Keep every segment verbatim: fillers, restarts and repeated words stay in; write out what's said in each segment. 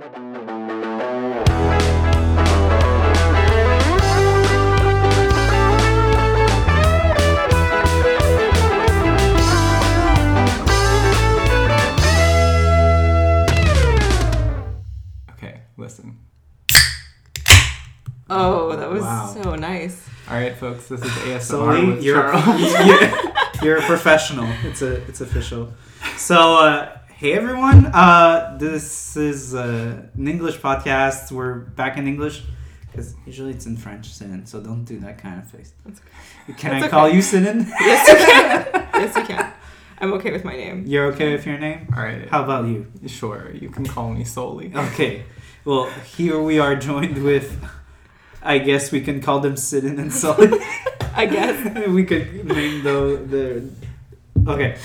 Listen. Oh, that was wow. so nice. All right, folks, this is A S M R Sully, with you're, Charles. you're, you're a professional. It's a it's official. So, uh, hey everyone. Uh, this is uh, an English podcast. We're back in English because usually it's in French, Sinin. So don't do that kind of face. That's okay. Can That's I call okay. you Sinin? Yes, you can. Yes, you can. I'm okay with my name. You're okay with your name? All right. How about you? Sure, you can call me Sully. Okay. Well, here we are joined with, I guess we can call them Sidon and Sully. I guess. We could name the... the okay.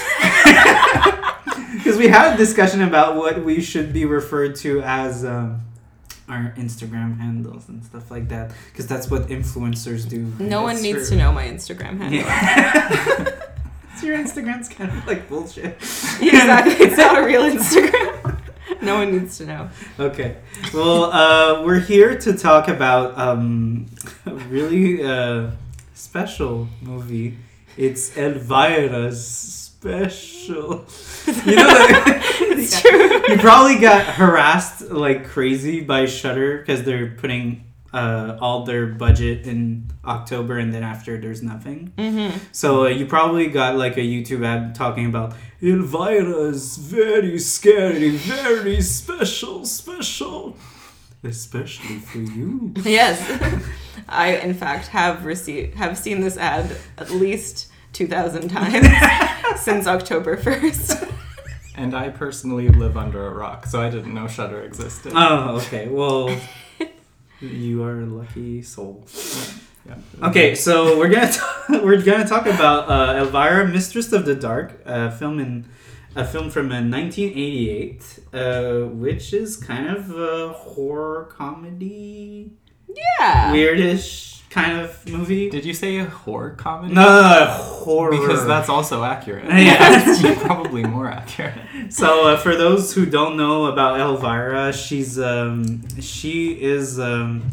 Because we had a discussion about what we should be referred to as um, our Instagram handles and stuff like that. Because that's what influencers do. No one That's needs for... to know my Instagram handle. Yeah. So your Instagram's kind of like bullshit. Exactly. It's not a real Instagram. No one needs to know. Okay. Well, uh, we're here to talk about um, a really uh, special movie. It's Elvira's special. You know, like, It's true. You probably got harassed like crazy by Shudder because they're putting uh, all their budget in October and then after there's nothing. Mm-hmm. So uh, you probably got like a YouTube ad talking about Elvira's very scary, very special, special, especially for you. Yes. I, in fact, have received, have seen this ad at least two thousand times since October first. And I personally live under a rock, so I didn't know Shudder existed. Oh, okay. Well, you are a lucky soul. Yeah. Okay, so we're gonna t- we're gonna talk about uh, Elvira, Mistress of the Dark, a film in a film from uh, nineteen eighty-eight, uh, which is kind of a horror comedy, Yeah. weirdish kind of movie. Did you say a horror comedy? No, no, no, horror. Because that's also accurate. Yeah. Probably more accurate. So uh, for those who don't know about Elvira, she's um she is um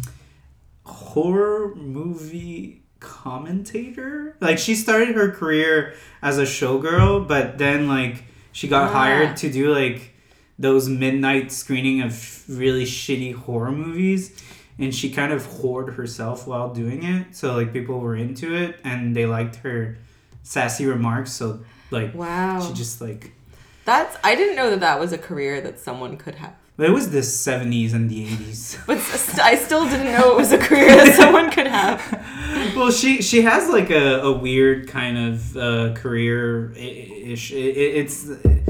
horror movie commentator. Like she started her career as a showgirl, but then like she got Ah. hired to do like those midnight screening of really shitty horror movies. And she kind of whored herself while doing it. So, like, people were into it. And they liked her sassy remarks. So, like, Wow. she just, like... That's, I didn't know that that was a career that someone could have. It was the seventies and the eighties. But st- I still didn't know it was a career that someone could have. Well, she she has, like, a, a weird kind of uh, career-ish. It, it, it's...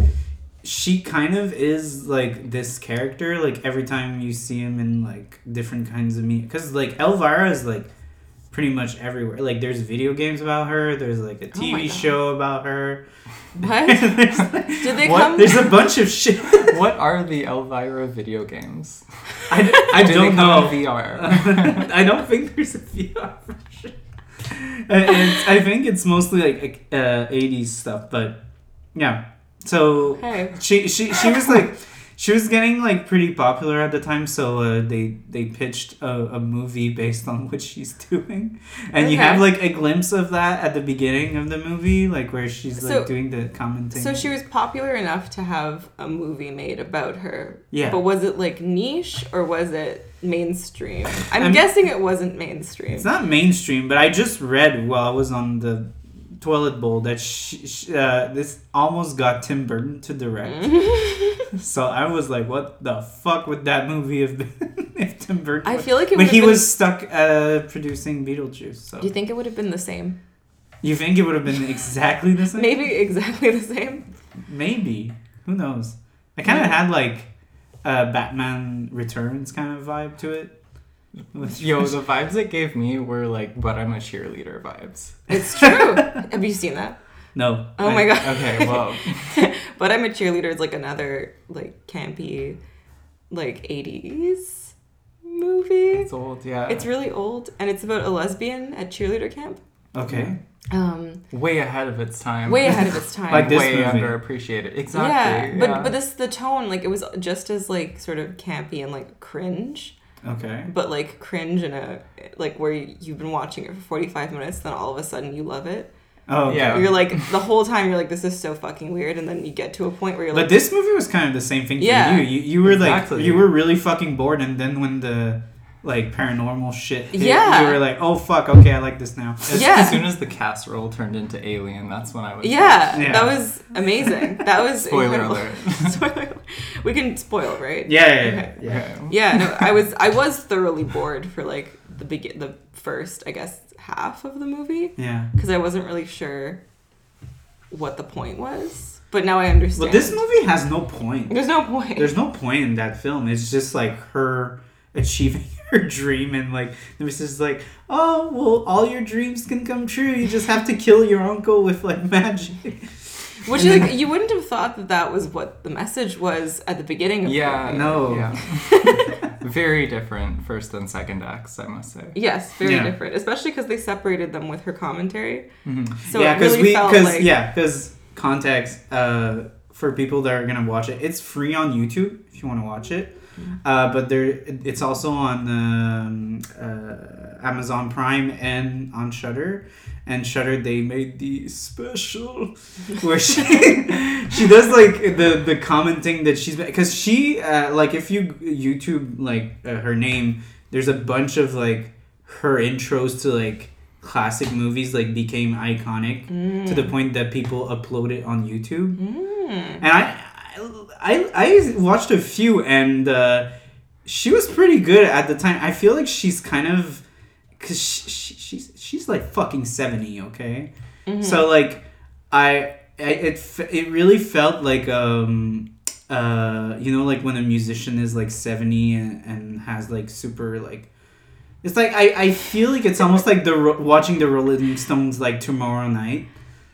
She kind of is, like, this character, like, every time you see him in, like, different kinds of media. Because, like, Elvira is, like, pretty much everywhere. Like, there's video games about her. There's, like, a T V oh show about her. What? there's, like, Did they What? come? there's a bunch of shit. What are the Elvira video games? I, d- I Do don't they come know. in V R? I don't think there's a V R version. Uh, it's, I think it's mostly, like, uh, eighties stuff. But, yeah. So Hey. she she she was like she was getting like pretty popular at the time, so uh, they they pitched a, a movie based on what she's doing, and you Okay. have like a glimpse of that at the beginning of the movie, like where she's like So- doing the commenting. So she was popular enough to have a movie made about her. Yeah. But was it like niche or was it mainstream? I'm, I'm- guessing it wasn't mainstream. It's not mainstream, but I just read while I was on the toilet bowl that she, she, uh, this almost got Tim Burton to direct. So I was like, what the fuck would that movie have been if Tim Burton I was- feel like it But would he have been- was stuck uh, producing Beetlejuice. So Do you think it would have been the same? you think it would have been exactly the same? Maybe exactly the same. Maybe. Who knows? I kind of had like a Batman Returns kind of vibe to it. Yo, the vibes it gave me were like, but I'm a cheerleader vibes. It's true. Have you seen that? No. Oh I- my god. Okay, well. But I'm a Cheerleader is like another like campy like eighties movie. It's old, yeah. It's really old and it's about a lesbian at cheerleader camp. Okay. Um, Way ahead of its time. way ahead of its time. Like this Way movie. underappreciated. Exactly. Yeah, but yeah. but this the tone, like, it was just as like sort of campy and like cringe, Okay. but like cringe in a like where you've been watching it for forty-five minutes, then all of a sudden you love it. Oh, okay. Yeah. You're like the whole time you're like, this is so fucking weird, and then you get to a point where you're But like, this movie was kind of the same thing for Yeah. you. You you were Exactly. like you were really fucking bored, and then when the like paranormal shit hit, Yeah. you were like, oh fuck, okay, I like this now. As, Yeah. as soon as the casserole turned into Alien, that's when I was. yeah, Yeah. that was amazing. That was Spoiler incredible. alert. Spoiler alert. We can spoil, right? Yeah, yeah, yeah. Okay. yeah. Okay. Yeah, no, I was I was thoroughly bored for like the begin the first, I guess, half of the movie Yeah. because I wasn't really sure what the point was. But now I understand. But this movie has no point. There's no point. There's no point in that film. It's just like her achieving her dream, and like the missus is like, oh well, all your dreams can come true. You just have to kill your uncle with like magic. Which And like then- you wouldn't have thought that that was what the message was at the beginning of Yeah. the movie. No. Yeah. Very different first and second acts, I must say. Yes, very Yeah. different, especially because they separated them with her commentary. Mm-hmm. So yeah, it really we felt because like yeah, because context uh, for people that are gonna watch it, it's free on YouTube if you want to watch it. Uh, but there, it's also on um, uh, Amazon Prime and on Shudder. And Shudder, they made the special where she she does like the the commenting that she's because she uh, like if you YouTube like uh, her name, there's a bunch of like her intros to like classic movies like became iconic Mm. to the point that people upload it on YouTube. Mm. And I, I, I watched a few, and uh, she was pretty good at the time. I feel like she's kind of, cause she, she, she's she's like fucking seventy, okay. Mhm. So like, I, I it f- it really felt like um uh you know like when a musician is like seventy and, and has like super like. It's like I, I feel like it's almost like the Ro- watching the Rolling Stones like tomorrow night.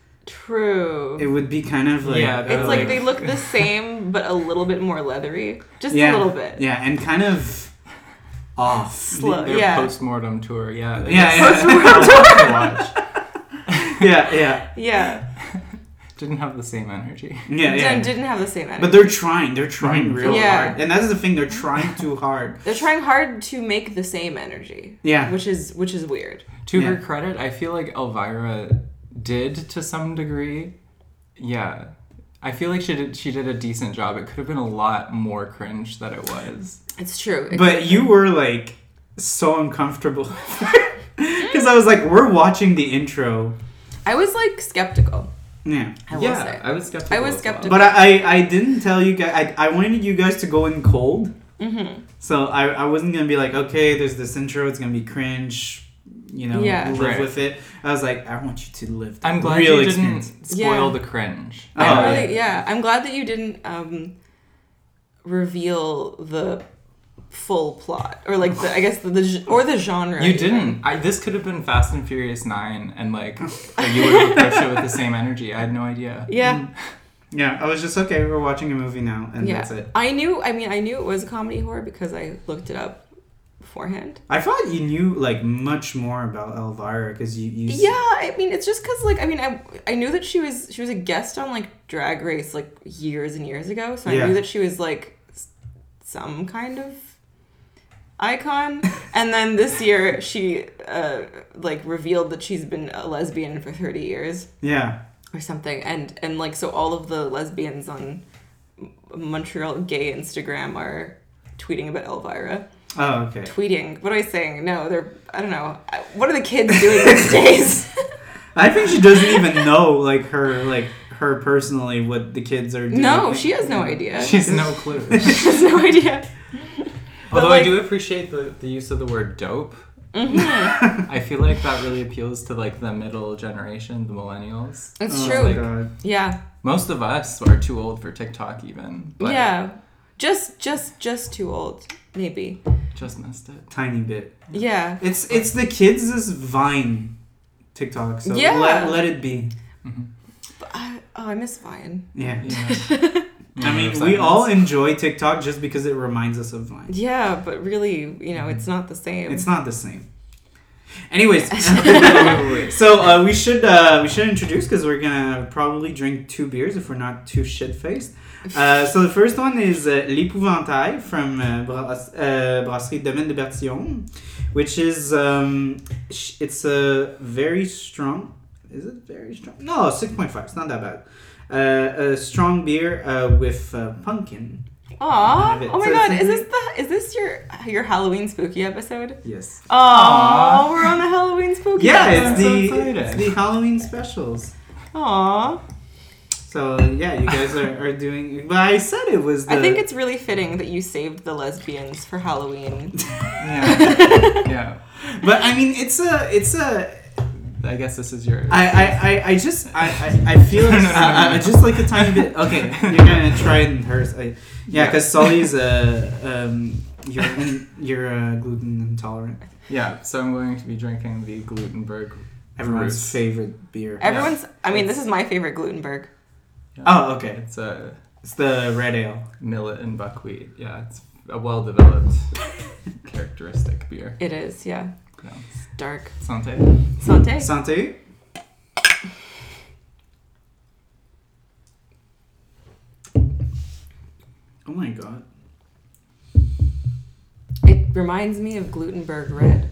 True. It would be kind of like Yeah, It's they're like like- they look the same, but a little bit more leathery. Just yeah, a little bit. yeah, and kind of off. Slow. Their yeah. post-mortem tour, yeah. Yeah, yeah. Post-mortem watch. yeah, yeah, Yeah. Didn't have the same energy. yeah, yeah. Didn't, didn't have the same energy. But they're trying. They're trying real Yeah. hard, and that's the thing. They're trying too hard. They're trying hard to make the same energy. Yeah. Which is which is weird. To her Yeah. credit, I feel like Elvira did to some degree. Yeah. I feel like she did she did a decent job. It could have been a lot more cringe than it was. It's true. But you were like so uncomfortable because I was like, we're watching the intro. I was like skeptical. Yeah. I will yeah, say. I was skeptical. I was as well. skeptical. But I, I, I didn't tell you guys. I, I wanted you guys to go in cold. Mm-hmm. So I, I wasn't gonna be like, okay, there's this intro. It's gonna be cringe. You know, Yeah. live Right. with it. I was like, I want you to live. The I'm glad real you experience. didn't spoil Yeah. the cringe. Oh, I'm yeah. really, yeah. I'm glad that you didn't um, reveal the full plot, or like the I guess the, the g- or the genre. You even. didn't. I, this could have been Fast and Furious nine, and like you would have approached it with the same energy. I had no idea. Yeah. Yeah, I was just okay. We're watching a movie now, and Yeah. that's it. I knew. I mean, I knew it was a comedy horror because I looked it up beforehand. I thought you knew like much more about Elvira because you, you. s- Yeah, I mean, it's just because like I mean, I I knew that she was she was a guest on like Drag Race like years and years ago, so I Yeah. knew that she was like s- some kind of icon. And then this year she uh like revealed that she's been a lesbian for thirty years Yeah. or something, and and like so all of the lesbians on M- Montreal gay Instagram are tweeting about Elvira. Oh, okay. Tweeting. What am I saying? No, they're. I don't know. I- What are the kids doing these days? I think she doesn't even know like her like her personally what the kids are doing. No, she has no idea. She has no clue. She has no idea. But, Although like- I do appreciate the, the use of the word dope. Mhm. I feel like that really appeals to like the middle generation, the millennials. It's Oh, true. my God. Yeah. Most of us are too old for TikTok even. But Yeah. Just, just, just too old, maybe. just missed it. Tiny bit. Yeah. It's it's the kids' Vine TikTok. So Yeah. let, let it be. But I, oh, I miss Vine. Yeah. Yeah. I mean, we all enjoy TikTok just because it reminds us of Vine. Yeah, but really, you know, it's not the same. It's not the same. Anyways, so uh, we should uh, we should introduce because we're gonna probably drink two beers if we're not too shit faced. Uh, so the first one is uh, L'Épouvantail from uh, Bras- uh, Brasserie Domaine de Bertillon, which is um, sh- it's a very strong. Is it very strong? No, six point five. It's not that bad. Uh, a strong beer uh, with uh, pumpkin. Aw. it. Oh my So god, it's- is this the is this your your Halloween spooky episode? Yes. Aw, we're on the Halloween spooky Yeah, episode. it's so the excited. it's the Halloween specials. Aw. So yeah, you guys are, are doing. But I said it was. The, I think it's really fitting that you saved the lesbians for Halloween. Yeah. Yeah. But I mean, it's a it's a. I guess this is your. I I, I, I just I, I, I feel No, no, no, I, no. I just like a tiny bit. Okay, you're gonna try it in hers. I, yeah, Yeah. because Sully's uh um you're in, you're uh, gluten intolerant. Yeah, so I'm going to be drinking the Glutenberg. Everyone's Roots. favorite beer. Everyone's I mean, this is my favorite Glutenberg. Yeah. Oh, okay. It's a It's the red ale. millet and buckwheat. Yeah, it's a well-developed characteristic beer. It is, yeah. Yeah. It's dark. Santé. Santé. Santé. Oh my god. It reminds me of Glutenberg Red.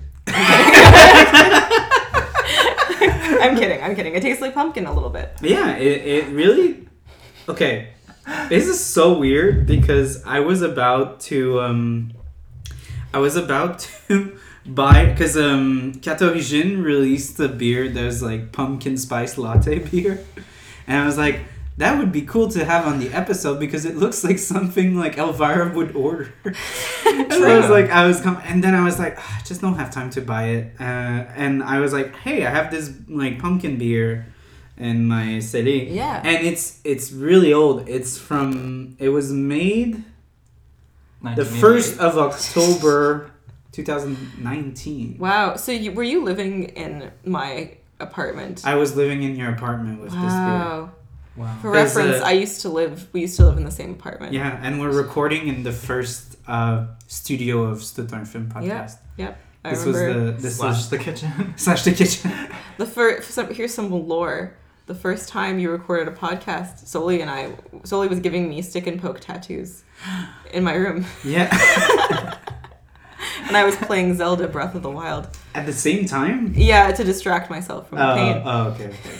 I'm kidding, I'm kidding. It tastes like pumpkin a little bit. Yeah, it, it really. Okay. This is so weird because I was about to. Um, I was about to buy. Because um, Cat Origine released a beer that's like pumpkin spice latte beer. And I was like, that would be cool to have on the episode because it looks like something like Elvira would order. And I was like, I was com- and then I was like, "Ah, I just don't have time to buy it. Uh, and I was like, hey, I have this like pumpkin beer in my city. Yeah. And it's it's really old. It's from it was made the first of October twenty nineteen. Wow. So you, were you living in my apartment? I was living in your apartment with wow. Wow. For There's reference, a- I used to live. We used to live in the same apartment. this beer. Yeah, and we're recording in the first uh, studio of Stuttgart Film Podcast. Yep. I This was remember the this Slash was the kitchen. slash the kitchen. the first. Some, here's some lore. The first time you recorded a podcast, Soli and I, Soli was giving me stick and poke tattoos in my room, Yeah. and I was playing Zelda Breath of the Wild. At the same time. Yeah, to distract myself from the Oh, pain. oh, okay, okay.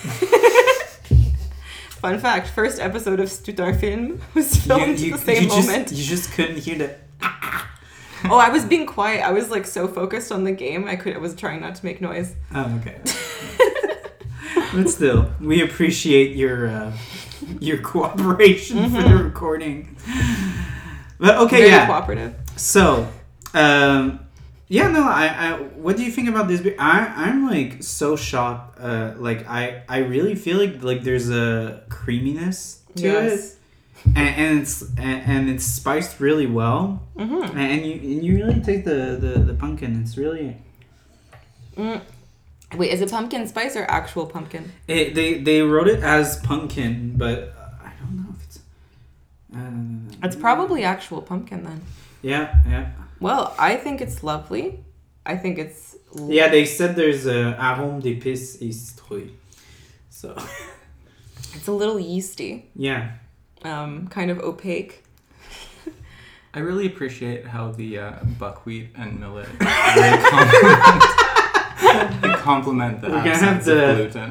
Fun fact: first episode of Stuttgart Film was filmed you, at the same you just, moment. You just couldn't hear the. Oh, I was being quiet. I was like so focused on the game. I could. I was trying not to make noise. Oh, okay. But still, we appreciate your uh, your cooperation for the recording. But okay, Very yeah. cooperative. So, um, yeah, no, I, I, what do you think about this beer? I, I'm like so shocked. Uh, like I, I really feel like like there's a creaminess to Yes. it, and, and it's and, and it's spiced really well, Mm-hmm. and you and you really take the the, the pumpkin. It's really. Mm. Wait, is it pumpkin spice or actual pumpkin? It, they they wrote it as pumpkin, but uh, I don't know if it's. Uh, It's probably actual pumpkin then. Yeah, yeah, Well, I think it's lovely. I think it's. l- yeah. They said there's a arôme d'épices et citrouille, so It's a little yeasty, yeah. um, kind of opaque. I really appreciate how the uh, buckwheat and millet really complement, they complement the We're gonna have absence of to- gluten.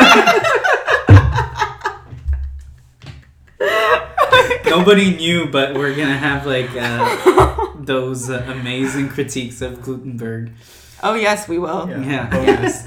Nobody knew, but we're gonna have like uh, those uh, amazing critiques of Glutenberg. Oh yes, we will. Yeah. Oh, yes.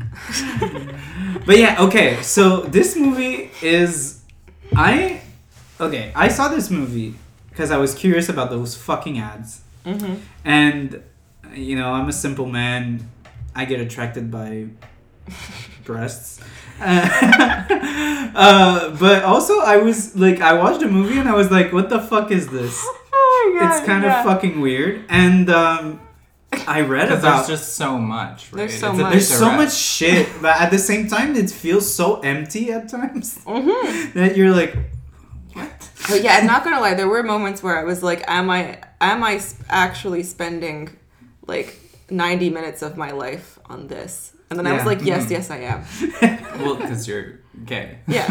But yeah, okay. So this movie is, I, okay. I saw this movie because I was curious about those fucking ads, Mm-hmm. and you know I'm a simple man. I get attracted by breasts. Uh, uh, but also I was like, I watched a movie and I was like, what the fuck is this? Oh my god. It's kind yeah. of fucking weird. And um, I read Because about there's just so much, right? There's so It's a much. bit there's so direct. much shit, but at the same time, it feels so empty at times Mm-hmm. that you're like, what? But yeah, I'm not gonna lie. There were moments where I was like, "Am I? Am I sp- actually spending like ninety minutes of my life on this. And then I Yeah. was like, yes, Mhm. yes, I am. Well, because you're gay. Yes.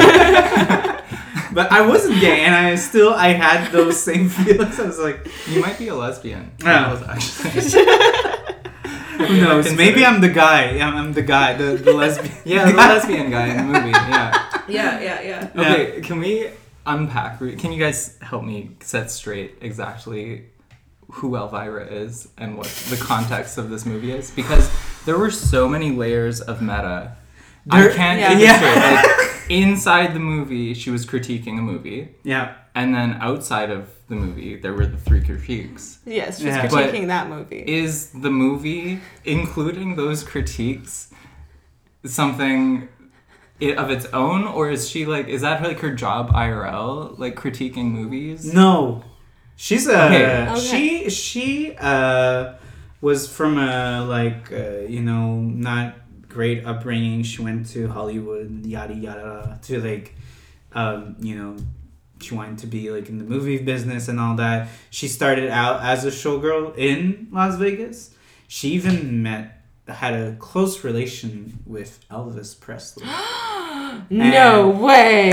But I wasn't gay, and I still I had those same feelings. I was like, You might be a lesbian. Yeah. Actually. who knows? Maybe I'm the guy. I'm, I'm the guy, the, the lesbian. Yeah, the lesbian guy in the movie. Yeah. yeah, yeah, yeah. Okay, can we unpack? Can you guys help me set straight exactly who Elvira is and what the context of this movie is? Because there were so many layers of meta. There- I can't yeah. keep it Yeah. straight. Like, inside the movie, she was critiquing a movie. Yeah. And then outside of the movie, there were the three critiques. Yes, she's Yeah. But critiquing that movie. Is the movie, including those critiques, something i- of its own? Or is she like, is that like her job I R L? Like critiquing movies? No, she's a Okay. Okay. she she uh was from a like uh, you know not great upbringing. She went to Hollywood, yada yada, to like um you know she wanted to be like in the movie business and all that. She started out as a showgirl in Las Vegas. She even met had a close relation with Elvis Presley. No And- way.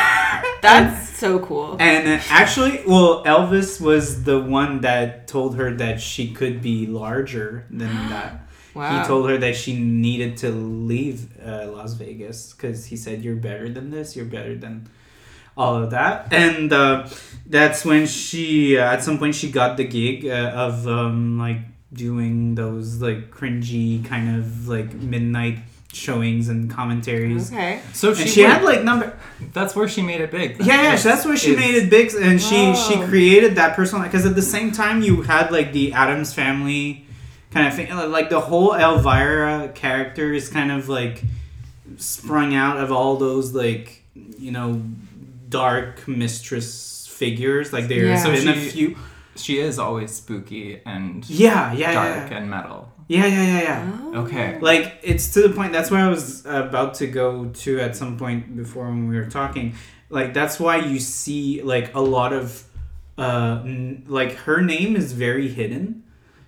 That's so cool. And uh, actually, well, Elvis was the one that told her that she could be larger than that. Wow. He told her that she needed to leave uh, Las Vegas because he said, "You're better than this. You're better than all of that." And uh, that's when she, uh, at some point, she got the gig uh, of um, like doing those like cringy kind of like midnight showings and commentaries. Okay. So she, And she went- had like number. that's where she made it big. Yeah, yeah, so that's where she Is- made it big, and she she Whoa. created that persona because at the same time you had like the Addams Family kind of thing, like the whole Elvira character is kind of like sprung out of all those like you know dark mistress figures. Like there's Yeah. been So a she- few. She is always spooky and Yeah, yeah, dark yeah, and metal. yeah, yeah, yeah, yeah. Oh. Okay. Like it's to the point. That's where I was about to go to at some point before when we were talking. Like that's why you see like a lot of, uh, n- like her name is very hidden.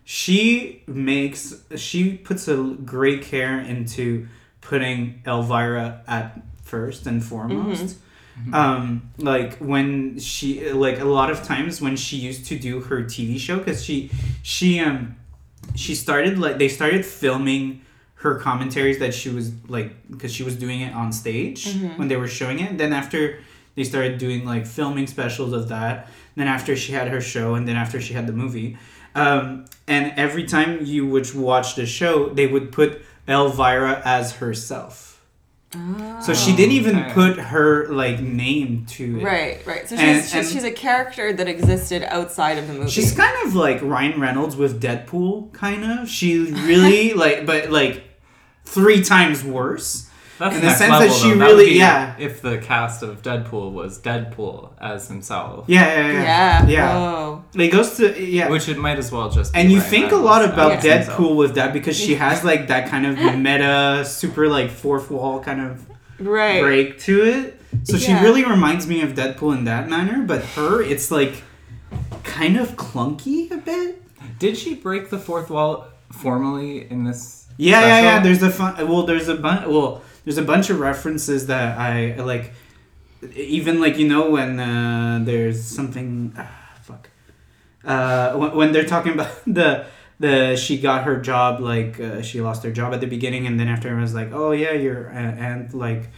She makes she puts a great care into putting Elvira at first and foremost. Um, like when she like a lot of times when she used to do her T V show because she she um she started like they started filming her commentaries that she was like because she was doing it on stage when they were showing it. And then after they started doing like filming specials of that. Then after she had her show, and then after she had the movie, um, and every time you would watch the show, they would put Elvira as herself. Oh. So she didn't even Okay. put her like name to it. Right, right. So she's, And- she's, and- she's a character that existed outside of the movie. She's kind of like Ryan Reynolds with Deadpool, kind of. She really like, but like three times worse. That's In the next sense that level, she though. That really- would be yeah. If the cast of Deadpool was Deadpool as himself, Yeah, yeah, yeah. yeah. Yeah. Whoa. It goes to yeah. which it might as well just. Be And you Ryan think a Reynolds lot as about himself. Deadpool with that because she has like that kind of meta, super like fourth wall kind of Right. break to it. So she Yeah. really reminds me of Deadpool in that manner, but her, it's like kind of clunky a bit. Did she break the fourth wall formally in this? Yeah, yeah, yeah. special? There's a fun. Well, there's a bunch. Well, there's a bunch of references that I like. Even like you know when uh, there's something. Ah, fuck. Uh, when, when they're talking about the the she got her job like uh, she lost her job at the beginning and then after it was like oh yeah your uh, aunt like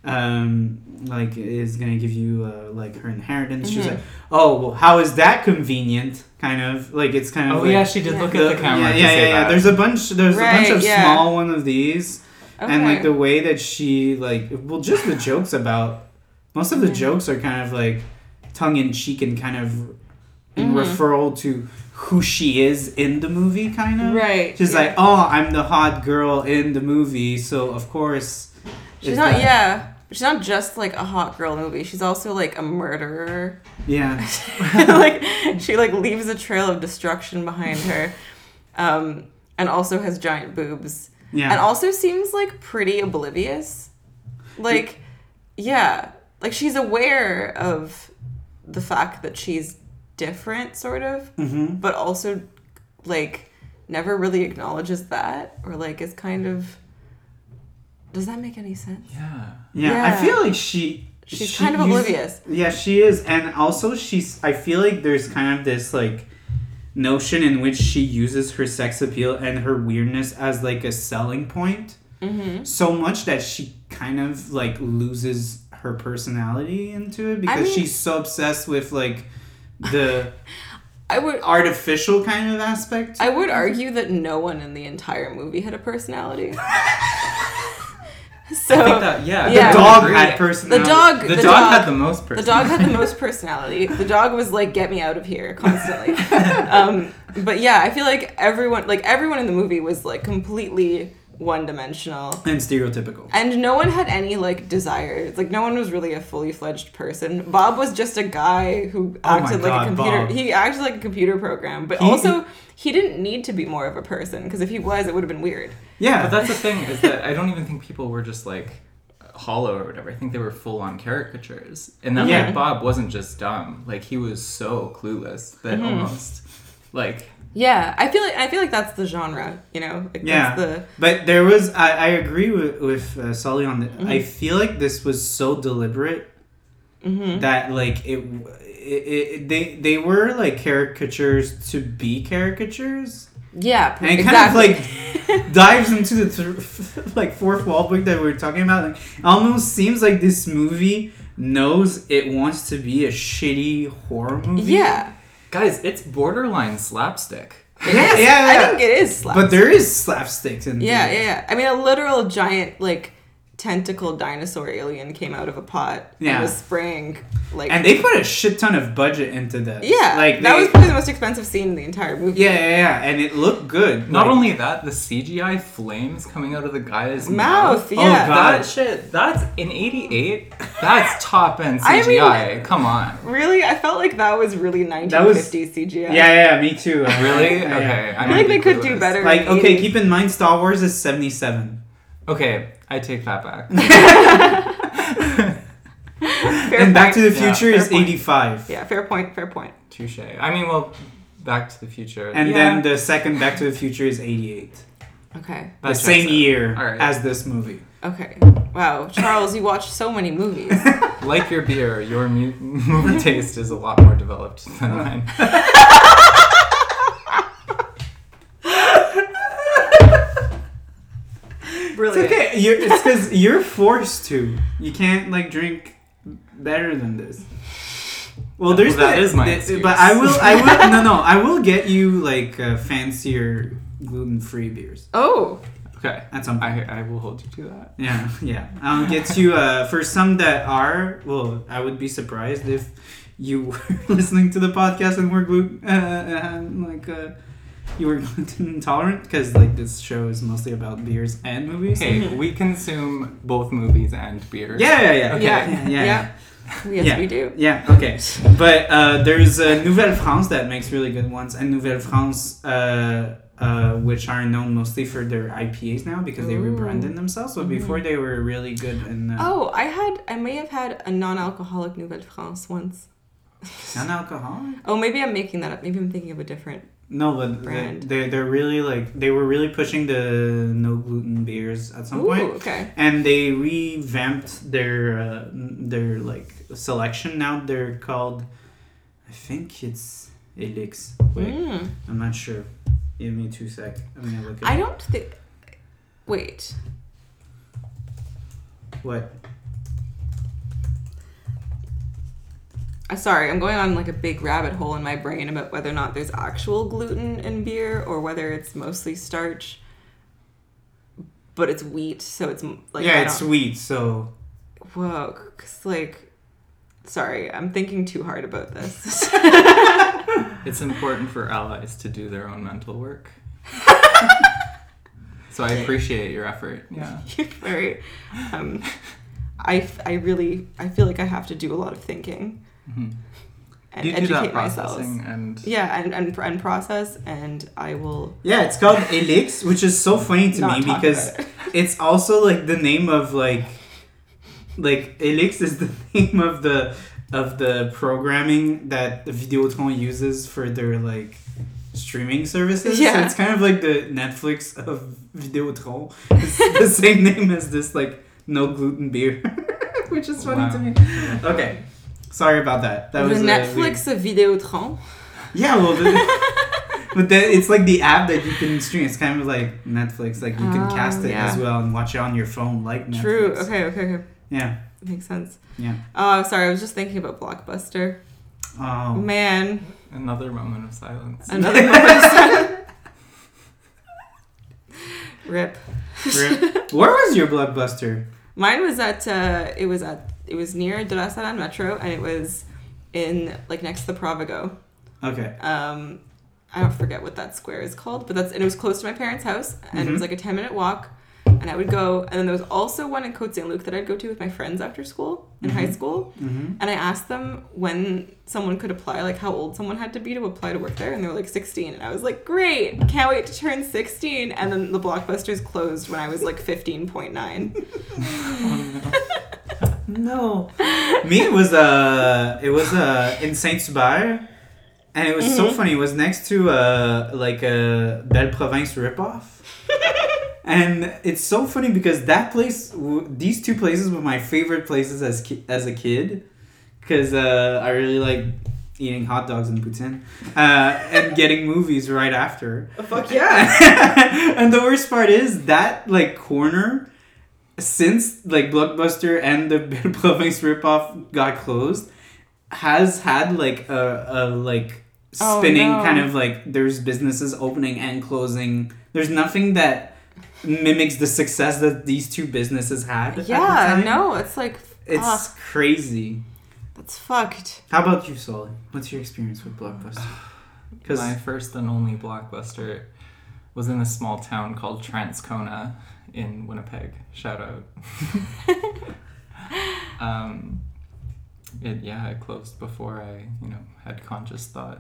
um like is gonna give you uh, like her inheritance. She's Mhm. like oh well how is that convenient kind of like it's kind of Oh like, yeah, she did Yeah. look at the camera. yeah, to yeah, say yeah, yeah. that. There's a bunch. There's a bunch Right, of yeah. small one of these, Okay. and like the way that she like, well, just the jokes about most of the Yeah. jokes are kind of like tongue in cheek and kind of in Mhm. referral to who she is in the movie, kind of. Right, She's yeah. like, oh, I'm the hot girl in the movie, so of course. She's it's not, that- yeah. She's not just like a hot girl movie. She's also like a murderer. Yeah. like she like leaves a trail of destruction behind her, um, and also has giant boobs, Yeah. and also seems like pretty oblivious. Like, yeah, like she's aware of the fact that she's different, sort of, Mm-hmm. but also like never really acknowledges that, or like is kind of. Does that make any sense? Yeah. Yeah, Yeah. I feel like she. She's she kind of uses- oblivious. Yeah, she is, and also she's. I feel like there's kind of this like notion in which she uses her sex appeal and her weirdness as like a selling point, Mm-hmm. so much that she kind of like loses her personality into it because I mean- she's so obsessed with like the I would. artificial kind of aspect. I would argue that no one in the entire movie had a personality. So I think that, yeah. Yeah. The I dog agree. had personality. the dog, The, the, dog, dog, had the most the personality. dog had the most personality. The dog was like, "Get me out of here," constantly. um, but yeah, I feel like everyone, like everyone in the movie, was like completely one-dimensional. and stereotypical. And no one had any like desires. Like no one was really a fully fledged person. Bob was just a guy who Oh my acted like God, a computer. Bob. He acted like a computer program, but He- also he didn't need to be more of a person because if he was, it would have been weird. Yeah, But that's the thing, is that I don't even think people were just like hollow or whatever. I think they were full on caricatures. And then Yeah. like Bob wasn't just dumb. Like he was so clueless that Mm-hmm. almost like Yeah, I feel like I feel like that's the genre. You know, like, Yeah. That's the But there was, I, I agree with, with uh, Sully on the, Mm-hmm. I feel like this was so deliberate Mm-hmm. that like it, it, it, they, they were like caricatures to be caricatures. yeah, And it exactly. kind of like dives into the th- like fourth wall break that we were talking about. Like, it almost seems like this movie knows it wants to be a shitty horror movie. yeah. guys, it's borderline slapstick. It Yeah, is. yeah, I yeah. think it is slapstick. But there is slapsticks in Yeah, there. yeah, yeah. I mean, a literal giant like tentacle dinosaur alien came out of a pot Yeah. and was spraying like. And they put a shit ton of budget into this. yeah, like that they- was probably the most expensive scene in the entire movie. Yeah, yeah, yeah, and it looked good. Not Like, only that, the C G I flames coming out of the guy's Mouth, mouth. yeah. Oh, God. That shit, that's in eighty-eight. That's top end I C G I. mean- Come on. Really, I felt like that was really nineteen fifties C G I. Yeah, yeah, me too. Really? Yeah, yeah. Okay. I feel like they could do better. Like, in the okay, eighties. keep in mind, Star Wars is seventy-seven. Okay, I take that back. Fair And Back to point. the Yeah, Future fair is point. eighty-five. Yeah, fair point. Fair point. Touche. I mean, well, Back to the Future. And yeah, then the second Back to the Future is eighty-eight. Okay. that the checks same out. year All right. as this movie. Okay. Wow, Charles, you watch so many movies. Like your beer, your mu- movie taste is a lot more developed than mine. It's Brilliant. okay. You're, it's because you're forced to. You can't like drink better than this. Well, Well, there's that the- is my the- excuse. But I will. I will. No, no. I will get you like uh, fancier gluten-free beers Oh, okay. at some point. I I will hold you to that. Yeah, yeah. I'll get you uh, for some that are. Well, I would be surprised if you were listening to the podcast and were gluten uh, uh, like uh, you were gluten intolerant because like this show is mostly about beers and movies. Hey, we consume both movies and beers. Yeah, yeah, yeah. Okay. Yeah. yeah, Yeah. yeah. Yes, Yeah. we do. Yeah, okay. But uh, there's uh, Nouvelle France that makes really good ones, and Nouvelle France, uh, uh, which are known mostly for their I P As now because they Ooh. rebranded themselves. But before they were really good in uh, Oh, I had, I may have had a non-alcoholic Nouvelle France once. non-alcoholic. Oh, maybe I'm making that up. Maybe I'm thinking of a different. No, but they, Brand. they they're really like they were really pushing the no gluten beers at some Ooh, point, okay. and they revamped their uh, their like selection. Now they're called, I think it's Elix. Wait, Mm. I'm not sure. Give me two sec. I'm gonna look. It I up. don't think. Wait. What? Uh, sorry, I'm going on like a big rabbit hole in my brain about whether or not there's actual gluten in beer or whether it's mostly starch, but it's wheat, so it's m- like yeah, I it's don't- sweet. So Whoa, cause like, sorry, I'm thinking too hard about this. It's important for allies to do their own mental work. So I appreciate your effort. Yeah. You're very, um, I, f- I really, I feel like I have to do a lot of thinking Mm-hmm. and You do educate that myself. processing and Yeah, and, and and process, and I will yeah, it's called Elix, which is so funny to not me talk because about it. it's also like the name of like like Elix is the name of the of the programming that Videotron uses for their like streaming services. Yeah. So it's kind of like the Netflix of Videotron. It's the same name as this like no gluten beer, which is funny Wow. to me. Okay, sorry about that. That the was uh, Netflix of Videotron. Yeah, well, the, but the, it's like the app that you can stream. It's kind of like Netflix. Like you can Oh, cast it yeah. as well and watch it on your phone, like Netflix. True. Okay. Okay. Okay. Yeah. Makes sense. Yeah. Oh, sorry. I was just thinking about Blockbuster. Oh. Man, Another moment of silence. another moment of silence. Rip. Rip. Where was your Blockbuster? Mine was at. Uh, it was at. It was near De La Salle Metro, and it was in like next to the Provigo. Okay. Um, I don't forget what that square is called, but that's and it was close to my parents' house, and Mhm. it was like a ten minute walk. And I would go, and then there was also one in Côte Saint Luc that I'd go to with my friends after school in high Mhm. school. Mm-hmm. And I asked them when someone could apply, like how old someone had to be to apply to work there, and they were like sixteen. And I was like, great, can't wait to turn sixteen. And then the Blockbusters closed when I was like fifteen point nine. No. Me, it was uh, it was uh, in Saint Hubert, and it was so Mhm. funny. It was next to uh, like a Belle Province ripoff. And it's so funny because that place, w- these two places were my favorite places as ki- as a kid, because uh, I really like eating hot dogs and poutine, uh, and getting movies right after. Fuck yeah. And the worst part is that like corner, since like Blockbuster and the Belle Province ripoff got closed, has had like a, a like Oh, spinning no. kind of like there's businesses opening and closing. There's nothing that mimics the success that these two businesses had. at the Yeah, time. no, it's like, It's ugh, crazy. that's fucked. How about you, Sully? What's your experience with Blockbuster? Because My first and only Blockbuster was in a small town called Transcona in Winnipeg. Shout out. um, it yeah, it closed before I you know had conscious thought.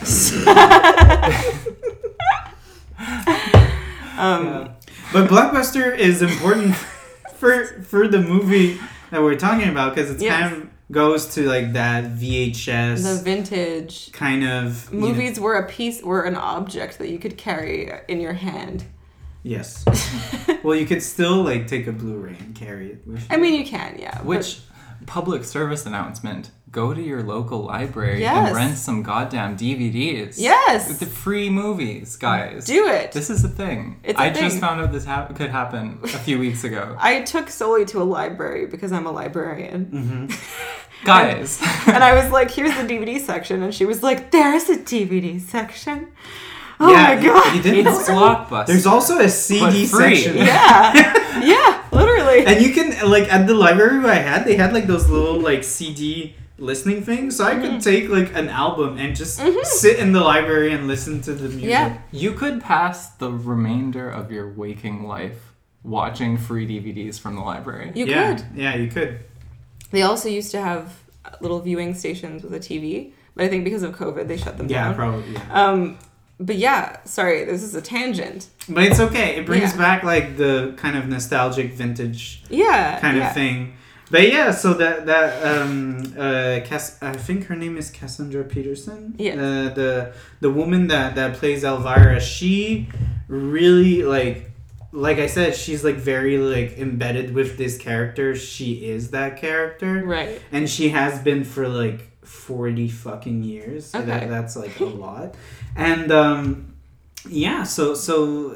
Um, Yeah. But Blockbuster is important for for the movie that we're talking about because it Yes. kind of goes to like that V H S The vintage kind of you know- movies were a piece, were an object that you could carry in your hand. Yes. Well, you could still like take a Blu-ray and carry it with you. I mean, you can, yeah. but- Which public service announcement? Go to your local library Yes. and rent some goddamn D V Ds. Yes. The free movies, guys. Do it. This is a thing. It's a I thing. just found out this hap- could happen a few weeks ago. I took Sully to a library because I'm a librarian. Mm-hmm. Guys. And I was like, here's the D V D section. And she was like, there's a D V D section. Oh Yeah, my you- god. you didn't It's know? Blockbuster. There's also a C D But free. section. Yeah. Yeah, literally. And you can like at the library I had, they had like those little like C D listening things, so I Mm-hmm. could take like an album and just sit in the library and listen to the music. Yeah. You could pass the remainder of your waking life watching free D V Ds from the library. You yeah, could. yeah, you could. They also used to have little viewing stations with a T V, but I think because of COVID, they shut them Yeah, down. probably. Yeah. Um, but yeah, sorry, this is a tangent. But it's okay. It brings Yeah. back like the kind of nostalgic vintage Yeah. kind yeah. of thing. But yeah, so that that um uh Cass- I think her name is Cassandra Peterson. Yeah. Uh, the the woman that that plays Elvira, she really like like I said, she's like very like embedded with this character. She is that character. Right. And she has been for like forty fucking years. So Okay. that, that's like a lot. And um yeah, so so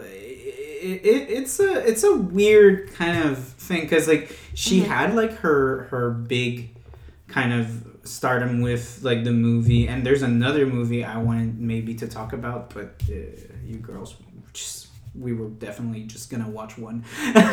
it, it, it's a it's a weird kind of thing cuz like she Mhm. had like her her big kind of stardom with like the movie, and there's another movie I wanted maybe to talk about, but uh, you girls just we were definitely just gonna watch one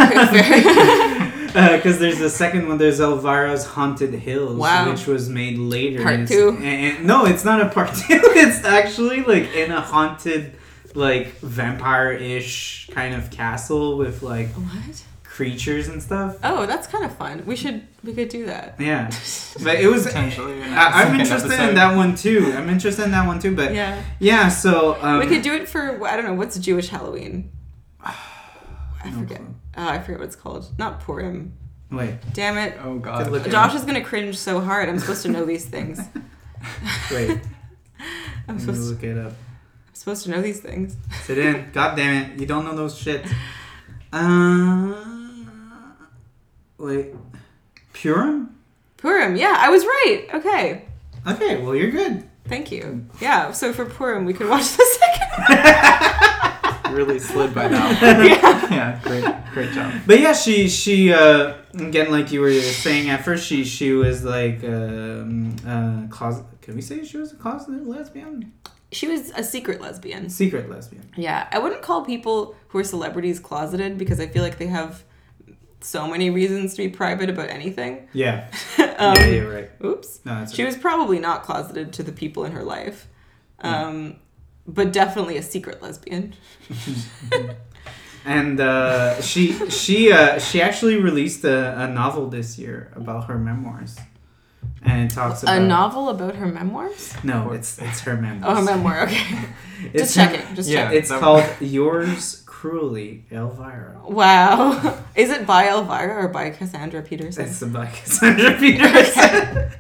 because uh, there's the second one. There's Elvira's Haunted Hills, Wow. which was made later. Part and it's- two? And, and- no, it's not a part two. It's actually like in a haunted, like vampire-ish kind of castle with like What? creatures and stuff. Oh, that's kind of fun. We should, we could do that. Yeah, but it was. Potentially. in a I, I'm second interested episode. in that one too. I'm interested in that one too. But yeah, Yeah. so um, we could do it for, I don't know, what's Jewish Halloween? I no forget. clue. Oh, I forget what it's called. Not Purim. Wait, Damn it. Oh Could god. look- Josh is gonna cringe so hard. I'm supposed to know these things. wait. I'm Let me supposed look it up. I'm supposed to know these things. Sit in. God damn it. You don't know those shit. Uh, wait. Purim? Purim, yeah, I was right. Okay. Okay, well, you're good. Thank you. Yeah, so for Purim, we could watch the second. Really slid by now. Yeah. Yeah, great, great job. But yeah, she, she uh, again, like you were saying at first, she she was like, um, uh, closet. Can we say she was a closeted lesbian? She was a secret lesbian. Secret lesbian. Yeah, I wouldn't call people who are celebrities closeted because I feel like they have so many reasons to be private about anything. Yeah. um, yeah, you're right. Oops. No, that's She okay. was probably not closeted to the people in her life, um, but definitely a secret lesbian. And uh, she she uh, she actually released a, a novel this year about her memoirs, and it talks about A novel about her memoirs? No, it's it's her memoirs. Oh, her memoir. Okay. It's Just checking. Just Yeah. checking. It's called Yours Cruelly, Elvira. Wow. Is it by Elvira or by Cassandra Peterson? It's by Cassandra Peterson.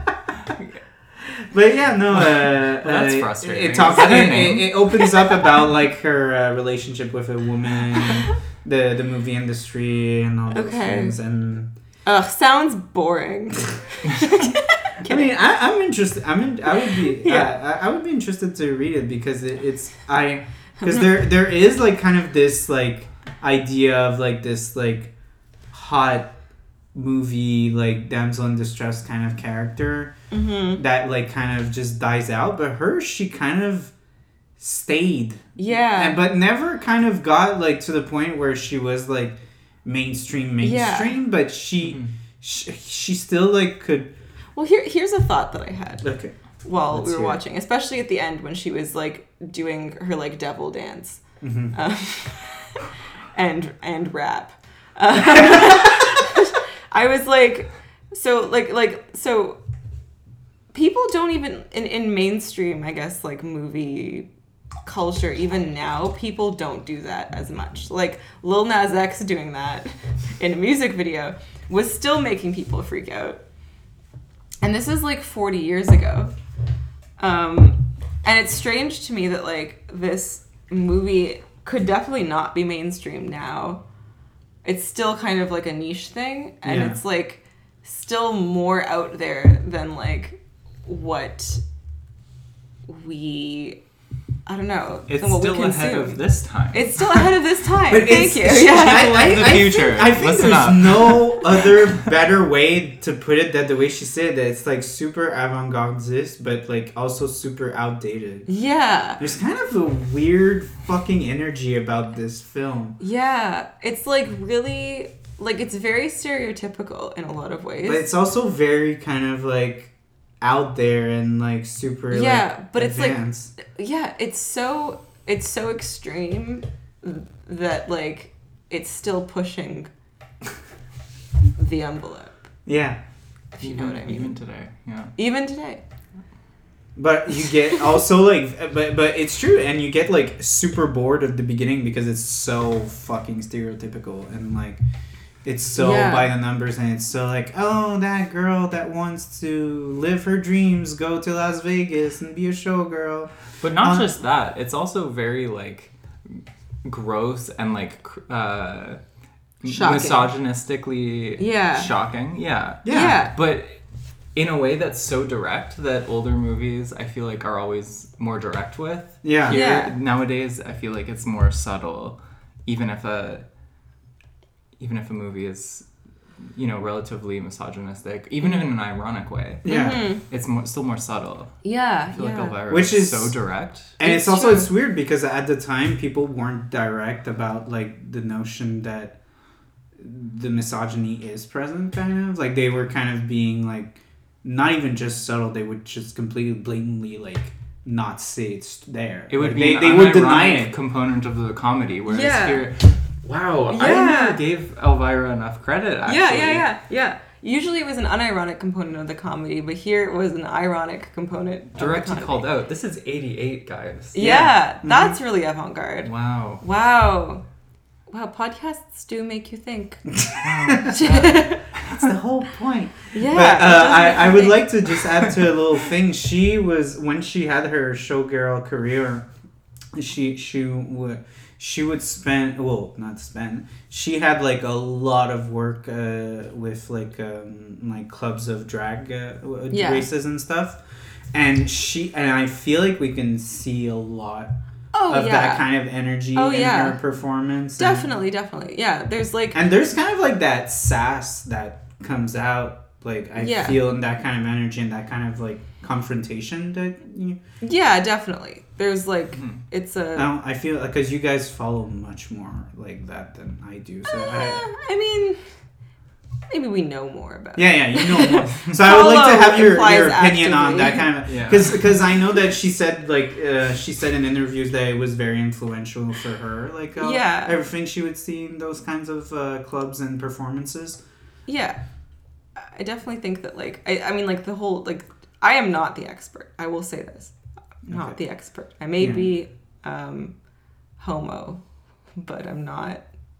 But yeah, no. Uh, Well, that's uh, frustrating. It, it talks. Is that her It, name? it, it opens up about like her uh, relationship with a woman, the the movie industry, and all those Okay. things. And Ugh, sounds boring. I mean, I, I'm interested. I'm in, I would be. Yeah. I, I would be interested to read it because it, it's I because there there is like kind of this like idea of like this like hot movie like damsel in distress kind of character Mm-hmm. that like kind of just dies out, but her she kind of stayed Yeah. and but never kind of got like to the point where she was like mainstream mainstream Yeah. but she, Mhm. she she still like could Well, here here's a thought that I had okay while Let's we were hear it. watching, especially at the end when she was like doing her like devil dance mm-hmm. um, and and rap. Um, I was like, so like like so. People don't even in, in mainstream, I guess, like movie culture, even now, people don't do that as much. Like Lil Nas X doing that in a music video was still making people freak out. And this is like forty years ago. Um, and it's strange to me that like this movie could definitely not be mainstream now. It's still kind of like a niche thing, and Yeah. it's like still more out there than like what we I don't know. It's than what still we ahead consume. of this time. It's still ahead of this time. But Thank it's- you. it's- Yeah. People of the future, think, I think listen there's up. no other better way to put it than the way she said that it's like super avant-gardist, but like also super outdated. Yeah. There's kind of a weird fucking energy about this film. Yeah. It's like really like it's very stereotypical in a lot of ways. But it's also very kind of like out there and like super Yeah, like but it's like- advanced. Yeah, it's so it's so extreme that like it's still pushing the envelope. Yeah. If you even, know what I mean. even today, yeah. Even today. But you get also like but but it's true and you get like super bored at the beginning because it's so fucking stereotypical and like it's so Yeah. by the numbers and it's so like, oh, that girl that wants to live her dreams, go to Las Vegas and be a showgirl. But not Um, just that. It's also very like gross and like cr- uh, Shocking. misogynistically Yeah. shocking. Yeah. Yeah. Yeah. But in a way that's so direct that older movies I feel like are always more direct with. Yeah. Here, Yeah. Nowadays I feel like it's more subtle, even if a even if a movie is, you know, relatively misogynistic, even in an ironic way. Yeah. Mhm. It's more, still more subtle. Yeah. I feel yeah. like Elvira Which is is- so direct. And It's it's, also true. it's weird because at the time people weren't direct about like the notion that the misogyny is present kind of like they were kind of being like not even just subtle, they would just completely blatantly like not say it's there. It would Like, be they, an they would deny unironic it. component of the comedy, whereas Yeah. here, wow, I Yeah. never gave Elvira enough credit. Actually. Yeah, yeah, yeah, yeah. Usually it was an unironic component of the comedy, but here it was an ironic component. of the Directly comedy. called out. This is eighty-eight, guys. Yeah, Yeah. Mm-hmm. that's really avant-garde. Wow. Wow. Wow, podcasts do make you think. That's the whole point. Yeah. But it uh, does make I, you I would think. like to just add to a little thing. She was when she had her showgirl career, she she would she would spend well not spend she had like a lot of work uh, with like um, like clubs of drag uh, Yeah. races and stuff, and she and I feel like we can see a lot Oh of yeah. that kind of energy Oh, in yeah. her performance. And- Definitely, definitely. Yeah, there's like And there's kind of like that sass that comes out, like I Yeah. feel in that kind of energy and that kind of like confrontation that you. yeah, definitely. There's like Mhm. it's I, a don't, I feel because you guys follow much more like that than I do. So Uh, I, I mean maybe we know more about yeah, yeah, you know more. So I would like to Follow have your, implies your opinion on actively. that kind of Yeah. because because I know that she said like uh, she said in interviews that it was very influential for her, like uh, Yeah. everything she would see in those kinds of uh, clubs and performances. Yeah. I definitely think that like I, I mean like the whole like I am not the expert. I will say this. I'm not Okay. the expert. I may Yeah. be um homo, but I'm not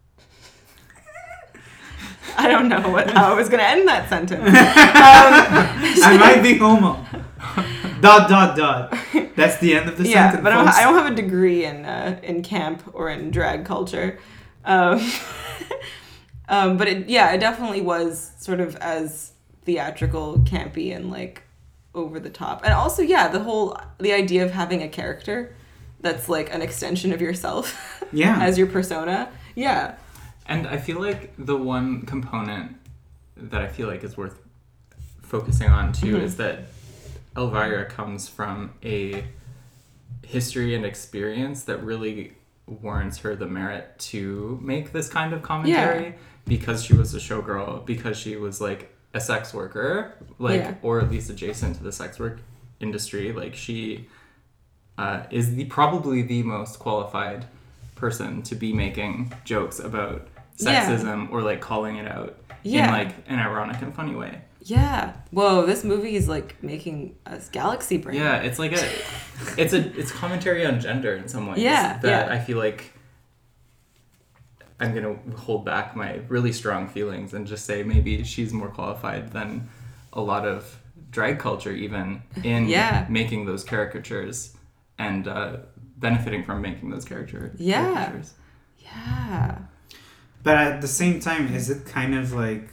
I don't know what how I was gonna end that sentence. Um, I might be homo. dot dot dot. That's the end of the yeah, sentence. but I don't, folks. I don't have a degree in uh, in camp or in drag culture. Um, um, but it, yeah, it definitely was sort of as theatrical, campy, and like over the top. And also, yeah, the whole the idea of having a character that's like an extension of yourself Yeah. as your persona. Yeah. And I feel like the one component that I feel like is worth focusing on too Mhm. is that Elvira comes from a history and experience that really warrants her the merit to make this kind of commentary Yeah. because she was a showgirl, because she was like a sex worker, like Yeah. or at least adjacent to the sex work industry. Like she uh, is the probably the most qualified person to be making jokes about Yeah. sexism or like calling it out Yeah. in like an ironic and funny way. Yeah. Whoa, this movie is like making us galaxy brain. Yeah, it's like a it's a it's commentary on gender in some ways. Yeah, That yeah. I feel like I'm gonna hold back my really strong feelings and just say maybe she's more qualified than a lot of drag culture even in Yeah. making those caricatures and uh, benefiting from making those character Yeah. caricatures. Yeah. But at the same time, is it kind of like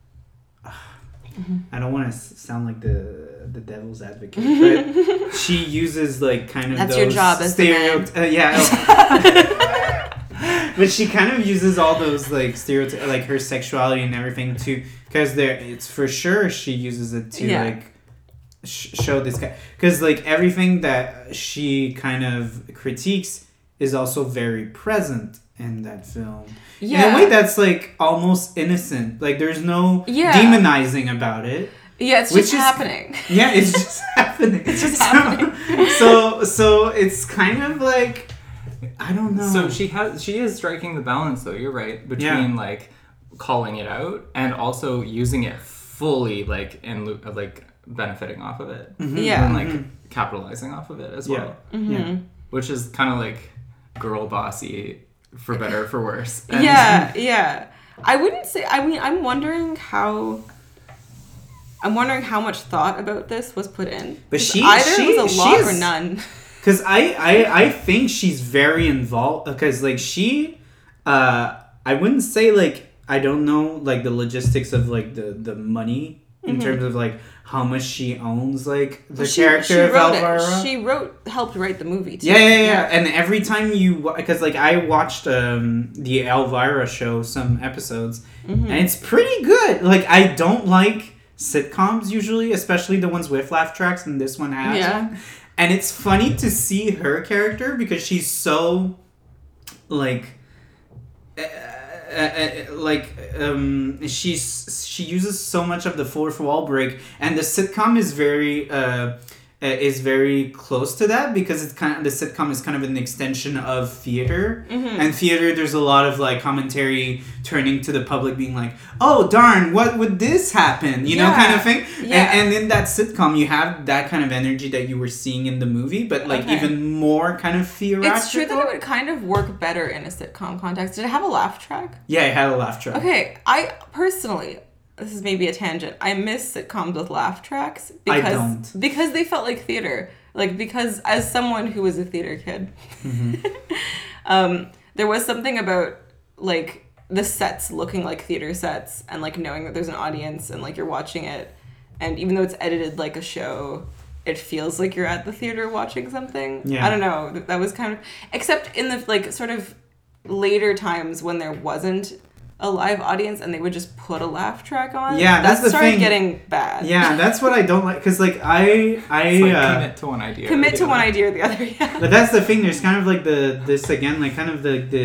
I don't want to sound like the the devil's advocate, but she uses like kind of That's those your job as the man. uh, yeah. But she kind of uses all those like stereotypes, like her sexuality and everything too, because there it's for sure she uses it to Yeah. like sh- show this guy, because like everything that she kind of critiques is also very present in that film. Yeah. In a way that's like almost innocent. Like there's no Yeah. demonizing about it. Yeah, it's Which just is- happening. Yeah, it's just happening. It's just so, happening. so so it's kind of like I don't know. So she has she is striking the balance though, you're right, between Yeah. like calling it out and also using it fully like and lo- like benefiting off of it. Mhm. Yeah. And like Mhm. capitalizing off of it as Yeah. well. Mhm. Yeah. Which is kind of like girl bossy for better or for worse. And- Yeah, yeah. I wouldn't say. I mean, I'm wondering how. I'm wondering how much thought about this was put in. But 'Cause she- either she- it was a she lot is- or none. Because I, I, I think she's very involved. Because, like, she... Uh, I wouldn't say, like... I don't know, like, the logistics of, like, the, the money... In Mhm. terms of, like, how much she owns, like, the Well, she, character she of wrote Elvira. it. She wrote, helped write the movie too. Yeah, yeah, yeah, And every time you... Because, like, I watched um, the Elvira show, some episodes. Mhm. And it's pretty good. Like, I don't like sitcoms usually, especially the ones with laugh tracks, and this one has Yeah. one. And it's funny to see her character because she's so, like, uh, uh, uh, like um, she's she uses so much of the fourth wall break, and the sitcom is very uh, uh, is very close to that because it's kind of the sitcom is kind of an extension of theater, Mhm. and theater there's a lot of like commentary turning to the public, being like, oh darn, what would this happen, you know, Yeah. kind of thing. Yeah. And, and in that sitcom, you have that kind of energy that you were seeing in the movie, but like Okay. even more kind of theoretical. It's true that it would kind of work better in a sitcom context. Did it have a laugh track? Yeah, it had a laugh track. Okay, I personally, this is maybe a tangent. I miss sitcoms with laugh tracks I because don't. because they felt like theater. like because as someone who was a theater kid, Mm-hmm. um, there was something about like the sets looking like theater sets and like knowing that there's an audience and like you're watching it, and even though it's edited like a show, it feels like you're at the theater watching something. Yeah. I don't know. That was kind of, except in the like sort of later times when there wasn't a live audience and they would just put a laugh track on. Yeah, that's that the started thing. getting bad. Yeah, that's what I don't like. Because, like, I... I It's like uh, commit to one idea. or Commit the to one other. idea or the other, yeah. But that's the thing. There's kind of, like, the... This, again, like, kind of the, the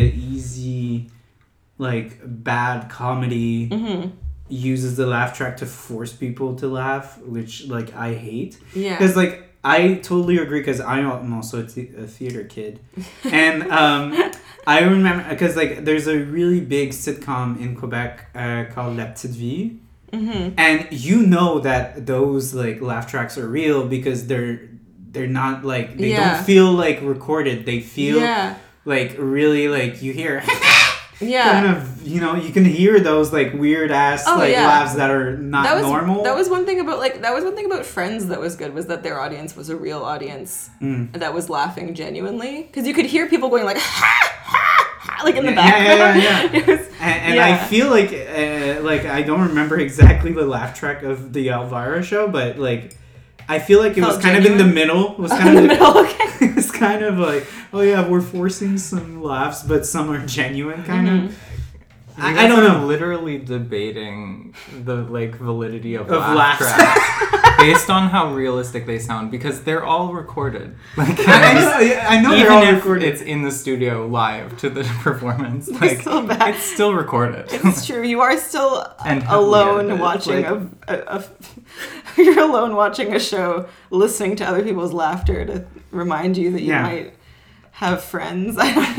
easy, like, bad comedy Mm-hmm. uses the laugh track to force people to laugh, which, like, I hate. Yeah. Because, like, I totally agree because I'm also a, th- a theater kid. And um, I remember, because, like, there's a really big sitcom in Quebec uh, called La Petite Vie. Mm-hmm. And you know that those, like, laugh tracks are real because they're they're not, like, they Yeah. don't feel, like, recorded. They feel, Yeah. like, really, like, you hear... Yeah. kind of, you know, you can hear those, like, weird-ass, Oh, like, yeah. laughs that are not that was normal. That was one thing about like that was one thing about Friends that was good was that their audience was a real audience Mm. that was laughing genuinely because you could hear people going like ha ha ha like in the Yeah, yeah, background. yeah, yeah. It was, And, and yeah. I feel like, uh, like I don't remember exactly the laugh track of the Elvira show, but like, I feel like it was Felt kind of in the genuine? middle. It was in kind the of middle. Okay. it was kind of like, oh yeah, we're forcing some laughs, but some are genuine, kind Mhm. of. You I, I guys don't are know. literally debating the like validity of, Of laugh laughs. tracks based on how realistic they sound because they're all recorded. Like I, I know, yeah, I know they're even all if recorded. it's in the studio live to the performance, They're like still bad. it's still recorded. It's true. You are still And heavily alone edited, watching like- a, a, a. You're alone watching a show, listening to other people's laughter to remind you that you Yeah. might have friends.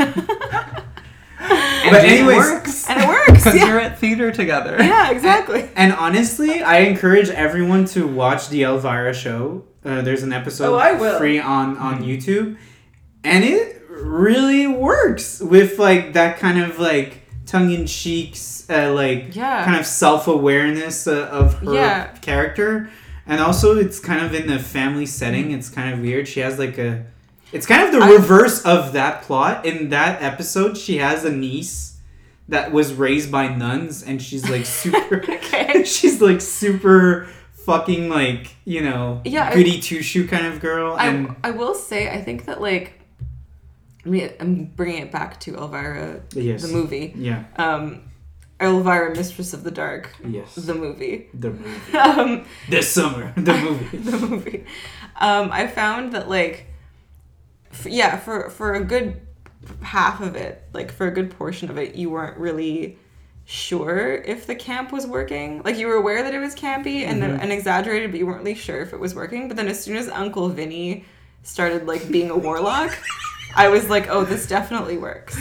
And But it anyways- works. And it works. Because Yeah. you're at theater together. Yeah, exactly. And honestly, I encourage everyone to watch the Elvira show. Uh, there's an episode Oh, I will. free on, on YouTube. And it really works with like that kind of like tongue-in-cheek, uh, like Yeah. kind of self-awareness uh, of her Yeah. character. And also it's kind of in a family setting. It's kind of weird. She has like a... It's kind of the I- reverse of that plot. In that episode, she has a niece that was raised by nuns, and she's like super. Okay. she's like super fucking like you know Yeah, I- goody two shoe kind of girl, and I, I will say, I think that, like, I mean, I'm bringing it back to Elvira, yes, the movie. yeah, Um, Elvira, Mistress of the Dark, yes, the movie. the movie Um, this summer, the movie. the movie. Um, I found that, like, f- yeah, for, for a good half of it, like, for a good portion of it, you weren't really sure if the camp was working. Like, you were aware that it was campy and, Mhm. and exaggerated, but you weren't really sure if it was working. But then as soon as Uncle Vinny started, like, being a warlock, I was like, oh, this definitely works.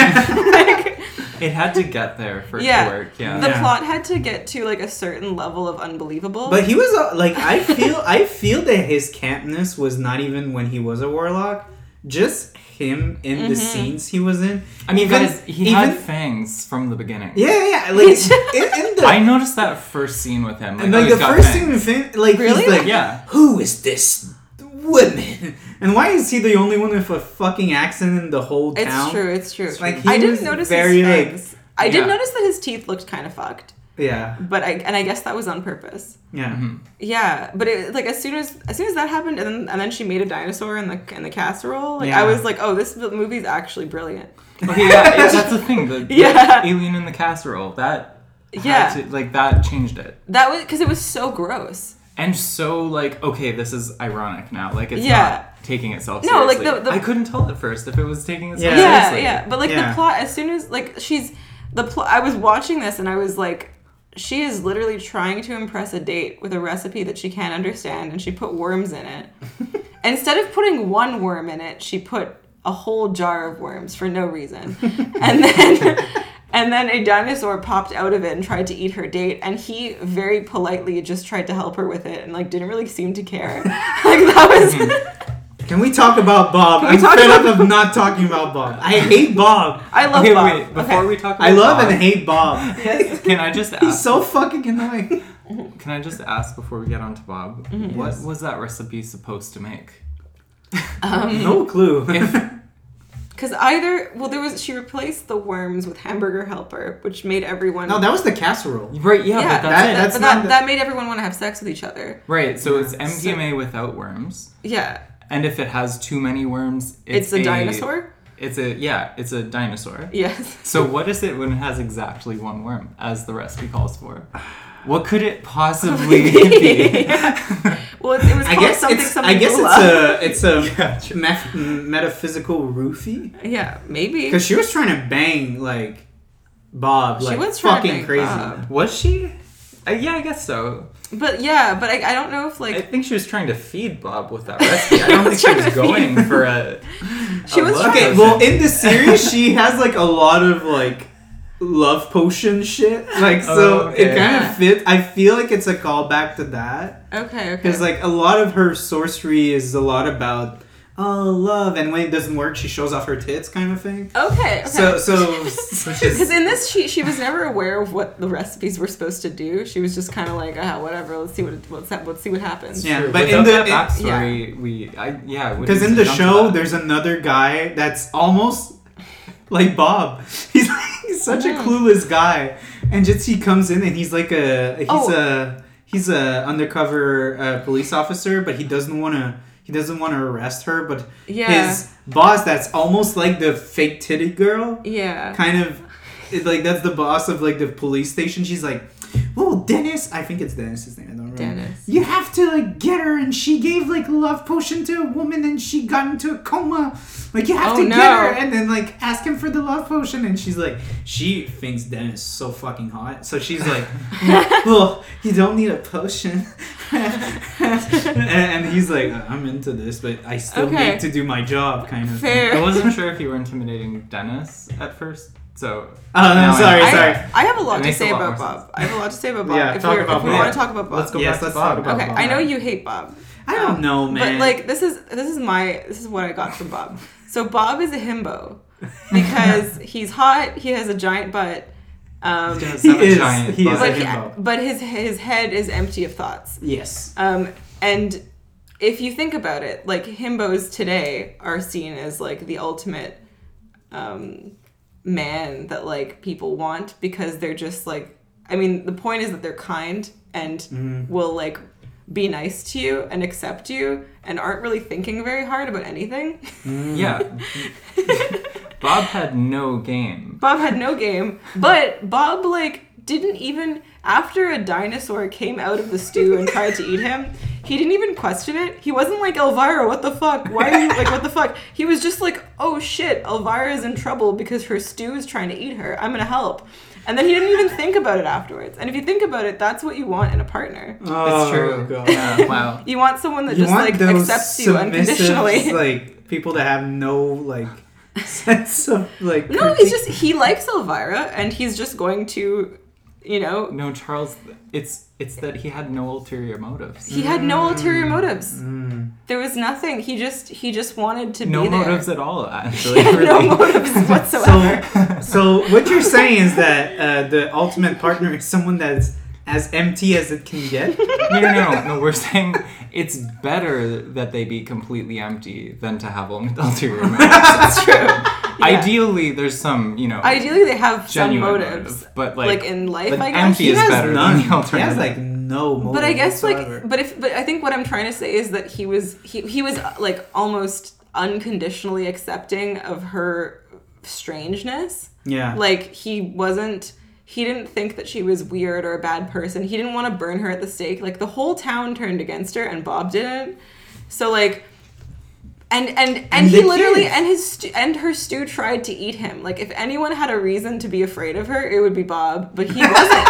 Like, It had to get there for it Yeah. to work. Yeah. the Yeah. plot had to get to, like, a certain level of unbelievable. But he was uh, like I feel I feel that his campness was not even when he was a warlock, just him in the Mhm. scenes he was in. I mean, Even- guys, he even- had fangs from the beginning. Yeah, yeah, like in, in the I noticed that first scene with him. Like, and oh, like he's the got first fangs. thing we fin- like Really? he's like, Yeah. who is this woman? And why is he the only one with a fucking accent in the whole It's town? true, it's true. It's like he I was didn't notice very, his like- fangs. I did Yeah. notice that his teeth looked kind of fucked, Yeah, but I and I guess that was on purpose. yeah. Mhm. Yeah, but it, like as soon as as soon as that happened, and then and then she made a dinosaur in the in the casserole. Like Yeah. I was like, oh, this movie's actually brilliant. Okay, yeah, yeah, that's the thing. The, the Yeah. alien in the casserole. That had Yeah. to- like that changed it. That was because it was so gross. And so like, okay, this is ironic now. Like it's Yeah. not taking itself No, like, seriously. the- the- I couldn't tell at first if it was taking itself Yeah. Yeah, seriously. yeah. But like Yeah. the plot, as soon as like she's the plot, I was watching this and I was like, she is literally trying to impress a date with a recipe that she can't understand, and she put worms in it. Instead of putting one worm in it, she put a whole jar of worms for no reason, and then. And then a dinosaur popped out of it and tried to eat her date, and he very politely just tried to help her with it and like didn't really seem to care. Like that was Can we talk about Bob? Can we I'm talk fed about up of not talking about Bob. I hate Bob. I love Okay, Bob. wait. Before Okay. we talk, about I love Bob, and hate Bob. Can I just ask? He's so fucking annoying. Can I just ask before we get on to Bob? Mm-hmm. What Yes. was that recipe supposed to make? Um, No clue. Because either, well, there was, she replaced the worms with Hamburger Helper, which made everyone. No, that was the casserole. Right, yeah, yeah, but that's that- it. that's but not that, the- that made everyone want to have sex with each other. Right, so it's Yeah. M D M A without worms. Yeah. And if it has too many worms, it's, It's, a, dinosaur? It's a, yeah, it's a dinosaur. Yes. So what is it when it has exactly one worm, as the recipe calls for? What could it possibly be? Well, it, it was I called guess something it's. something I guess Gula. it's a. It's a Yeah, true. meth- metaphysical roofie. Yeah, maybe. Because she was trying to bang like Bob, She like was trying to fucking bang crazy. Bob. Was she? Uh, yeah, I guess so. But yeah, but I, I don't know if like I think she was trying to feed Bob with that recipe. I don't think she was going for a. She a was love trying- Okay, potion. well, in the series, she has like a lot of like love potion shit. Like, so Oh, okay. it kind Yeah. of fits. I feel like it's a callback to that okay, okay. because like a lot of her sorcery is a lot about oh love, and when it doesn't work, she shows off her tits, kind of thing. okay, okay. So, so Which Because is, in this, she she was never aware of what the recipes were supposed to do. She was just kind of like, ah, whatever. Let's see what it, let's let's see what happens. Yeah, true. but Without in the- that in- backstory, we, I, yeah, we because need in to the jump to show, that. there's another guy that's almost like Bob. He's like he's such a Mm. clueless guy, and just he comes in and he's like a he's Oh. a he's a undercover uh, police officer, but he doesn't want to he doesn't want to arrest her. But Yeah. his boss, that's almost like the fake titty girl, Yeah. kind of it, like that's the boss of like the police station. She's like, "Oh, Dennis, I think it's Dennis's name. I don't remember. Dennis. You have to like get her, and she gave like a love potion to a woman, and she got into a coma. Like you have Oh, to no. get her, and then like ask him for the love potion." And she's like, she thinks Dennis is so fucking hot, so she's like, "Well, you don't need a potion." and, and he's like, "I'm into this, but I still Okay. need to do my job," kind of. Fair. I wasn't sure if you were intimidating Dennis at first, so. Oh, no, Now I sorry, know. I, sorry. I have a lot It to makes a say lot about more Bob. I have a lot to say about Bob. Yeah, if talk we're, about if we Bob. want to talk about Bob. Let's go Yes, back to let's Bob. talk about Okay, Bob. I know you hate Bob. I don't Um, know, man. But like this is this is my this is what I got from Bob. So Bob is a himbo because he's hot. He has a giant butt. Um, He does He have a is- giant he is butt. but a he, himbo. but his his head is empty of thoughts. Yes. Um, and if you think about it, like himbos today are seen as like the ultimate um, man that like people want because they're just like, I mean, the point is that they're kind and Mhm. will like be nice to you and accept you and aren't really thinking very hard about anything. Yeah. Bob had no game. Bob had no game, but Bob like didn't even after a dinosaur came out of the stew and tried to eat him, he didn't even question it. He wasn't like, Elvira, what the fuck? Why are you like what the fuck? He was just like, oh shit, Elvira's in trouble because her stew is trying to eat her. I'm gonna help. And then he didn't even think about it afterwards. And if you think about it, that's what you want in a partner. Oh, It's true. God. Yeah, wow. You want someone that You just want like those accepts you submissive, unconditionally. like people that have no like sense of like. No, he's just he likes Elvira and he's just going to, you know, No, Charles, it's it's that he had no ulterior motives. he had no ulterior motives. Mm. There was nothing. He just he just wanted to No be there. motives at all, actually. He had no really. motives whatsoever. So, so what you're saying is that uh, the ultimate partner is someone that's as empty as it can get. No, no, no, no. We're saying it's better that they be completely empty than to have ulterior motives. That's true. Yeah. Ideally, there's some, you know, Ideally, they have some genuine motives, motive, but like, like, in life. but I guess. empty He is has better none. than the He has alternative. like no motive. But I guess whatsoever. like, but if but I think what I'm trying to say is that he was he he was uh, like almost unconditionally accepting of her strangeness. yeah. Like he wasn't. He didn't think that she was weird or a bad person. He didn't want to burn her at the stake. Like the whole town turned against her, and Bob didn't. So like, and and and, And he the literally kids. and his stu- and her stew tried to eat him. Like if anyone had a reason to be afraid of her, it would be Bob, but he wasn't.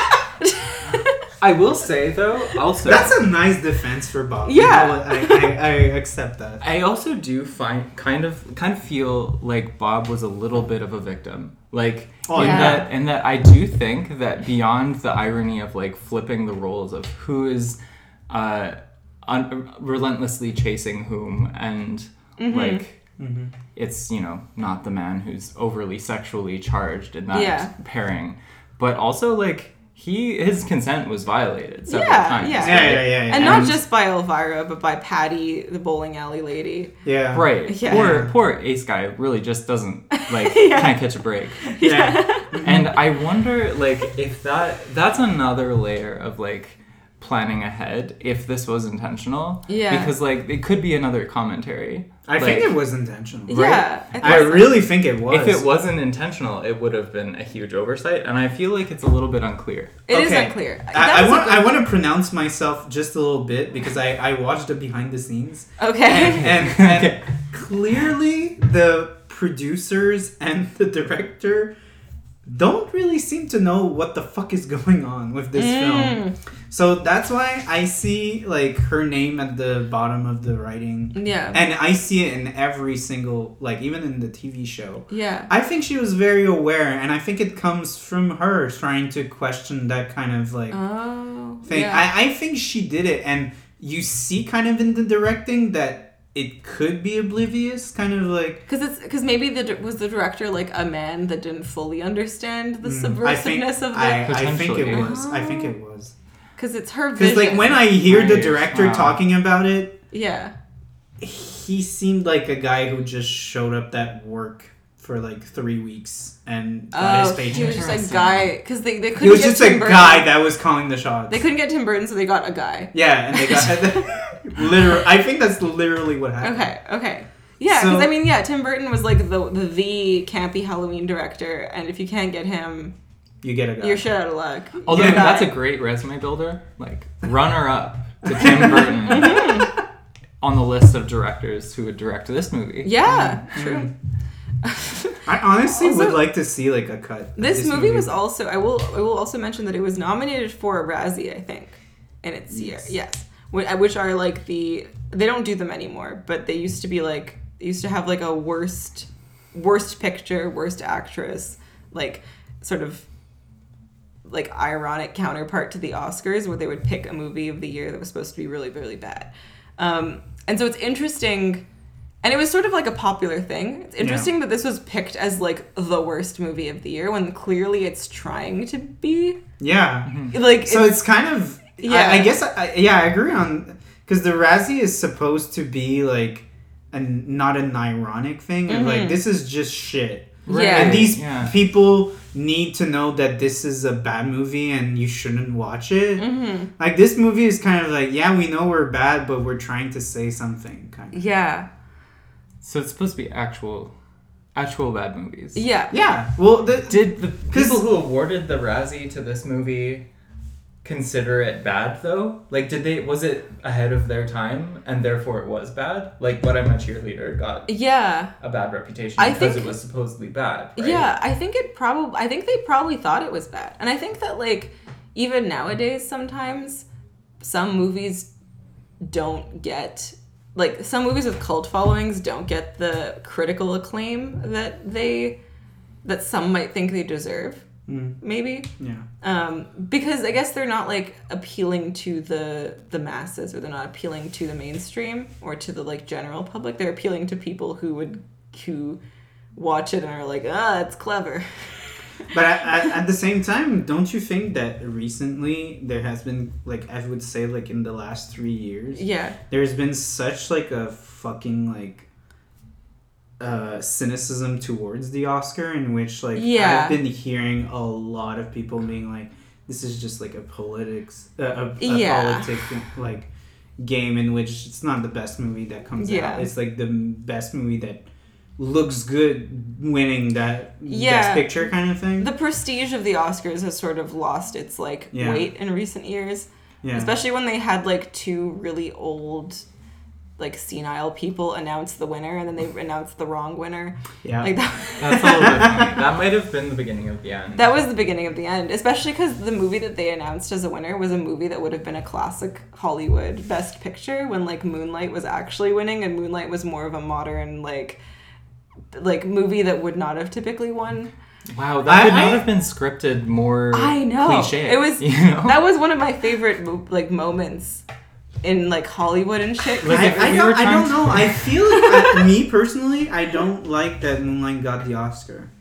I will say though, also That's a nice defense for Bob. Yeah. You know what? I, I, I accept that. I also do find kind of kind of feel like Bob was a little bit of a victim. Like Oh, in yeah. that in that I do think that beyond the irony of like flipping the roles of who is uh un- relentlessly chasing whom and Mm-hmm. like Mhm. it's, you know, not the man who's overly sexually charged in that Yeah. pairing. But also like he his consent was violated several Yeah, times. yeah. Yeah, yeah, yeah, yeah. And not And- just by Elvira, but by Patty, the bowling alley lady. Yeah. Right. Yeah. Poor poor Ace guy really just doesn't like Yeah. can't catch a break. Yeah. And I wonder like if that that's another layer of like planning ahead if this was intentional. Yeah. Because like it could be another commentary. I Like, think it was intentional. Yeah. think I so. really think it was. If it wasn't intentional, it would have been a huge oversight, and I feel like it's a little bit unclear. It is Okay. unclear. That I, I was a want good- I want to pronounce myself just a little bit because I, I watched the behind the scenes Okay. and, and, and clearly the producers and the director don't really seem to know what the fuck is going on with this Mm. film. So that's why I see like her name at the bottom of the writing. Yeah. And I see it in every single, like even in the T V show. Yeah. I think she was very aware, and I think it comes from her trying to question that kind of like Oh. thing. Yeah. I, I think she did it, and you see kind of in the directing that it could be oblivious, kind of like. Because it's because maybe the was the director like a man that didn't fully understand the Mm, I think, subversiveness of I, it. I think it Potentially. was. I think it was. Because it's her Because vision. like when I hear the Right. director Wow. talking about it, yeah. he seemed like a guy who just showed up at work for like three weeks and got his Oh, paycheck. he was just a Interesting. guy because they they couldn't He was get just Tim a Burton. guy that was calling the shots. They couldn't get Tim Burton, so they got a guy. Yeah, and they got literally. I think that's literally what happened. Okay, okay. Yeah, because So- I mean, yeah, Tim Burton was like the, the the campy Halloween director, and if you can't get him, You get a guy. you're shit out of luck. Although You're a that's a guy. great resume builder, like runner up to Tim Burton on the list of directors who would direct this movie. Yeah, true. I honestly Also- would like to see like a cut. of This, movie, was also. I will. I will also mention that it was nominated for a Razzie, I think, in its year. Yes. Yes, Wh- which are like the. They don't do them anymore, but they used to be like. They used to have like a worst, worst picture, worst actress, like sort of. Like ironic counterpart to the Oscars, where they would pick a movie of the year that was supposed to be really, really bad. Um, and so it's interesting. And it was sort of like a popular thing. It's interesting that this was picked as like the worst movie of the year when clearly it's trying to be. Yeah. Like So it's kind of. Yeah. Yeah. I, I guess. I, I- yeah, I agree on because the Razzie is supposed to be like, a not an ironic thing. Of like this is just shit. Right. Yeah. And these Yeah. people need to know that this is a bad movie and you shouldn't watch it. Mm-hmm. Like this movie is kind of like, yeah, we know we're bad, but we're trying to say something. Kind of. yeah, So it's supposed to be actual, actual bad movies. yeah, Yeah. Well, the, Did the 'Cause- people who awarded the Razzie to this movie consider it bad though? Like, did they? Was it ahead of their time and therefore it was bad? Like, What I'm a Cheerleader got yeah. a bad reputation I because think- it was supposedly bad. Right? Yeah, I think it probably. I think they probably thought it was bad, and I think that like even nowadays, sometimes some movies don't get like some movies with cult followings don't get the critical acclaim that they that some might think they deserve. Mm, Maybe yeah. um, because I guess they're not like appealing to the the masses, or they're not appealing to the mainstream or to the like general public. They're appealing to people who would who watch it and are like, ah, it's clever. But at, at, at the same time, don't you think that recently there has been, like, I would say, like, in the last three years, Yeah, there's been such, like, a fucking, like, uh, cynicism towards the Oscar in which, like, Yeah. I've been hearing a lot of people being like, this is just, like, a politics, uh, a, a Yeah. politic, like, game in which it's not the best movie that comes Yeah. out. It's, like, the best movie that looks good winning that Yeah. best picture kind of thing. the prestige of the Oscars has sort of lost its like Yeah. weight in recent years, yeah. especially when they had like two really old, like senile people announce the winner, and then they announced the wrong winner. yeah. Like that. That's a little bit funny. That might have been the beginning of the end. That was the beginning of the end, especially because the movie that they announced as a winner was a movie that would have been a classic Hollywood Best Picture when like Moonlight was actually winning, and Moonlight was more of a modern like like movie that would not have typically won. Wow, that could I- not I- have been scripted more I know. cliche. It was you know? that was one of my favorite mo- like moments in like Hollywood and shit. 'cause Like, I, it I was- don't, were I trying don't to- know. I feel like, I, me personally, I don't like that Moonlight got the Oscar.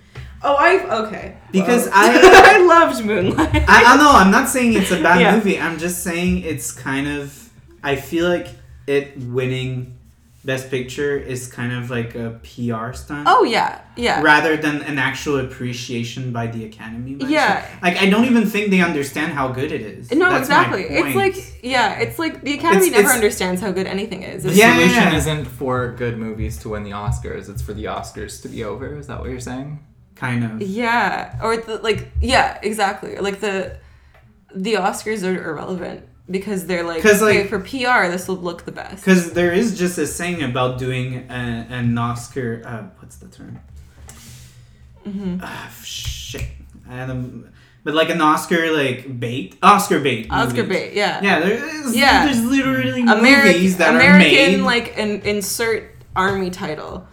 Oh, I okay. Because Well, I I loved Moonlight. I, I know I'm not saying it's a bad Yeah. movie. I'm just saying it's kind of. I feel like it winning Best Picture is kind of like a P R stunt. Oh yeah, yeah. Rather than an actual appreciation by the Academy. By Yeah. some- Like I don't even think they understand how good it is. No, That's my exactly. It's point. like yeah, it's like the Academy It's- never it's- understands how good anything is. The It's, Yeah, solution yeah. isn't for good movies to win the Oscars. It's for the Oscars to be over. Is that what you're saying? kind of. yeah, or the, like yeah, exactly. Like the the Oscars are irrelevant because they're like, 'Cause, like- okay, for P R this will look the best. Because there is just a saying about doing a, an Oscar. Uh, what's the term? Mm-hmm. Ah, shit. Um, but like an Oscar like bait, Oscar bait. Oscar movies. bait, yeah. Yeah, there's Yeah. there's literally Ameri- movies that American, are made. like an insert army title.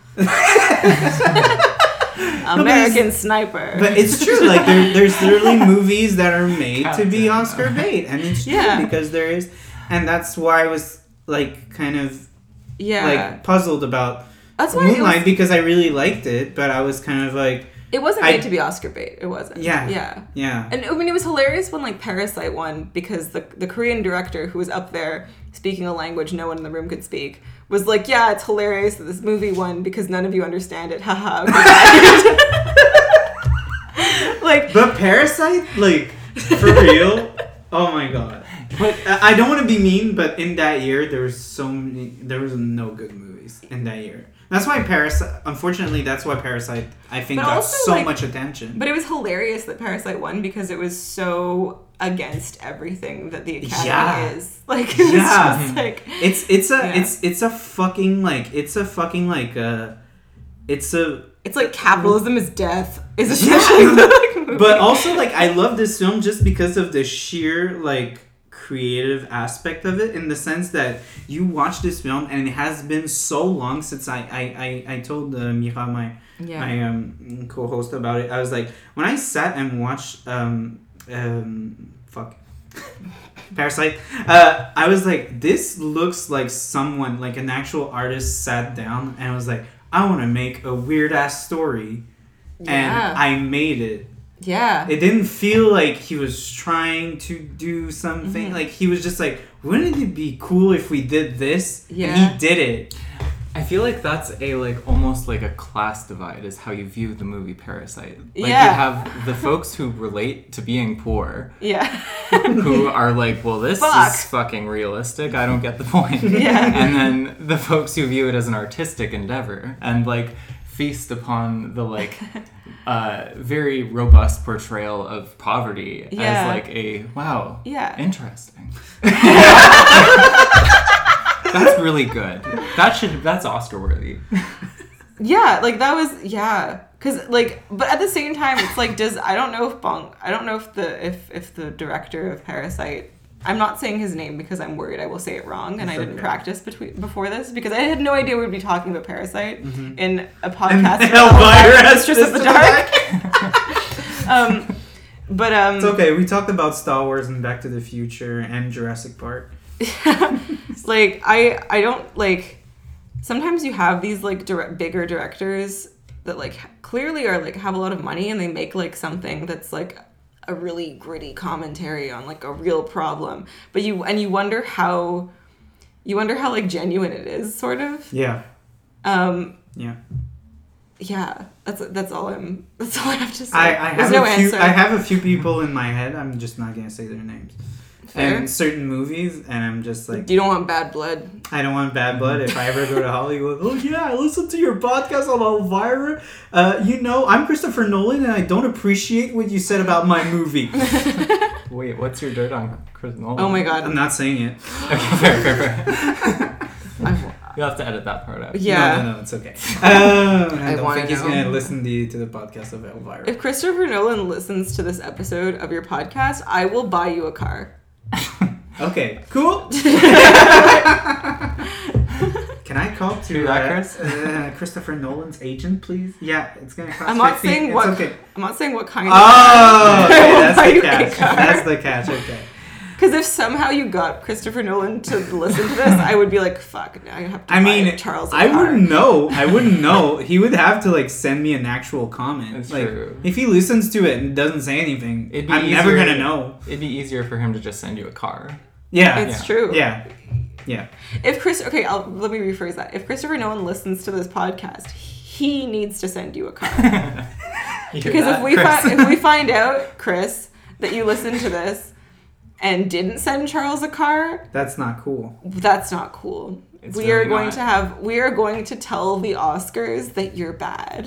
but American Sniper. But it's true. Like there, there's literally movies that are made to be Captain. Oscar bait, and it's true Yeah. because there is, and that's why I was like kind of yeah, like puzzled about that's why it, Moonlight was, because I really liked it, but I was kind of like, it wasn't I- made to be Oscar bait. It wasn't. Yeah. yeah. yeah, And I mean, it was hilarious when like Parasite won because the the Korean director who was up there speaking a language no one in the room could speak was like, yeah, it's hilarious that this movie won because none of you understand it. Haha. Like, but Parasite, like for real, oh my god. But I I don't want to be mean, but in that year there was so many, there was no good movies in that year. That's why Parasite. Unfortunately, that's why Parasite I think But got also, so like- much attention. but it was hilarious that Parasite won because it was so against everything that the Academy Yeah. is. Like, it was Yeah. just like, It's it's a Yeah. it's it's a fucking like it's a fucking like uh it's a it's like capitalism is death is Yeah. essentially the like, movie. but also like I love this film just because of the sheer like creative aspect of it, in the sense that you watch this film and it has been so long since I I, I, I told uh, Mira, my yeah. my um, co-host, about it. I was like, when I sat and watched um um fuck Parasite, uh, I was like, this looks like someone, like an actual artist sat down and was like, I want to make a weird ass story, Yeah. and I made it. Yeah. It didn't feel like he was trying to do something. Mhm. Like he was just like, wouldn't it be cool if we did this? Yeah. And he did it. I feel like that's a like almost like a class divide is how you view the movie Parasite. Like Yeah. you have the folks who relate to being poor, Yeah. who are like, well, this Fuck. is fucking realistic. I don't get the point. Yeah. And then the folks who view it as an artistic endeavor and like feast upon the like uh, very robust portrayal of poverty Yeah. as like a wow, Yeah. interesting. That's really good. That should that's Oscar worthy. Yeah, like that was yeah, cuz like but at the same time it's like does I don't know if Bong I don't know if the if if the director of Parasite, I'm not saying his name because I'm worried I will say it wrong and It's I didn't okay. practice between before this because I had no idea we'd be talking about Parasite Mhm. in a podcast And about Elvira Mistress of the Mistress Dark. um but um It's okay. We talked about Star Wars and Back to the Future and Jurassic Park. like I I don't like sometimes you have these like direct, bigger directors that like clearly are like have a lot of money and they make like something that's like a really gritty commentary on like a real problem, but you and you wonder how you wonder how like genuine it is, sort of. Yeah. Um Yeah. yeah, that's that's all I'm that's all I have to say. I, I There's have no a few. answer. I have a few people in my head. I'm just not gonna say their names. Fair. And certain movies, and I'm just like, You don't want bad blood. I don't want bad blood. If I ever go to Hollywood, oh yeah, I listened to your podcast on Elvira. Uh, you know, I'm Christopher Nolan, and I don't appreciate what you said about my movie. Wait, what's your dirt on Chris Nolan? Oh my god. I'm not saying it. Okay, fair, fair, fair. I- You'll have to edit that part out. yeah. No, no, no, it's okay. Um, I I don't wanna think he's know. gonna listen to, to the podcast of Elvira. If Christopher Nolan listens to this episode of your podcast, I will buy you a car. Okay, cool. Can I call to Do that, uh, Chris? uh, Christopher Nolan's agent, please? Yeah, it's gonna cost I'm not fifteen. saying It's what okay. I'm not saying what kind Oh, of okay, I will that's buy the you a catch. car. That's the catch. Okay. Because Because if somehow you got Christopher Nolan to listen to this, I would be like, fuck, now I have to I buy mean, Charles a I car. wouldn't know. I wouldn't know. He would have to like send me an actual comment. It's like, true. If he listens to it and doesn't say anything, It'd be I'm never easier- gonna know. It'd be easier for him to just send you a car. Yeah. It's Yeah. true. Yeah. Yeah. If Chris, okay, I'll, let me rephrase that. If Christopher Nolan listens to this podcast, he needs to send you a car. You hear Because that, if we Chris? fi- if we find out, Chris, that you listened to this and didn't send Charles a car, That's not cool. that's not cool. It's we really are going not. to have we are going to tell the Oscars that you're bad.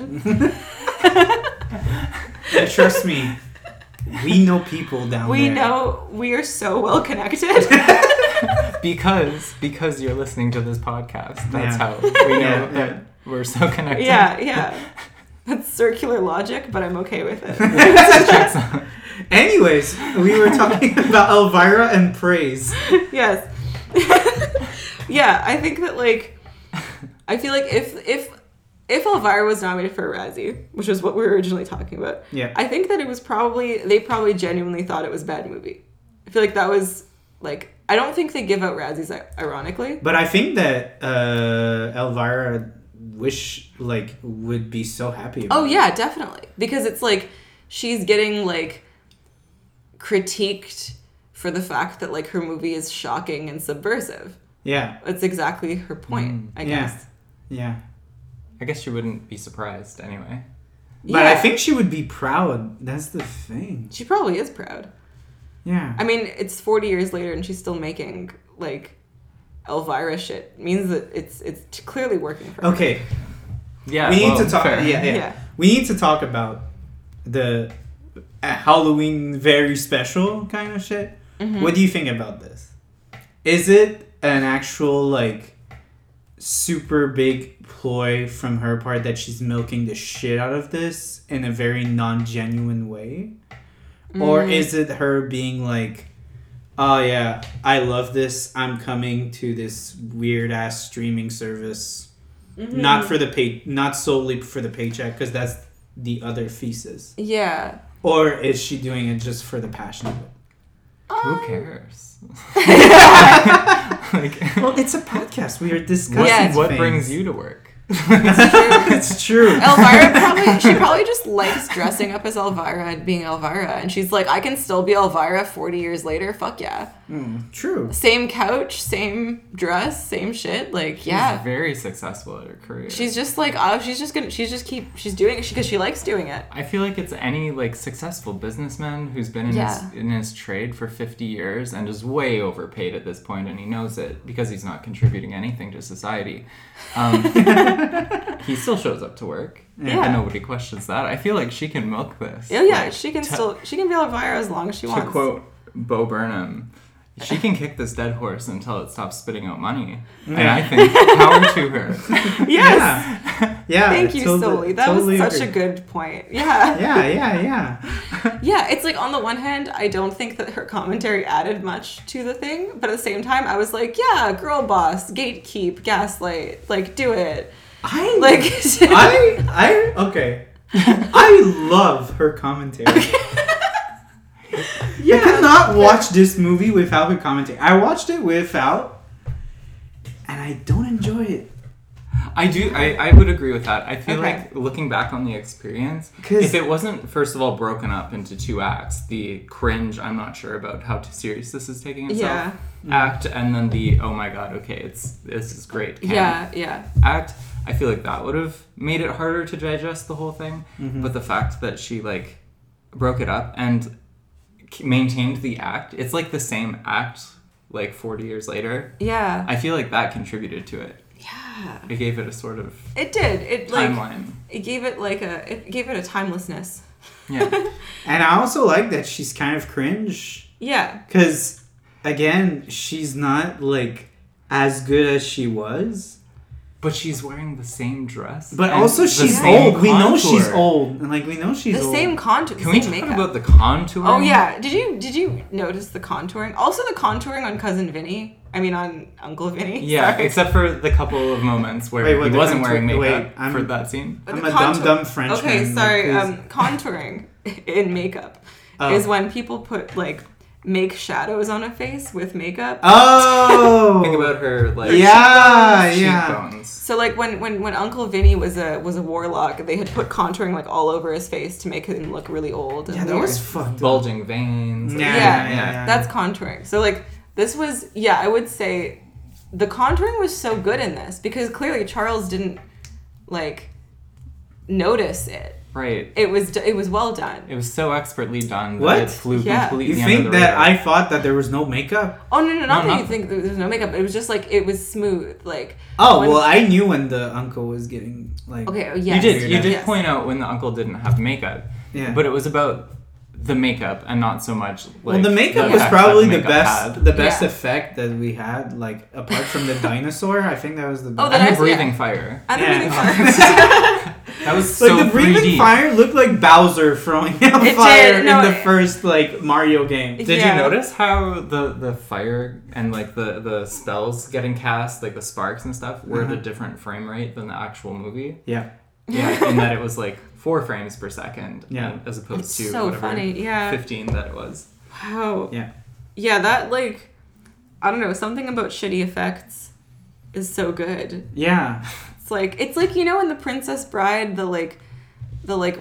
And trust me, we know people down We there. know we are so well connected. because because you're listening to this podcast. That's Yeah. how we know Yeah, that yeah. we're so connected. yeah, yeah. That's circular logic, but I'm okay with it. Anyways, we were talking about Elvira and praise. Yes. Yeah, I think that like I feel like if if if Elvira was nominated for a Razzie, which is what we were originally talking about, Yeah. I think that it was probably they probably genuinely thought it was a bad movie. I feel like that was like I don't think they give out Razzies ironically. But I think that uh, Elvira wish like would be so happy about Oh it. yeah, definitely. Because it's like she's getting like critiqued for the fact that like her movie is shocking and subversive. Yeah. That's exactly her point, Mm. I Yeah. guess. Yeah. I guess you wouldn't be surprised anyway. But I Yeah. think she would be proud. That's the thing. She probably is proud. Yeah. I mean, it's forty years later and she's still making like Elvira shit. Means that it's it's clearly working for her. Okay. Yeah, we need well, to talk. fair. Yeah, yeah, Yeah. We need to talk about the uh, Halloween very special kind of shit. Mhm. What do you think about this? Is it an actual like super big ploy from her part that she's milking the shit out of this in a very non-genuine way? Or Mm. is it her being like, oh yeah, I love this, I'm coming to this weird ass streaming service, Mhm. not for the pay, not solely for the paycheck, because that's the other thesis. Yeah. Or is she doing it just for the passion of it? Who Um, cares? like, Well, it's a podcast. We are what, discussing Yeah. what things. brings you to work? It's true. Elvira probably she probably just likes dressing up as Elvira and being Elvira, and she's like, I can still be Elvira forty years later. Fuck yeah. Mm, true. Same couch, same dress, same shit. Like yeah. She's very successful at her career. She's just like, oh, she's just gonna, she's just keep, she's doing it because she likes doing it. I feel like it's any like successful businessman who's been in Yeah. his in his trade for fifty years and is way overpaid at this point, and he knows it because he's not contributing anything to society. Um, he still shows up to work, Yeah. and nobody questions that. I feel like she can milk this. Oh yeah, Like, she can to- still, she can be Elvira as long as she To wants. quote Bo Burnham, she can kick this dead horse until it stops spitting out money. And Yeah. I think power to her. Yes. Yeah. Yeah. Thank you, totally- Soli. That totally was such agree. a good point. Yeah. Yeah, yeah, yeah. Yeah, it's like on the one hand, I don't think that her commentary added much to the thing, but at the same time, I was like, yeah, girl boss, gatekeep, gaslight, like do it. I Like I I okay. I love her commentary. yeah, I cannot watch this movie without her commentary. I watched it without, and I don't enjoy it. I do. I, I would agree with that. I feel Okay. like looking back on the experience, 'Cause- if it wasn't first of all broken up into two acts, the cringe, I'm not sure about how serious this is taking itself, act, and then the oh my god, okay, it's this is great. camp yeah, yeah, act. I feel like that would have made it harder to digest the whole thing. Mm-hmm. But the fact that she like broke it up and k- maintained the act, it's like the same act like forty years later. yeah, I feel like that contributed to it. yeah. It gave it a sort of It did. It like timeline. it gave it like a it gave it a timelessness. Yeah. And I also like that she's kind of cringe. Yeah, Because, again, she's not, like, as good as she was. But she's wearing the same dress. But and also, the she's same old. We know contour. she's old. And, like, we know she's the old. same contour. Can we same talk makeup. about the contour? Oh yeah, did you did you notice the contouring? Also the contouring on Cousin Vinny. I mean on Uncle Vinny. Yeah, Sorry. except for the couple of moments where Wait, what, he the wasn't contour- wearing makeup wait, I'm- for that scene. But I'm the a contour- dumb, dumb Frenchman. Okay, sorry. like, Um, contouring in makeup Oh. is when people put like make shadows on a face with makeup. Oh, Think about her like yeah, yeah. cheekbones. So like when, when, when Uncle Vinny was a was a warlock, they had put contouring like all over his face to make him look really old. And Yeah, that weird. was fucked up. Bulging veins. Yeah, Yeah, yeah, yeah. that's contouring. So like this was yeah, I would say the contouring was so good in this because clearly Charles didn't like notice it. Right. It was it was well done. It was so expertly done that What? it flew Yeah. completely You under think the that radar. I thought that there was no makeup? Oh no no not No, that you not- think that there's no makeup. It was just like it was smooth. Like Oh when- well, I knew when the uncle was getting like. okay oh, You yes, did. You did yes. point out when the uncle didn't have makeup, Yeah. but it was about the makeup and not so much. Like, Well, the makeup was effect that probably the makeup best, had. the best Yeah. effect that we had. Like apart from the dinosaur, I think that was the Oh, best. the and the nice- breathing yeah. fire. And the Yeah. breathing fire. That was like so the breathing three D. fire looked like Bowser throwing out It fire did, no, in the it- first like Mario game. Did Yeah. you notice how the, the fire and like the, the spells getting cast, like the sparks and stuff, were at a Uh-huh. different frame rate than the actual movie? Yeah. Yeah, in that it was like four frames per second, Yeah. as opposed It's to so whatever funny, yeah. fifteen that it was. Wow. Yeah. Yeah, that like I don't know, something about shitty effects is so good. Yeah. It's like it's like you know in The Princess Bride the like the like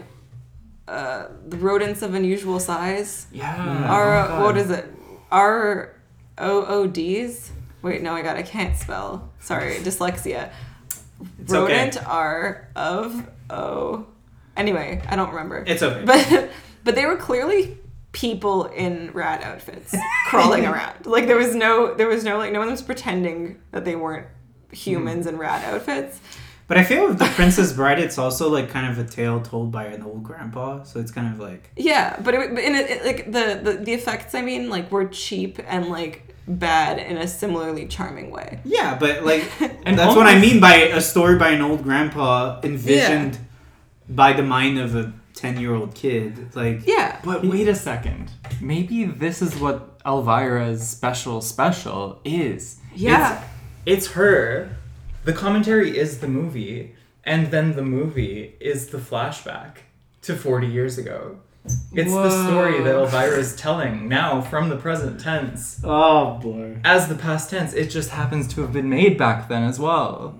uh the rodents of unusual size Yeah. Mm. are oh uh, God. what is it? R O O Ds? Wait, no, I got I can't spell. Sorry, dyslexia. It's okay. Rodent R of O. Anyway, I don't remember. It's okay. But but they were clearly people in rat outfits crawling around. Like there was no there was no like no one was pretending that they weren't humans in rat outfits. But I feel with the Princess Bride, it's also like kind of a tale told by an old grandpa. So it's kind of like Yeah, but it, but in it, it- like the, the the effects I mean like were cheap and like bad in a similarly charming way. yeah, but like And that's what I almost- mean by a story by an old grandpa envisioned by the mind of a ten-year-old kid. Like Yeah. But wait a second. Maybe this is what Elvira's special special is. Yeah. It's, it's her. The commentary is the movie, and then the movie is the flashback to forty years ago. It's the story that Whoa. Elvira is telling now from the present tense oh boy. as the past tense. It just happens to have been made back then as well.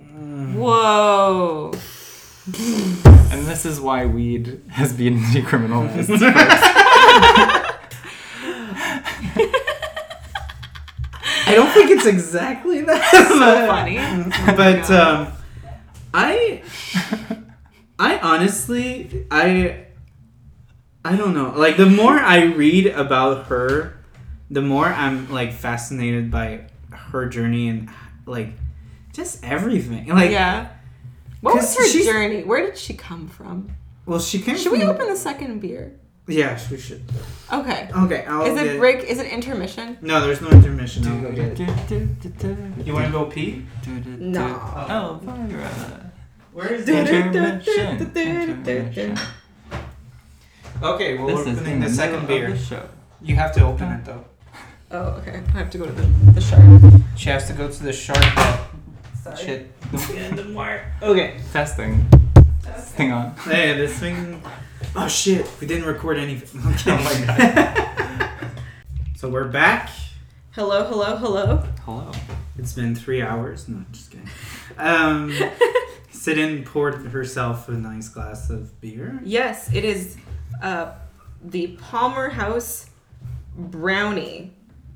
Whoa. And this is why weed has been decriminalized first. I don't think it's exactly that. So funny. But God. um, I, I honestly, I, I don't know. Like the more I read about her, the more I'm like fascinated by her journey and like just everything. Like, yeah. What was 'cause her she's- journey? Where did she come from? well, she came. Should we from- open the second beer? Yeah, we should. Okay. Okay, I'll Is it get- break? Is it intermission? No, there's no intermission. I'll go get it. You want to go pee? No. Elvira. Where is Intermission. Intermission. Okay, well, This we're is opening in the the second middle of beer. the show. You have to open it though. Oh, okay. I have to go to the, the shark. She has to go to the shark that Sorry. shit. Don't get in the wire. Okay. Testing. Hang on. Hey, this thing. Oh shit, we didn't record anything. Okay. Oh my god. So we're back. Hello, hello, hello. Hello. It's been three hours. No, just kidding. Um, Sidin poured herself a nice glass of beer. Yes, it is uh, the Palmer House Brownie.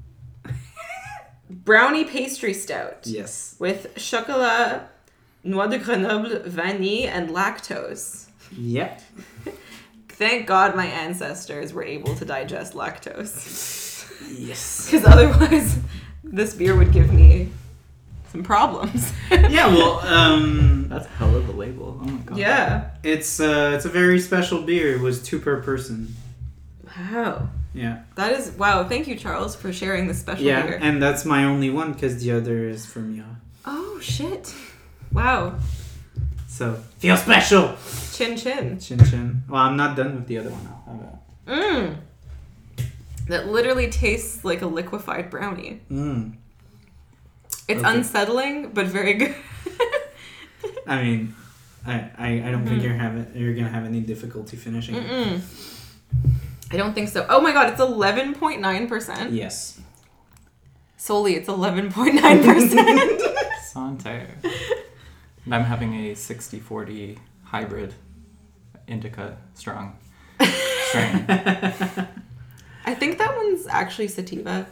Brownie pastry stout. Yes. With chocolat, noix de Grenoble, vanille, and lactose. Yep. Thank God my ancestors were able to digest lactose. Yes. Because otherwise, this beer would give me some problems. Yeah. Well, um, That's hell of a label. Oh my god. Yeah. it's uh, it's a very special beer. It was two per person. Wow. Yeah. That is, wow. Thank you, Charles, for sharing this special Yeah, beer. and that's my only one because the other is from you. Oh, shit. Wow. So feel special. Chin chin. Chin chin. Well, I'm not done with the other one. I'll have it. Mmm. That literally tastes like a liquefied brownie. Mm. It's Okay. unsettling, but very good. I mean, I I, I don't think you're having you're gonna have any difficulty finishing. it. Mm-mm. I don't think so. Oh my god, it's eleven point nine percent. Yes. Solely, it's eleven point nine percent. Sante. And I'm having a sixty forty hybrid indica strong strain. I think that one's actually sativa.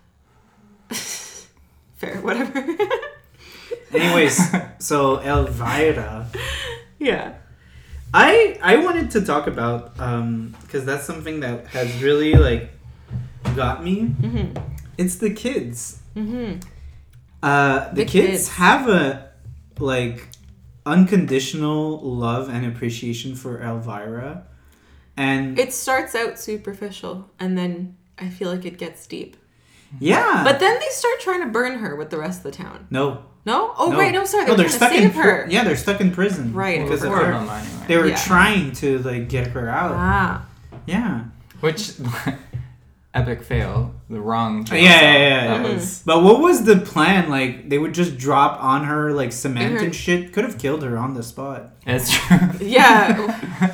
Fair, whatever. Anyways, so Elvira. Yeah. I I wanted to talk about um because that's something that has really like got me. Mm-hmm. It's the kids. Mm-hmm. Uh, the, The kids, kids. have a like unconditional love and appreciation for Elvira, and It starts out superficial, and then I feel like it gets deep. yeah, But then they start trying to burn her with the rest of the town. no, No? Oh, no. right. No, sorry. They no, were they're trying stuck to save in pri- her. Yeah, they're stuck in prison. Right. because of Four of her. them anyway. They were Yeah. trying to like get her out. Ah. Yeah. Which epic fail. The wrong. Yeah, yeah, yeah, That yeah. was But what was the plan? Like they would just drop on her like cement In her- and shit. Could have killed her on the spot. it's true. Yeah.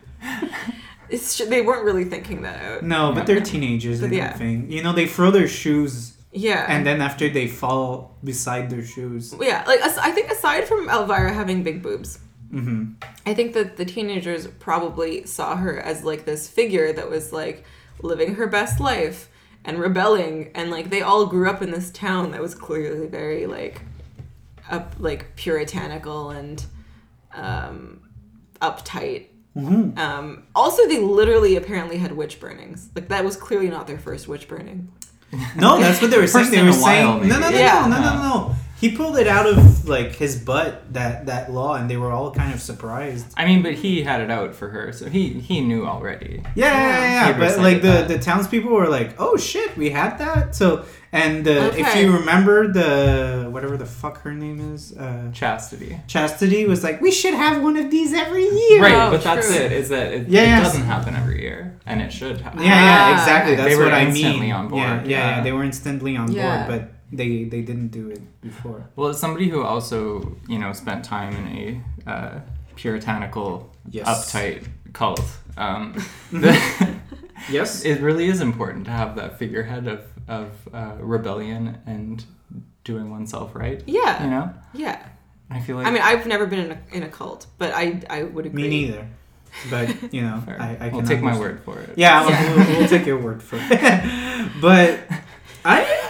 It's tr- they weren't really thinking that out. No, but they're teenagers But and yeah. everything. You know, they throw their shoes Yeah. and then after they fall beside their shoes. yeah, like as- I think aside from Elvira having big boobs, Mm-hmm. I think that the teenagers probably saw her as like this figure that was like living her best life and rebelling, and like they all grew up in this town that was clearly very like up like puritanical and um uptight. Mm-hmm. Um also they literally apparently had witch burnings. Like that was clearly not their first witch burning. No, that's what they were saying. First They in were a while, saying no, no, no, maybe. Yeah. no, no, no, no, no. He pulled it out of like his butt that that law, and they were all kind of surprised. I mean, but he had it out for her, so he he knew already. Yeah, yeah, yeah. yeah. He But recited like the that. the townspeople were like, "Oh shit, we had that." So and uh, if Okay. you remember the whatever the fuck her name is, uh, Chastity. Chastity was like, "We should have one of these every year." Right, Oh, but that's true. it. Is that it, Yeah, it yeah. doesn't happen every year, and it should happen. Yeah, yeah, Ah. exactly. That's They were what I instantly mean. on board, Yeah, yeah, yeah. yeah. They were instantly on Yeah. board, but they they didn't do it before. Well, as somebody who also, you know, spent time in a uh, puritanical, Yes. uptight cult, um, the- Yes. it really is important to have that figurehead of, of uh, rebellion and doing oneself right. Yeah. You know? Yeah. I feel like... I mean, I've never been in a, in a cult, but I I would agree. Me neither. But you know, Fair. I, I I'll can take my understand. word for it. Yeah, I'll- Yeah. We'll, we'll take your word for it. But I.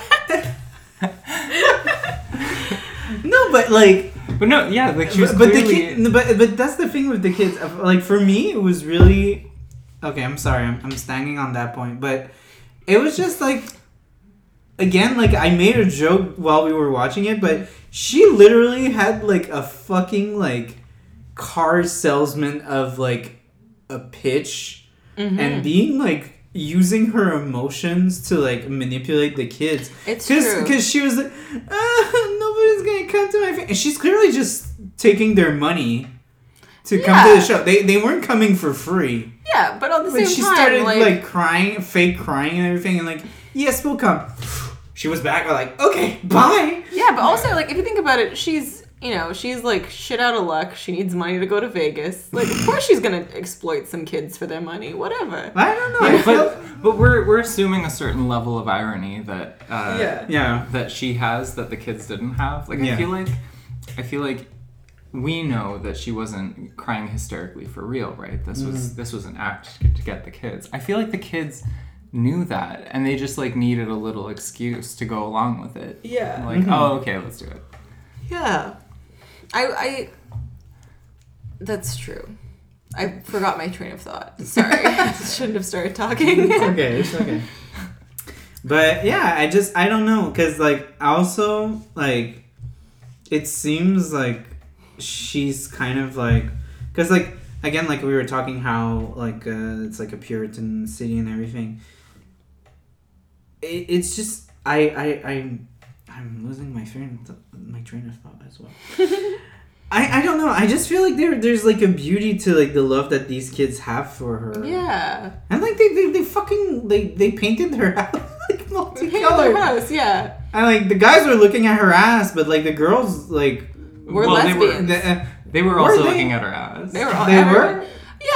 No, but like, But no, yeah, like she was but, but the clearly... kid, but but that's the thing with the kids. Like for me, it was really okay. I'm sorry, I'm I'm standing on that point, but it was just like again, like I made a joke while we were watching it, but she literally had like a fucking like car salesman of like a pitch Mhm. and being like using her emotions to like manipulate the kids. It's Cause, true. Cause she was like, ah, nobody's gonna come to my face. And she's clearly just taking their money to come to Yeah. the show. They they weren't coming for free. Yeah, but at the But same she time, started like, like, crying, fake crying and everything, and like, yes, we'll come. She was back. Like, okay, bye. yeah, but also like if you think about it, she's you know she's like shit out of luck. She needs money to go to Vegas. Like of course she's gonna exploit some kids for their money. Whatever. I don't know. I Yeah, feel, but, but we're, we're assuming a certain level of irony that... Uh, Yeah. yeah. that she has that the kids didn't have. Like Yeah. I feel like I feel like we know that she wasn't crying hysterically for real, right? This was Mm-hmm. this was an act to, to get the kids. I feel like the kids knew that and they just like needed a little excuse to go along with it. Yeah. Like, Mhm. oh, okay, let's do it. Yeah. I I. That's true. I forgot my train of thought. Sorry, shouldn't have started talking. It's okay. It's okay. But yeah, I just I don't know because like also like it seems like she's kind of like because like again like we were talking how like uh, it's like a Puritan city and everything. It, it's just I I I I'm losing my train my train of thought as well. I, I don't know. I just feel like there there's like a beauty to like the love that these kids have for her. Yeah. And like they, they, they fucking they, they painted her house like Hey, their multicolored. house, yeah. And like the guys were looking at her ass, but like the girls like We're Well, they were- lesbians. the, uh, They were Were also they? looking at her ass. They were all They everyone- were? Yeah, well when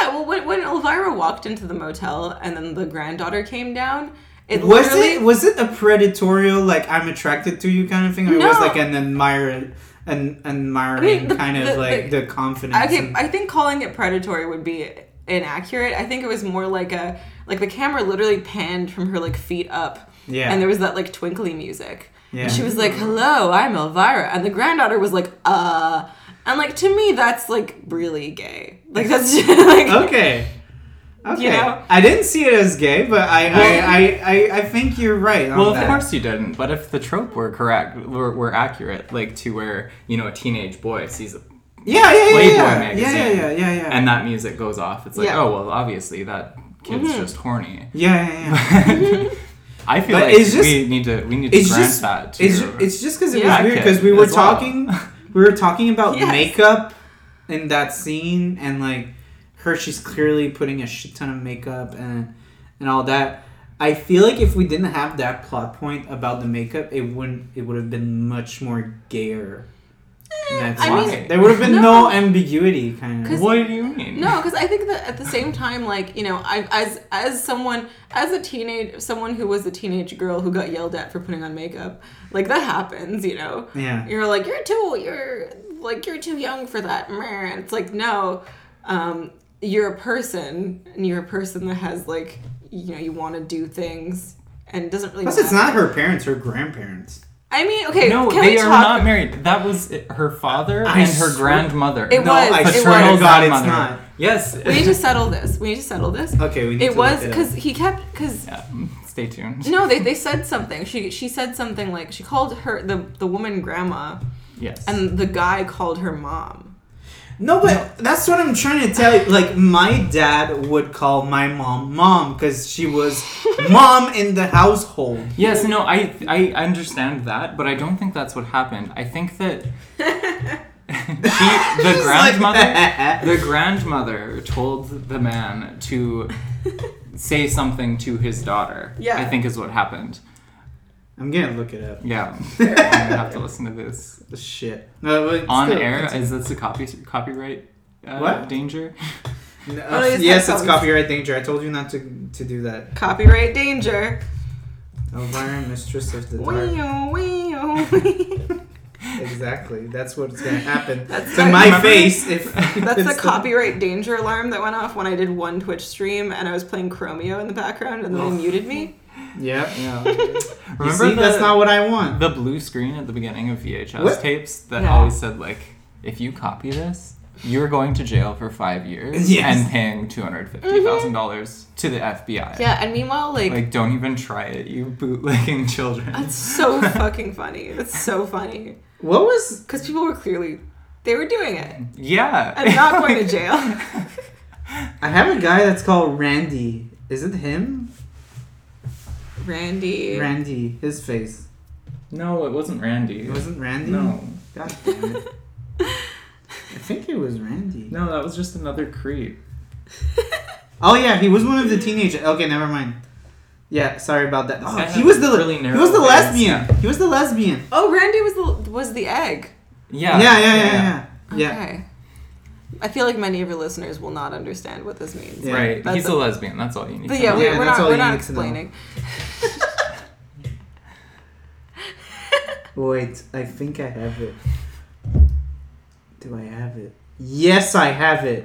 when when Elvira walked into the motel and then the granddaughter came down, it was literally... it was it a predatorial, like, I'm attracted to you kind of thing, or No. it was like an admire an admiring I mean, the- kind of the- like the- the confidence? Okay, and- I think calling it predatory would be inaccurate. I think it was more like a like the camera literally panned from her like feet up, yeah, and there was that like twinkly music. yeah. And she was like, "Hello, I'm Elvira," and the granddaughter was like, "Uh," and like to me that's like really gay. Like that's just, like okay. Okay. You know? I didn't see it as gay, but I I, I, I, I think you're right on Well, of that. course you didn't. But if the trope were correct, were, were accurate, like to where you know a teenage boy sees a Yeah, yeah, yeah, Playboy yeah. magazine, yeah, yeah, yeah, yeah, yeah. and that music goes off, it's like, Yeah. oh well, obviously that kid's Mhm. just horny. yeah, yeah, yeah. I feel But like it's just- we need to we need to it's grant just- that to It's just, it's just because it Yeah. was weird That because kid we were as well. talking we were talking about Yes. makeup in that scene, and like her, she's clearly putting a shit ton of makeup and and all that. I feel like if we didn't have that plot point about the makeup, it wouldn't it would have been much more gayer. That's I why. mean- there would have been no, No. ambiguity, kind of. 'Cause- What do you mean? No, because I think that at the same time, like you know, I as as someone as a teenage someone who was a teenage girl who got yelled at for putting on makeup, like that happens, you know. Yeah. You're like you're too you're like you're too young for that, and it's like no, um, you're a person and you're a person that has like you know you want to do things and it doesn't really. Plus, matter. it's not her parents, her grandparents. I mean, okay, No, can they we are talk? not married. That was it- her father I and her swear- grandmother. It no, was, I it swear was. to God, it's Grandmother. not. Yes. We need to settle this. We need to settle this. Okay, we need It to was look it up. because he kept because. Yeah, stay tuned. No, they, they said something. She she said something like she called her the the woman grandma, Yes. and the guy called her mom. No, but that's what I'm trying to tell you. Like, my dad would call my mom mom because she was mom in the household. Yes, no, I I understand that, but I don't think that's what happened. I think that she, the She's like grandmother, that. the grandmother told the man to say something to his daughter. Yeah. I think is what happened. I'm gonna look it up. Yeah, I'm gonna have to listen to this Shit. No, but on still, air. it's- Is this a copy copyright uh, What? danger? No, Oh, it's yes, it's headphones. copyright danger. I told you not to to do that. Copyright danger. Elvira, mistress of the dark. Wee-oh, wee-oh. Exactly. That's what's gonna happen That's to like- my Remember- face if. That's if the it's copyright danger alarm that went off when I did one Twitch stream and I was playing Chromeo in the background and then they muted me. Yep. Yeah. You Remember see, the, that's not what I want. the blue screen at the beginning of V H S What? tapes that Yeah. always said like, if you copy this, you're going to jail for five years Yes. and paying two hundred fifty thousand dollars to the F B I. Yeah, and meanwhile, like, Like, don't even try it, you bootlegging children. that's so fucking funny. That's so funny. What was? Because people were clearly, they were doing it. Yeah. And not going to jail. I have a guy that's called Randy. Is it him? Randy. Randy. His face. No, it wasn't Randy. It wasn't Randy. No. God damn it. I think it was Randy. No, that was just another creep. Oh yeah, he was one of the teenagers. Okay, never mind. Yeah, sorry about that. Oh, guy he had was the really he narrow was the face. lesbian. He was the lesbian. Oh, Randy was the was the egg. Yeah. Yeah, yeah, yeah, yeah. Yeah. Okay. I feel like many of your listeners will not understand what this means. Yeah. Right. That's He's a- a lesbian. That's all you need But to yeah, know. we, Yeah, we're that's not all we're you not need to know. explaining. Wait, I think I have it. Do I have it? Yes, I have it.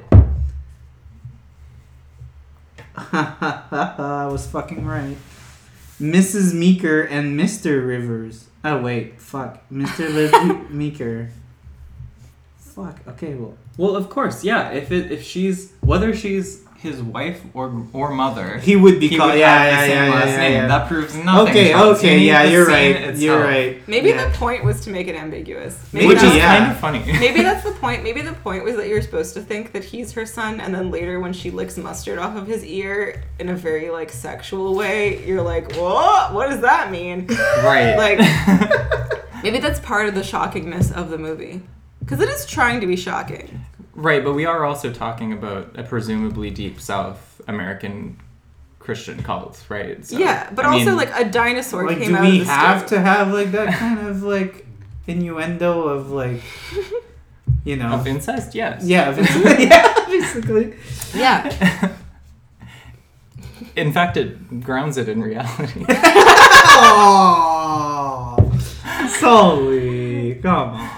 I was fucking right. Missus Meeker and Mister Rivers. Oh wait, fuck. Mister Liv- Meeker. Fuck. Okay, well. Well, of course, yeah. If it if she's whether she's his wife or or mother, He would be he called. would Yeah, have yeah, the same yeah, last yeah, name. yeah. That proves nothing. Okay, Charles. You okay, need yeah, the you're scene right. itself. You're right. Maybe yeah. the point was to make it ambiguous. Maybe Which Which is is that's, yeah. kind of funny. maybe that's the point. Maybe the point was that you're supposed to think that he's her son, and then later when she licks mustard off of his ear in a very like sexual way, you're like, "What? What does that mean?" Right. Like, maybe that's part of the shockingness of the movie, because it is trying to be shocking. Right, but we are also talking about a presumably deep South American Christian cult, right? So, yeah, but I also mean, like a dinosaur Like, came do out we of the have stove. to have like that kind of like innuendo of like, you know. Of incest, yes. Yeah, basically. yeah, basically. Yeah. In fact, it grounds it in reality. Oh, Sully, come on.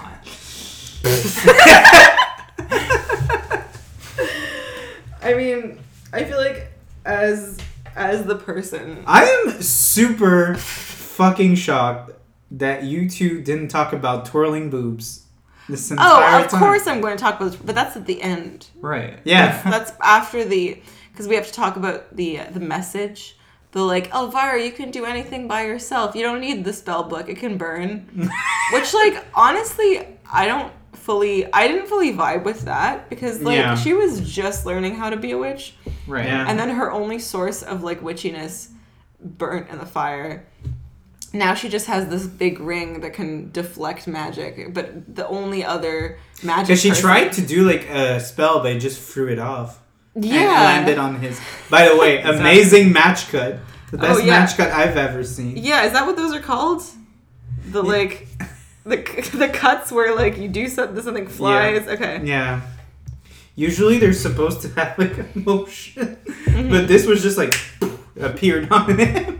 I mean, I feel like as as the person, I am super fucking shocked that you two didn't talk about twirling boobs this entire oh, of time. course I'm going to talk about this, but that's at the end. Right. Yeah. That's after the, because we have to talk about the uh, the message. The like, Elvira, you can do anything by yourself. You don't need the spell book. It can burn. Which, like, honestly, I don't fully, I didn't fully vibe with that because, like, Yeah. she was just learning how to be a witch. Right. Yeah. And then her only source of, like, witchiness burnt in the fire. Now she just has this big ring that can deflect magic, but the only other magic Because she person- tried to do like a spell, but it just threw it off. yeah. And it landed on his. By the way, amazing match cut. The best Oh, yeah. match cut I've ever seen. Yeah, is that what those are called? The like, the the cuts where like you do something, something flies. Okay. Yeah. Usually they're supposed to have like a motion, Mm-hmm. but this was just like appeared on him.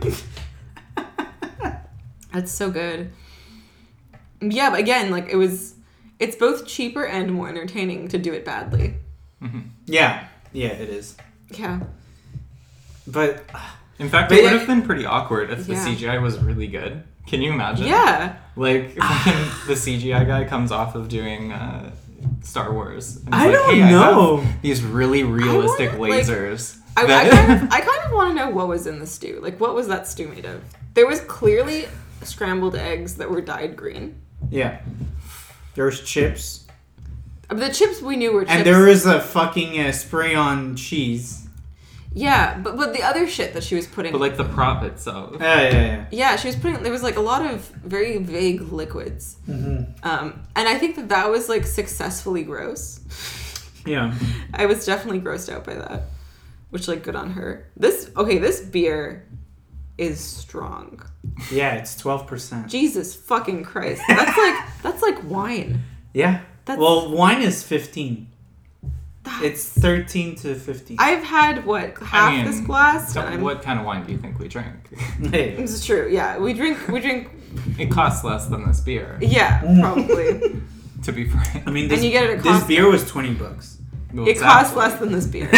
That's so good. Yeah, but again, like it was, it's both cheaper and more entertaining to do it badly. Yeah, yeah, it is. Yeah. But In fact, But it would yeah- have been pretty awkward if the Yeah. C G I was really good. Can you imagine? Yeah. Like, when the C G I guy comes off of doing uh, Star Wars. And he's I like, don't hey, know. I have these really realistic wanna, like, lasers. I, I that- kind of, I kind of want to know what was in the stew. Like, what was that stew made of? There was clearly scrambled eggs that were dyed green. yeah, there's chips, But the chips we knew were chips. and there is a fucking uh, spray on cheese. Yeah, but but the other shit that she was putting. But, like, the prop itself. Yeah, yeah, yeah. Yeah, she was putting. There was like a lot of very vague liquids, Mm-hmm. um, and I think that that was like successfully gross. Yeah. I was definitely grossed out by that, which like good on her. This okay, this beer is strong. Yeah, it's twelve percent. Jesus fucking Christ, that's like that's like wine. Yeah. That's- Well, wine is fifteen. That's- It's thirteen to fifteen. I've had what half I mean, this glass. so and I'm- what kind of wine do you think we drink? Hey. This is true. Yeah, we drink. We drink. It costs less than this beer, Yeah, probably. to be frank. I mean, this, And you get it at this Costco. beer was twenty bucks. Well, It costs exactly. less than this beer.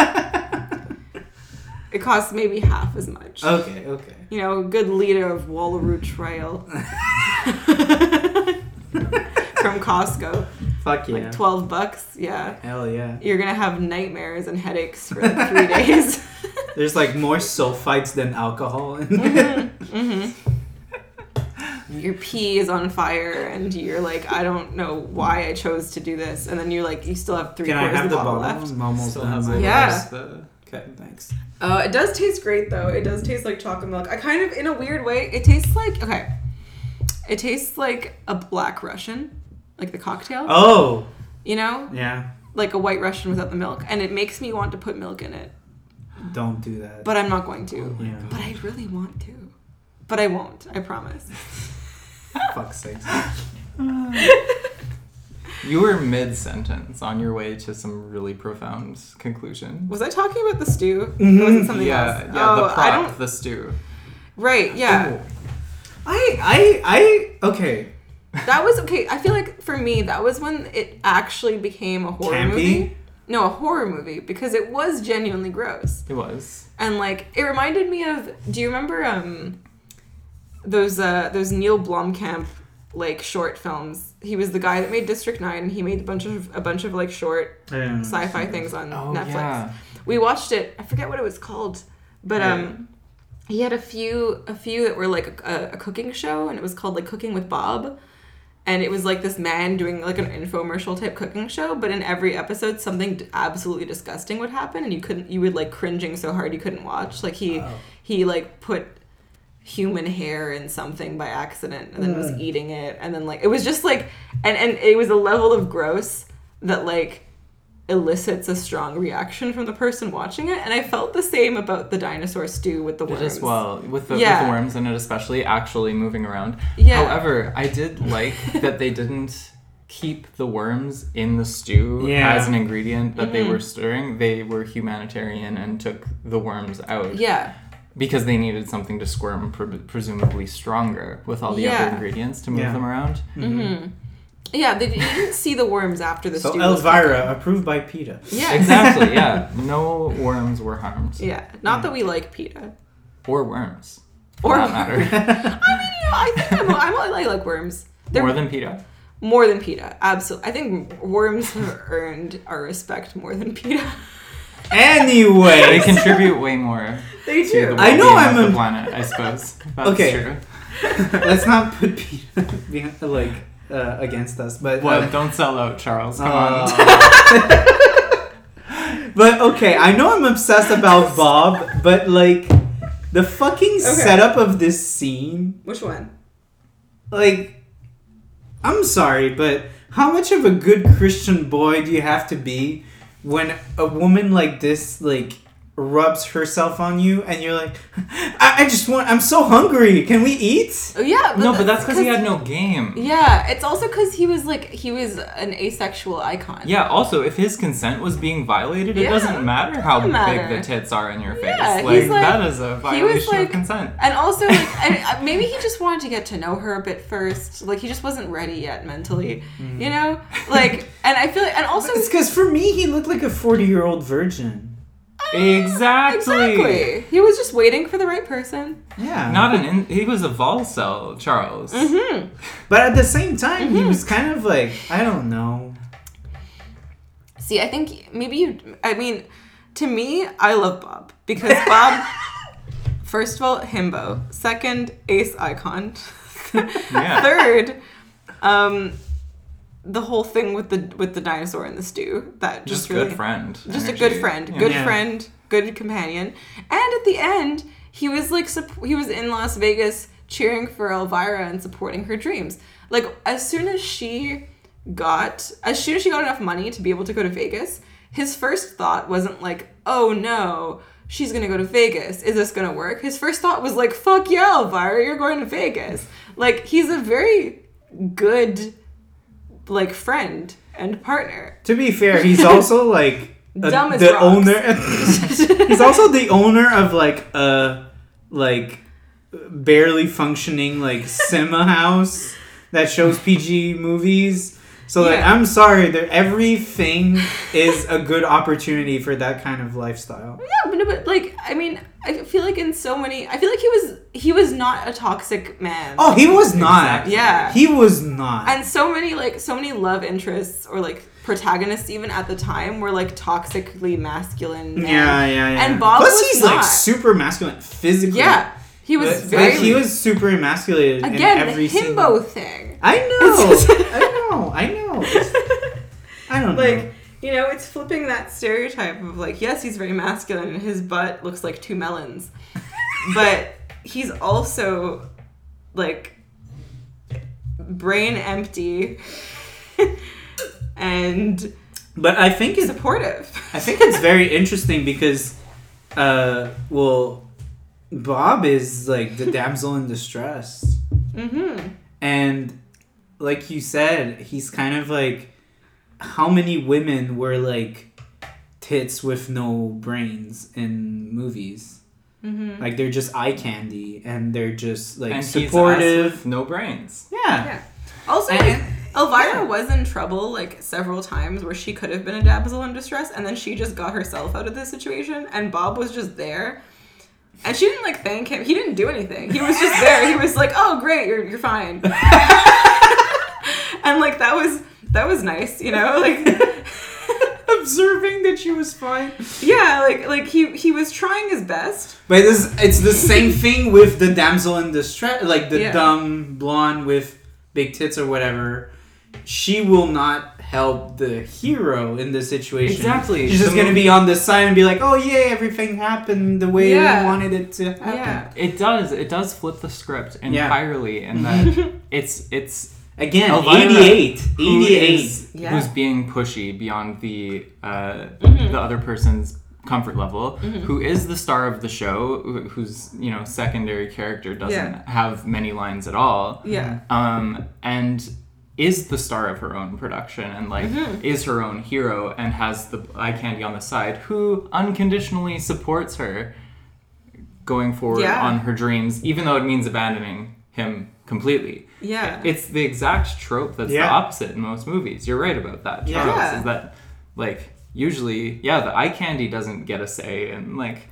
It costs maybe half as much. Okay, okay. You know, a good liter of Wallaroo Trail from Costco. Fuck yeah. Like twelve bucks. Yeah. Hell yeah. You're gonna have nightmares and headaches for like three days. There's like more sulfites than alcohol. In Mm-hmm. Your pee is on fire, and you're like, I don't know why I chose to do this. And then you're like, you still have three Can I quarters have of the the bottle bottle? left. I'm almost Still done. has with a it. Yeah. rest, uh, Okay, thanks. Uh, it does taste great though. It does taste like chocolate milk. I kind of, in a weird way, it tastes like okay. It tastes like a Black Russian, like the cocktail. Oh, You know, yeah. like a White Russian without the milk, and it makes me want to put milk in it, Don't do that. but I'm not going to. yeah. But I really want to, but I won't. I promise. Fuck's sake. You were mid-sentence on your way to some really profound conclusion. Was I talking about the stew? Mhm. Or was it something yeah, else? yeah, oh, the I prop, don't. the stew. Right. Yeah. Oh. I, I, I, okay. That was okay. I feel like for me, that was when it actually became a horror Campy? movie. No, a horror movie because it was genuinely gross. It was. And like it reminded me of do you remember um those uh those Neil Blomkamp like short films? He was the guy that made District nine and he made a bunch of a bunch of like short Um, sci-fi things on Oh, Netflix. yeah. We watched it. I forget what it was called. But Yeah. um he had a few a few that were like a, a cooking show and it was called like Cooking with Bob. And it was like this man doing like an infomercial type cooking show, but in every episode something d- absolutely disgusting would happen, and you couldn't, you would like cringing so hard you couldn't watch. Like he, Oh. he like put human hair in something by accident, and then was Mm. eating it, and then like it was just like, and and it was a level of gross that like elicits a strong reaction from the person watching it, and I felt the same about the dinosaur stew with the Did worms. as well with the, Yeah. with the worms in it, especially actually moving around. Yeah. However, I did like that they didn't keep the worms in the stew Yeah. as an ingredient that Mm-hmm. they were stirring, they were humanitarian and took the worms out. Yeah. Because they needed something to squirm, pre- presumably stronger, with all the Yeah. other ingredients to move Yeah. them around. Mm-hmm. Yeah, they didn't see the worms after the So stew was Elvira, approved by PETA. cooking. Yeah. Exactly, yeah. No worms were harmed. Yeah. Not that we like PETA. Or worms. Or For that matter. I mean, you know, I think I'm, I'm, I like worms. They're More than PETA. more than PETA. Absolutely. I think worms have earned our respect more than PETA. They Anyway, contribute way more They to the I know well-being I'm of a- the planet, I suppose. That's Okay. true. let's not put PETA behind, like uh, against us, but What? um, Don't sell out, Charles. Come uh, on. But okay, I know I'm obsessed about Bob, but like the fucking setup of this scene, Which one? like, I'm sorry, but how much of a good Christian boy do you have to be when a woman like this, like, rubs herself on you and you're like, I, I just want, I'm so hungry. Can we eat? Oh, yeah. No, but that's because he had no game. Yeah, it's also because he was like, he was an asexual icon. Yeah, also, if his consent was being violated, it Yeah, doesn't matter how doesn't matter. big the tits are in your face. Yeah, like, he's like- that is a violation like- of consent. And also, like, I, I- maybe he just wanted to get to know her a bit first. Like, he just wasn't ready yet mentally, you know? Like, and I feel like, and also, It's because for me, he looked like a forty-year-old virgin. Exactly. exactly. He was just waiting for the right person. Yeah. Not an in- he was a vol cell, Charles. Mm-hmm. But at the same time, he was kind of like, I don't know. See, I think maybe you, I mean, to me, I love Bob. Because Bob, first of all, himbo. Second, ace icon. Yeah. Third, um, the whole thing with the with the dinosaur in the stew. That just, Just really, good friend. Just energy. a good friend, Yeah. good Yeah. friend, good companion. And at the end, he was like, sup- he was in Las Vegas cheering for Elvira and supporting her dreams. Like, as soon as she got, as soon as she got enough money to be able to go to Vegas, his first thought wasn't like, oh no, she's gonna go to Vegas. Is this gonna work? His first thought was like, fuck yeah, Elvira, you're going to Vegas. Like, he's a very good, like, friend and partner. To be fair, he's also like a, Dumb as the rocks. owner. He's also the owner of like a like barely functioning like cinema house that shows P G movies. So like, Yeah. I'm sorry, there everything is a good opportunity for that kind of lifestyle. Yeah, but, no, but like, I mean, I feel like in so many, I feel like he was he was not a toxic man. Oh, he was not. Exactly. Yeah. He was not. And so many like so many love interests or like protagonists even at the time were like toxically masculine men. yeah, yeah, yeah. And Bob Plus, was he's not. like super masculine physically. Yeah, he was Like, very he was super emasculated again in every the himbo single. thing. I know. It's just- I know. I know. It's- I don't know. Like, you know, it's flipping that stereotype of like, yes, he's very masculine and his butt looks like two melons, but he's also like brain empty and But I think it's supportive. I think it's very interesting because, uh, well, Bob is like the damsel in distress, Mm-hmm. and like you said, he's kind of like how many women were like tits with no brains in movies. Mm-hmm. Like they're just eye candy, and they're just like And he's us supportive. with no brains. Yeah. Yeah. Also, And- like, Elvira yeah. was in trouble like several times where she could have been a damsel in distress, and then she just got herself out of this situation, and Bob was just there. And she didn't like thank him. He didn't do anything. He was just there. He was like, "Oh, great, you're you're fine." And like that was that was nice, you know? Like Observing that she was fine. yeah, like like he he was trying his best. But this, it's the same thing with the damsel in distress, like the Yeah. dumb blonde with big tits or whatever. She will not help the hero in this situation. Exactly. She's just The gonna mo- be on the side and be like, "Oh yay, everything happened the way Yeah. we wanted it to happen." Yeah. It does. It does flip the script Yeah. entirely in that it's it's Again, Elvira, eighty-eight. who eighty-eight. is- Yeah. who's being pushy beyond the uh, Mhm. the other person's comfort level, Mhm. who is the star of the show, wh- whose you know secondary character doesn't Yeah. have many lines at all, Yeah. um, and is the star of her own production and like Mm-hmm. is her own hero and has the eye candy on the side, who unconditionally supports her going forward Yeah. on her dreams, even though it means abandoning him completely. Yeah. It's the exact trope that's Yeah. the opposite in most movies. You're right about that, Yeah. Charles. Yeah. Is that like usually, yeah, the eye candy doesn't get a say, and like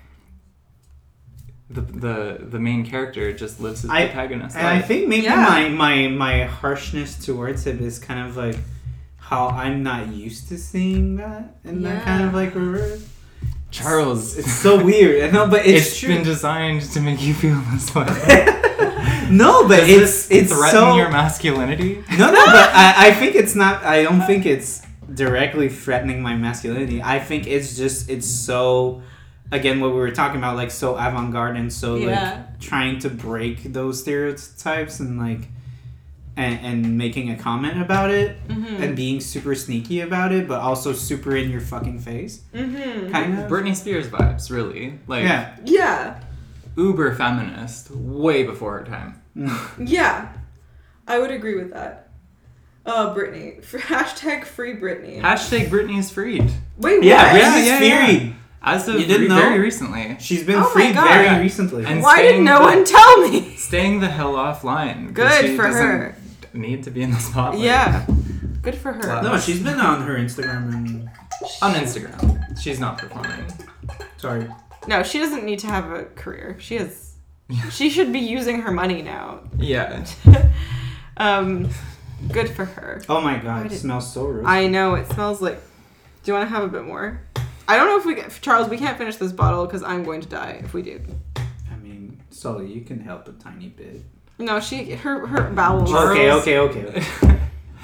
the the the main character just lives his I- protagonist And I life. think maybe Yeah. my, my my harshness towards him is kind of like how I'm not used to seeing that in that kind of Yeah. like reverse. Charles, It's so weird. I know, but it's, it's true. been designed to make you feel this way. no, but Does it's this it's threaten so your masculinity? no, no. But I, I think it's not. I don't think it's directly threatening my masculinity. I think it's just it's so. Again, what we were talking about, like so avant-garde and so Yeah. like trying to break those stereotypes and like and, and making a comment about it Mm-hmm. and being super sneaky about it, but also super in your fucking face, Mm-hmm. kind of. Britney Spears vibes, really. Like Yeah. Yeah. uber feminist, way before her time. Mm. Yeah. I would agree with that. Uh, Britney. F- hashtag free Britney. Hashtag Britney is freed. Wait, what? Yeah, Yeah, Britney's yeah, yeah. freed. As of You didn't re- know? very recently. She's been Oh my freed God. very recently. And Why did staying no the- one tell me? Staying the hell offline. 'cause Good she for doesn't her. Need to be in the spotlight. Yeah. Good for her. Wow. no, she's been on her Instagram and On Instagram. She's not performing. sorry. No, she doesn't need to have a career. She has. She should be using her money now. Yeah. Um, good for her. Oh my god, Why it did- smells so roasty. I know it smells like. Do you want to have a bit more? I don't know if we get Charles. We can't finish this bottle because I'm going to die if we do. I mean, Sully, you can help a tiny bit. No, she her her bowels. Charles- Okay, okay, okay.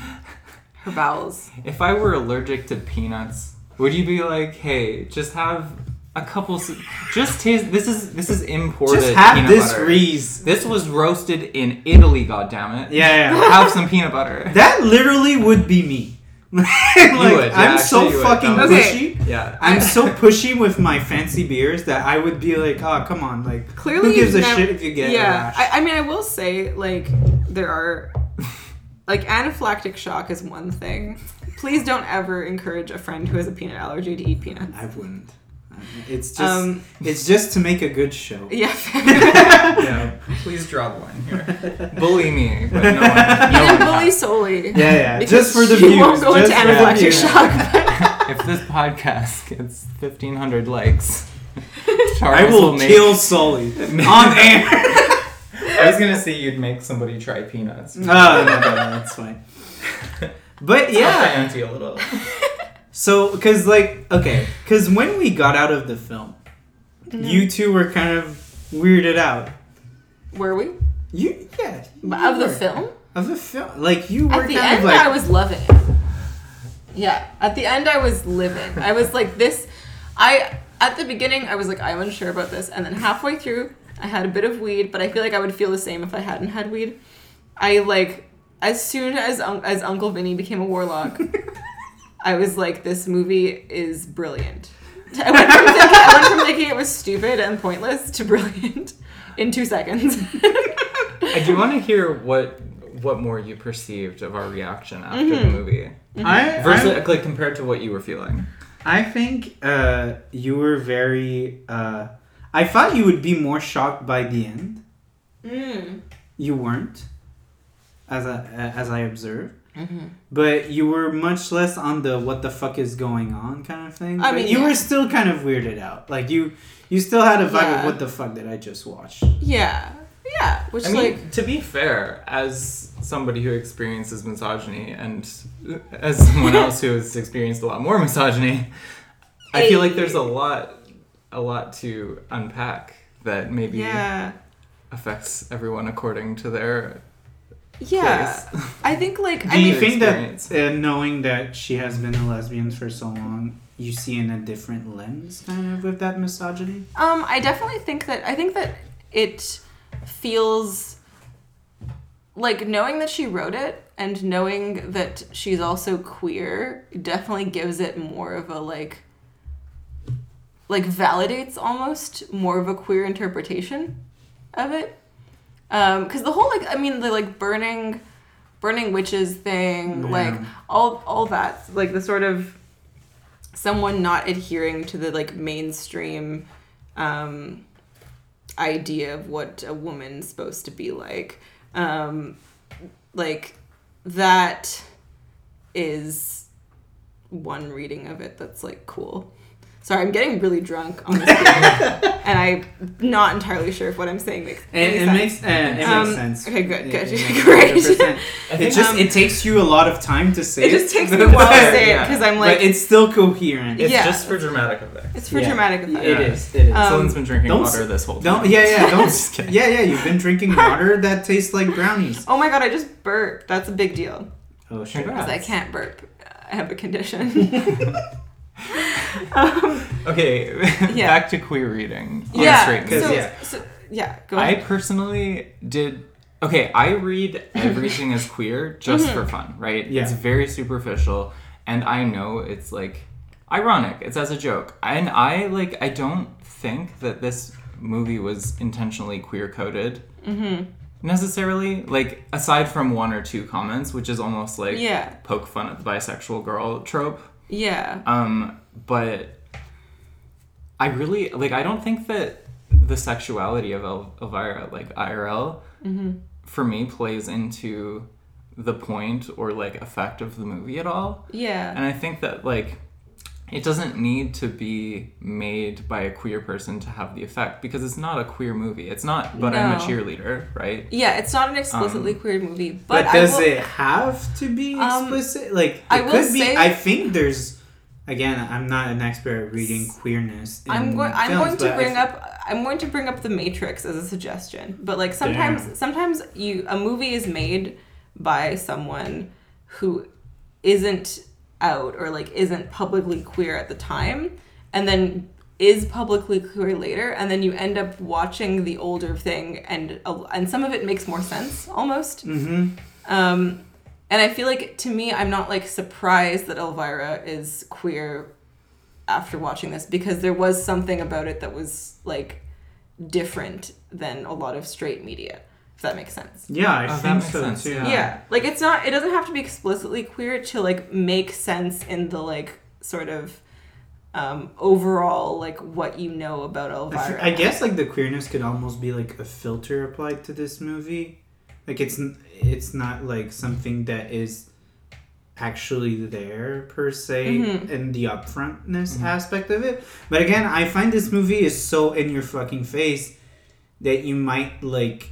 Her bowels. If I were allergic to peanuts, would you be like, hey, just have a couple, s- just taste, this is, this is imported Just have peanut this butter. Reese. This was roasted in Italy, goddammit. Yeah, yeah. Have some peanut butter. That literally would be me. like, would, yeah, I'm so actually you would. fucking That was- pushy. Yeah. I'm so pushy with my fancy beers that I would be like, oh, come on. Like, Clearly, who gives a you've never- shit if you get a Yeah, rash? I, I mean, I will say like there are like anaphylactic shock is one thing. Please don't ever encourage a friend who has a peanut allergy to eat peanuts. I wouldn't. It's just, Um, it's just to make a good show. Yeah. Yeah. Please draw the line here. Bully me, but no one. You No can one bully has. solely. Yeah, yeah. Because Just for the she views. won't go just into for the anaphylactic views. shock. If this podcast gets fifteen hundred likes, I Charles will make. kill Sully on air. I was gonna say you'd make somebody try peanuts. Oh, no, no, no, that's fine. But yeah, Auntie a little. so because like okay, because when we got out of the film, Mm-hmm. you two were kind of weirded out. Were we? You yeah you Of the were. film? of the film, like you were At the kind end, of like I was loving it. Yeah, at the end, I was living. I was like this. I at the beginning, I was like, I'm unsure about this, and then halfway through, I had a bit of weed, but I feel like I would feel the same if I hadn't had weed. I like as soon as un- as Uncle Vinny became a warlock, I was like, this movie is brilliant. I went from thinking, I went from thinking it was stupid and pointless to brilliant in two seconds. I do want to hear what what more you perceived of our reaction after the Mm-hmm. movie I versus I, like compared to what you were feeling. I think uh, you were very. Uh, I thought you would be more shocked by the end. Mm. You weren't, as I as I observed. Mm-hmm. But you were much less on the what the fuck is going on kind of thing. I But mean, you yeah. were still kind of weirded out. Like you you still had a vibe Yeah. of what the fuck did I just watch? Yeah, yeah. Which I mean, like to be fair, as somebody who experiences misogyny and as someone else who has experienced a lot more misogyny, I feel like there's a lot, a lot to unpack that maybe yeah. affects everyone according to their Yeah, place. I think like Do I you mean, think experience. that uh, knowing that she has been a lesbian for so long, you see in a different lens kind of with that misogyny? um, I definitely think that I think that it feels like knowing that she wrote it and knowing that she's also queer definitely gives it more of a like like validates almost more of a queer interpretation of it. Um, because the whole like I mean the like burning burning witches thing, Yeah. like all all that, like the sort of someone not adhering to the like mainstream um, idea of what a woman's supposed to be like, um, like that is one reading of it that's like cool. Sorry, I'm getting really drunk on this beer, and I'm not entirely sure if what I'm saying makes It, any it sense. makes uh, it Um, makes sense. okay, good, good, It- it makes great. one hundred percent. I It think, just um, it takes you a lot of time to say It it. just takes me a while to say it Yeah. because I'm like, but it's still coherent. it's yeah. just for dramatic effect. it's for Yeah. dramatic effect. It is. It is. Um, Someone's been drinking don't water s- this whole time. don't yeah yeah don't Just kidding. yeah yeah you've been drinking water that tastes like brownies. Oh my god, I just burped. That's a big deal Oh shit. Congrats. because I can't burp. I have a condition. um, Okay, Yeah. back to queer reading. on yeah. straight Because, So, movies. yeah. so yeah. Go I ahead. personally did. Okay, I read everything as queer just Mm-hmm. for fun, right? Yeah. It's very superficial, and I know it's like ironic. It's as a joke, and I like. I don't think that this movie was intentionally queer coded. Mm-hmm. Necessarily, like aside from one or two comments, which is almost like Yeah. poke fun at the bisexual girl trope. Yeah. Um, but I really like. I don't think that the sexuality of El- Elvira, like I R L, Mm-hmm. for me plays into the point or like effect of the movie at all. Yeah. And I think that like it doesn't need to be made by a queer person to have the effect because it's not a queer movie. It's not. But I'm a No. cheerleader, right? Yeah, it's not an explicitly Um, queer movie, but, But, I does will, it have to be Um, explicit? Like it I will could be. say- I think there's. Again, I'm not an expert at reading queerness. In I'm going. I'm films, going to but I bring th- up. I'm going to bring up The Matrix as a suggestion. But like sometimes, Damn. sometimes you a movie is made by someone who isn't out or like isn't publicly queer at the time, and then is publicly queer later, and then you end up watching the older thing, and uh, and some of it makes more sense almost. Mhm. Um, and I feel like, to me, I'm not, like, surprised that Elvira is queer after watching this, because there was something about it that was, like, different than a lot of straight media, if that makes sense. Yeah, I Oh, that think makes so sense, too. yeah. Yeah. Like, it's not, it doesn't have to be explicitly queer to, like, make sense in the, like, sort of um, overall, like, what you know about I, f- Elvira. I guess like the queerness could almost be like a filter applied to this movie. Like it's n- it's not like something that is actually there per se Mhm. in the upfrontness Mhm. aspect of it. But again, I find this movie is so in your fucking face that you might like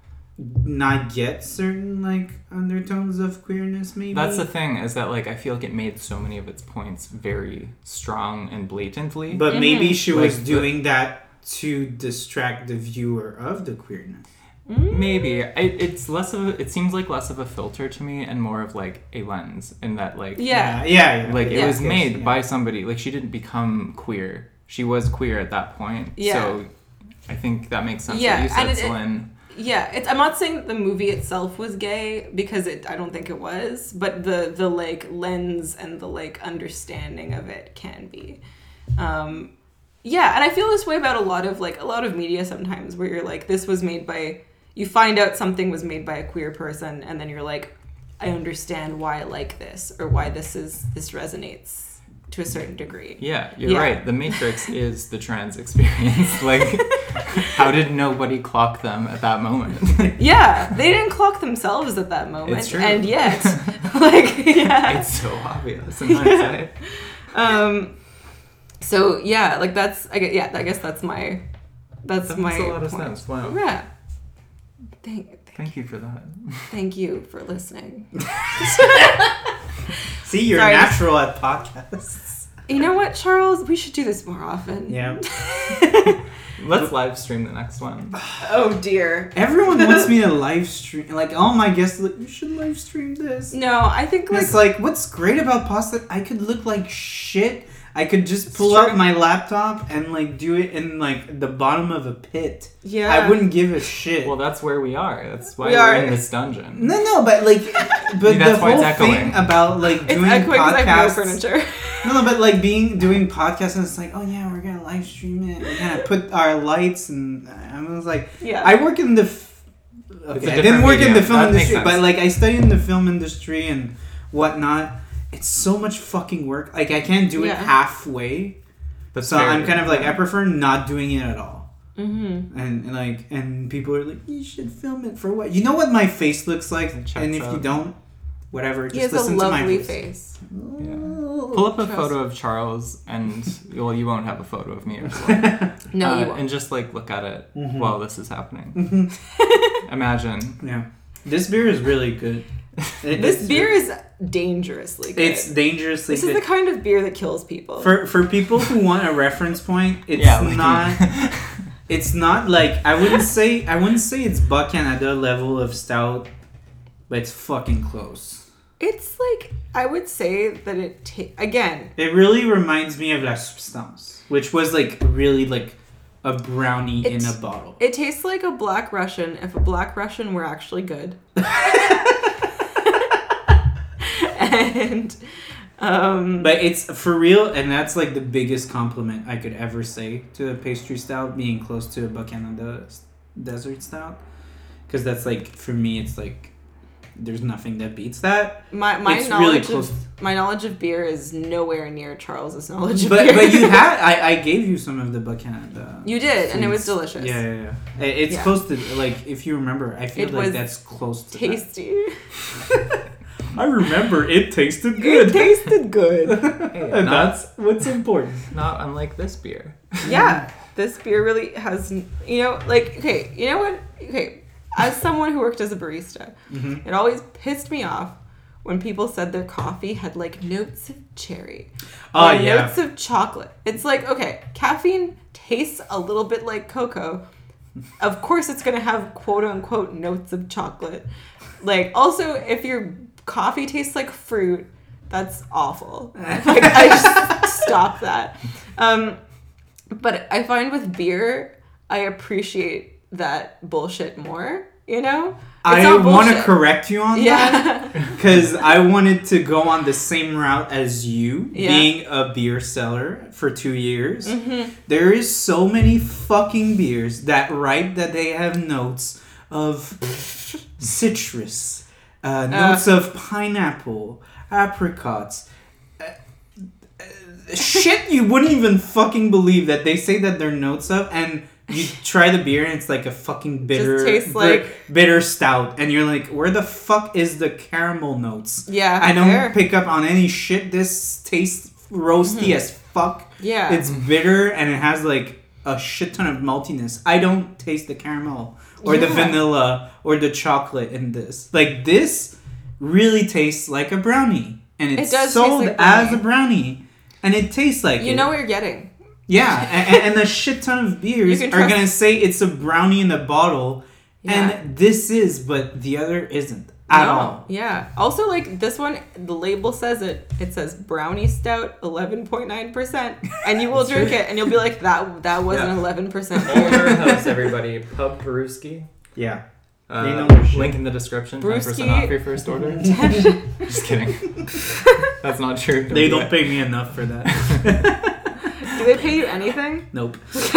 not get certain like undertones of queerness maybe. That's the thing, is that like I feel like it made so many of its points very strong and blatantly. But maybe Mhm. she Like was the- doing that to distract the viewer of the queerness. Mm. Maybe it, it's less of a, it seems like less of a filter to me and more of like a lens in that like Yeah. Yeah, yeah. yeah. like it Yeah. was made Yeah. by somebody, like she didn't become queer, she was queer at that point. Yeah. So I think that makes sense. Yeah, What you said, and it- it- Celine. Yeah, it's. I'm not saying that the movie itself was gay, because it. I don't think it was. But the the like lens and the like understanding of it can be. Um, yeah, and I feel this way about a lot of like a lot of media sometimes, where you're like, this was made by. You find out something was made by a queer person, and then you're like, I understand why I like this, or why this is this resonates to a certain degree. Yeah, you're Yeah. right. The Matrix is the trans experience. Like, how did nobody clock them at that moment? Yeah, they didn't clock themselves at that moment, It's true. and yet, like, yeah. It's so obvious in hindsight. Um, so yeah, like that's I guess, yeah, I guess that's my that's That my makes a lot of point. sense. Wow. Yeah. Thank, thank, Thank you for that. thank you for listening. See, you're Sorry, natural at podcasts. You know what, Charles? We should do this more often. Yeah. Let's live stream the next one. Oh dear. Everyone wants me to live stream. Like, all my guests, like, you should live stream this. No, I think like It's like, what's great about pasta? I could look like shit. I could just It's pull true. out my laptop and like do it in like the bottom of a pit. yeah. I wouldn't give a shit. Well, that's where we are. That's why We we are are. in this dungeon. no, no, but like, but the That's why whole it's thing echoing. about like It's doing echoing because I have no podcasts. furniture. No, no, but like being doing podcasts and it's like, oh yeah, we're gonna live stream it. We're gonna put our lights and I was like, Yeah. I work in the f- okay, a I different didn't work in the medium. film That makes industry, but sense. like I studied in the film industry and whatnot. It's so much fucking work. Like I can't do it Yeah. halfway. That's So very- I'm kind of like I prefer not doing it at all. Mm-hmm. And, and like and people are like, you should film it for what? You know what my face looks like, It checks and if you out. don't, whatever. Just He has a listen to my lovely voice. face. Yeah. Pull up a Trust. photo of Charles, and well, you won't have a photo of me as well. No, Uh, you won't. and just like look at it Mhm. while this is happening. Mhm. Imagine. Yeah, this beer is really good. It- This it's- beer is dangerously good. It's dangerously this good. is the kind of beer that kills people. For for people who want a reference point, it's Yeah, like- not. It's not like I wouldn't say I wouldn't say it's Buck Canada level of stout, but it's fucking close. It's like I would say that it ta- again. It really reminds me of La Substance, which was like really like a brownie in It's- a bottle. It tastes like a Black Russian if a Black Russian were actually good. and um, But it's for real, and that's like the biggest compliment I could ever say to a pastry stout, being close to a Buck Canada s- desert stout, because that's like for me, it's like there's nothing that beats that. my my it's really knowledge close. of my knowledge of beer is nowhere near Charles's knowledge of But beer. but you had I, I gave you some of the Buck Canada. You did, and it was foods. delicious. Yeah, yeah, yeah. It- It's Yeah. close to like if you remember, I feel It like was that's close to tasty. that. I remember it tasted It tasted good. Hey, and not, that's what's important. not unlike this beer. Yeah, this beer really has, you know, like, okay, you know what? Okay, as someone who worked as a barista, Mhm. it always pissed me off when people said their coffee had like notes of cherry. Oh, or yeah. notes of chocolate. It's like, okay, caffeine tastes a little bit like cocoa. Of course, it's going to have quote unquote notes of chocolate. Like, also, if your coffee tastes like fruit, that's awful. Like, I just stop that. Um, but I find with beer, I appreciate that bullshit more, you know? It's I not want to bullshit. correct you on that. Yeah. Because I wanted to go on the same route as you, Yeah. being a beer seller for two years. Mhm. There is so many fucking beers that write that they have notes of citrus, uh, notes of pineapple, apricots. Uh, uh, shit you wouldn't even fucking believe that they say that they're notes of, and you try the beer and it's like a fucking bitter, tastes bit- like- bitter stout, and you're like, where the fuck is the caramel notes? Yeah. I don't fair. pick up on any shit. This tastes roasty as fuck. Yeah. It's bitter and it has like a shit ton of maltiness. I don't taste the caramel or the Yeah. vanilla or the chocolate in this. Like this really tastes like a brownie, and it's It does taste sold like as brownie. a brownie, and it tastes like You it. know what you're getting. Yeah, and, and a shit ton of beers You are can trust- gonna say it's a brownie in a bottle, Yeah. and this is, but the other isn't at No. all. Yeah. Also, like this one, the label says it. It says brownie stout, eleven point nine percent, and you will That's drink true. it, and you'll be like, that that wasn't Yeah. eleven percent. Older house, everybody. Pub Brewski. Yeah. Uh, They know their shit. link in the description. ten percent Brewski. off your first order. Just kidding. That's not true. They do don't it. pay me enough for that. Do they pay you anything? Nope.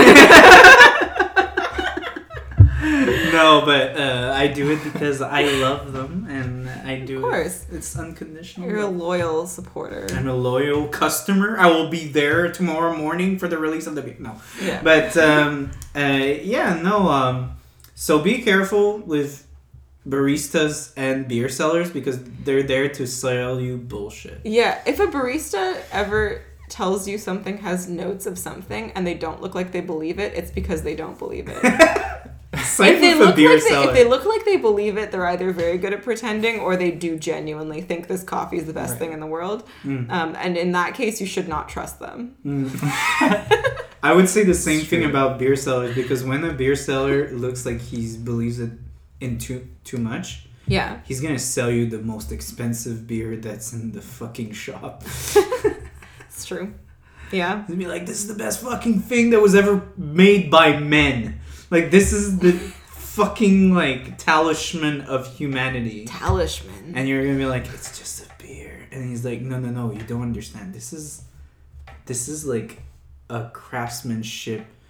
No, but uh, I do it because I love them, and I do Of course. it. It's unconditional. You're a love. loyal supporter. I'm a loyal customer. I will be there tomorrow morning for the release of the beer. No, Yeah. but um, uh, yeah, no. Um, so be careful with baristas and beer sellers because they're there to sell you bullshit. Yeah. If a barista ever tells you something has notes of something and they don't look like they believe it, it's because they don't believe it. Same if they with the look beer like they, seller. if they look like they believe it, they're either very good at pretending or they do genuinely think this coffee is the best Right. thing in the world. Mm. Um, and in that case, you should not trust them. I would say the same It's thing true. about beer sellers because when a beer seller looks like he believes it in too too much, Yeah. he's gonna sell you the most expensive beer that's in the fucking shop. It's true. Yeah. He'll be like, "This is the best fucking thing that was ever made by men. Like this is the fucking like talisman of humanity." Talisman. And you're gonna be like, "It's just a beer," and he's like, "No, no, no, you don't understand. This is, this is like a craftsmanship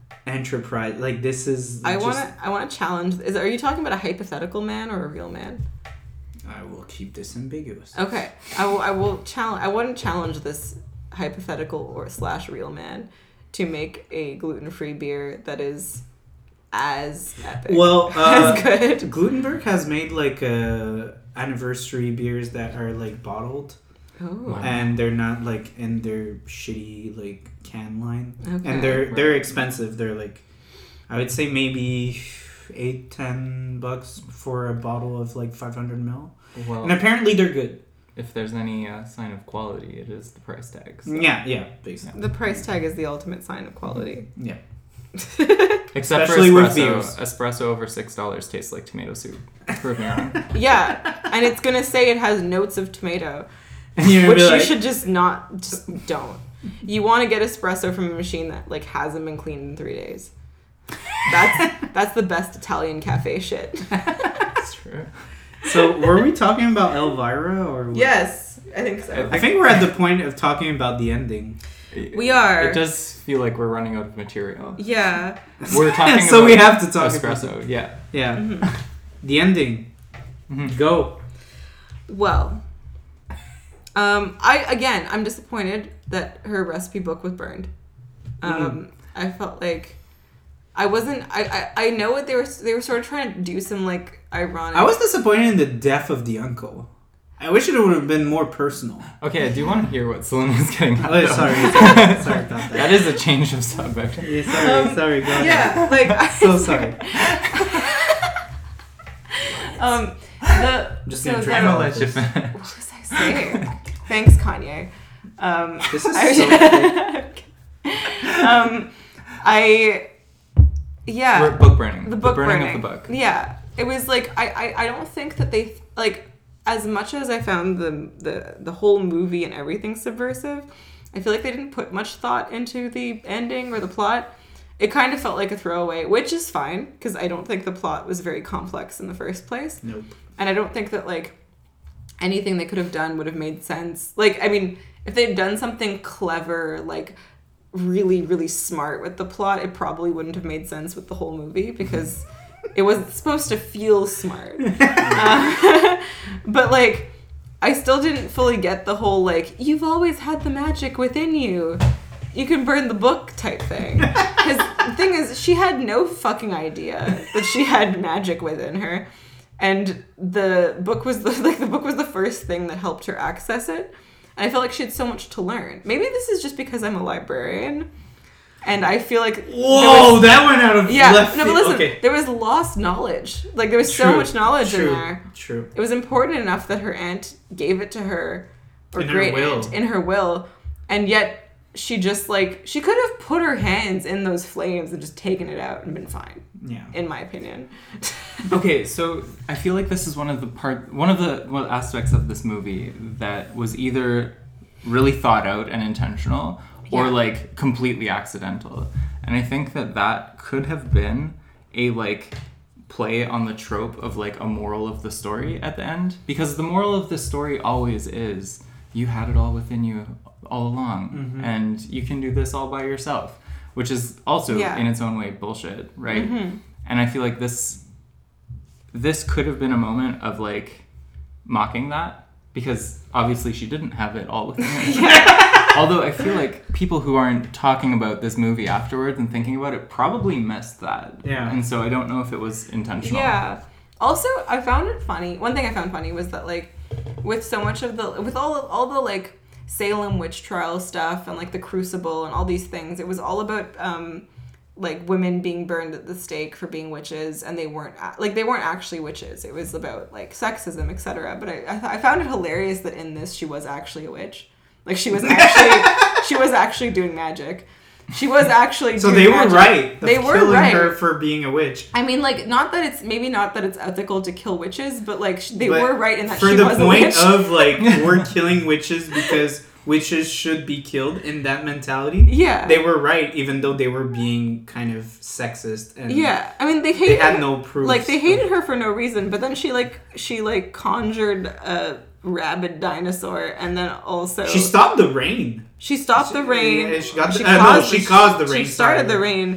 enterprise. Like this is. I just, want to. I want to challenge. Is are you talking about a hypothetical man or a real man? I will keep this ambiguous. Okay, I will. I will challenge. I want to challenge this hypothetical or slash real man to make a gluten-free beer that is as epic. Well, uh, as good. Glutenberg has made like uh, anniversary beers that are like bottled. Oh. And they're not like in their shitty like can line, Okay. and they're Right. they're expensive. They're like, I would say maybe eight ten bucks for a bottle of like five hundred mil, Well, and apparently they're good. if there's any uh, sign of quality, it is the price tag. so- Yeah, yeah, basically. The price tag is the ultimate sign of quality. Yeah. Except Especially for with espresso. beers. Espresso over six dollars tastes like tomato soup. Prove me wrong. Yeah, and it's gonna say it has notes of tomato, And you're which gonna you be like, should just not. Just don't. You want to get espresso from a machine that like hasn't been cleaned in three days. That's that's the best Italian cafe shit. That's true. So were we talking about Elvira or? What? Yes, I think so. I think we're at the point of talking about the ending. We are. It does feel like we're running out of material. Yeah. We're talking So about we have to talk espresso. about Yeah. Yeah. Mhm. The ending. Mhm. Go. Well, um, I again, I'm disappointed that her recipe book was burned. Um, I felt like I wasn't. I, I I know what they were. They were sort of trying to do some like ironic. I was disappointed in the death of the uncle. I wish it would have been more personal. Okay, I do want to hear what Celine was getting at. Oh, though. sorry, sorry, sorry about that. That is a change of subject. Yeah, sorry, Um, sorry, go ahead. Yeah, like I, So sorry. um, the Just so gonna the- drink I'm all gonna of let you this. finish. What was I saying? Thanks, Kanye. Um, This is I, so um, I, yeah. We're book burning. the book burning, burning of the book. Yeah, it was like I, I, I don't think that they like as much as I found the the the whole movie and everything subversive. I feel like they didn't put much thought into the ending or the plot. It kind of felt like a throwaway, which is fine because I don't think the plot was very complex in the first place. Nope. And I don't think that like anything they could have done would have made sense. Like, I mean, if they'd done something clever, like really, really smart with the plot, it probably wouldn't have made sense with the whole movie because it was supposed to feel smart. uh, but like, I still didn't fully get the whole like, you've always had the magic within you. You can burn the book type thing. Because the thing is, she had no fucking idea that she had magic within her. And the book was the like the book was the first thing that helped her access it. And I felt like she had so much to learn. Maybe this is just because I'm a librarian, and I feel like Whoa, there was- that went out of yeah, left no, but field. listen, Okay. there was lost knowledge. Like there was so True, much knowledge true, in there. True. It was important enough that her aunt gave it to her, or In her great will. aunt in her will, and yet she just like she could have put her hands in those flames and just taken it out and been fine. Yeah. In my opinion. Okay, so I feel like this is one of the part, one of the one aspects of this movie that was either really thought out and intentional, or Yeah. like completely accidental. And I think that that could have been a like play on the trope of like a moral of the story at the end, because the moral of the story always is you had it all within you all along, Mhm. and you can do this all by yourself, which is also Yeah. in its own way bullshit, right? Mhm. And I feel like this this could have been a moment of like mocking that, because obviously she didn't have it all within her. Although I feel like people who aren't talking about this movie afterwards and thinking about it probably missed that. Yeah. And so I don't know if it was intentional. Yeah. Also, I found it funny. One thing I found funny was that like with so much of the with all of, all the like Salem witch trial stuff and like the Crucible and all these things, it was all about um like women being burned at the stake for being witches, and they weren't a- like they weren't actually witches. It was about like sexism, et cetera. But I I, th- I found it hilarious that in this she was actually a witch. Like she was actually she was actually doing magic. She was actually So doing they were magic. right. of They were killing right. her for being a witch. I mean, like, not that it's maybe not that it's ethical to kill witches, but like sh- they But were right in that For she the was a point witch. of like we're killing witches because witches should be killed in that mentality. yeah, They were right, even though they were being kind of sexist and yeah. I mean, they they hated had no proof. like they hated her for no reason, but then she like she like conjured a rabid dinosaur, and then also She stopped the rain. she stopped the She- rain. yeah, she got the- uh, no, she caused the rain, She started sorry. the rain,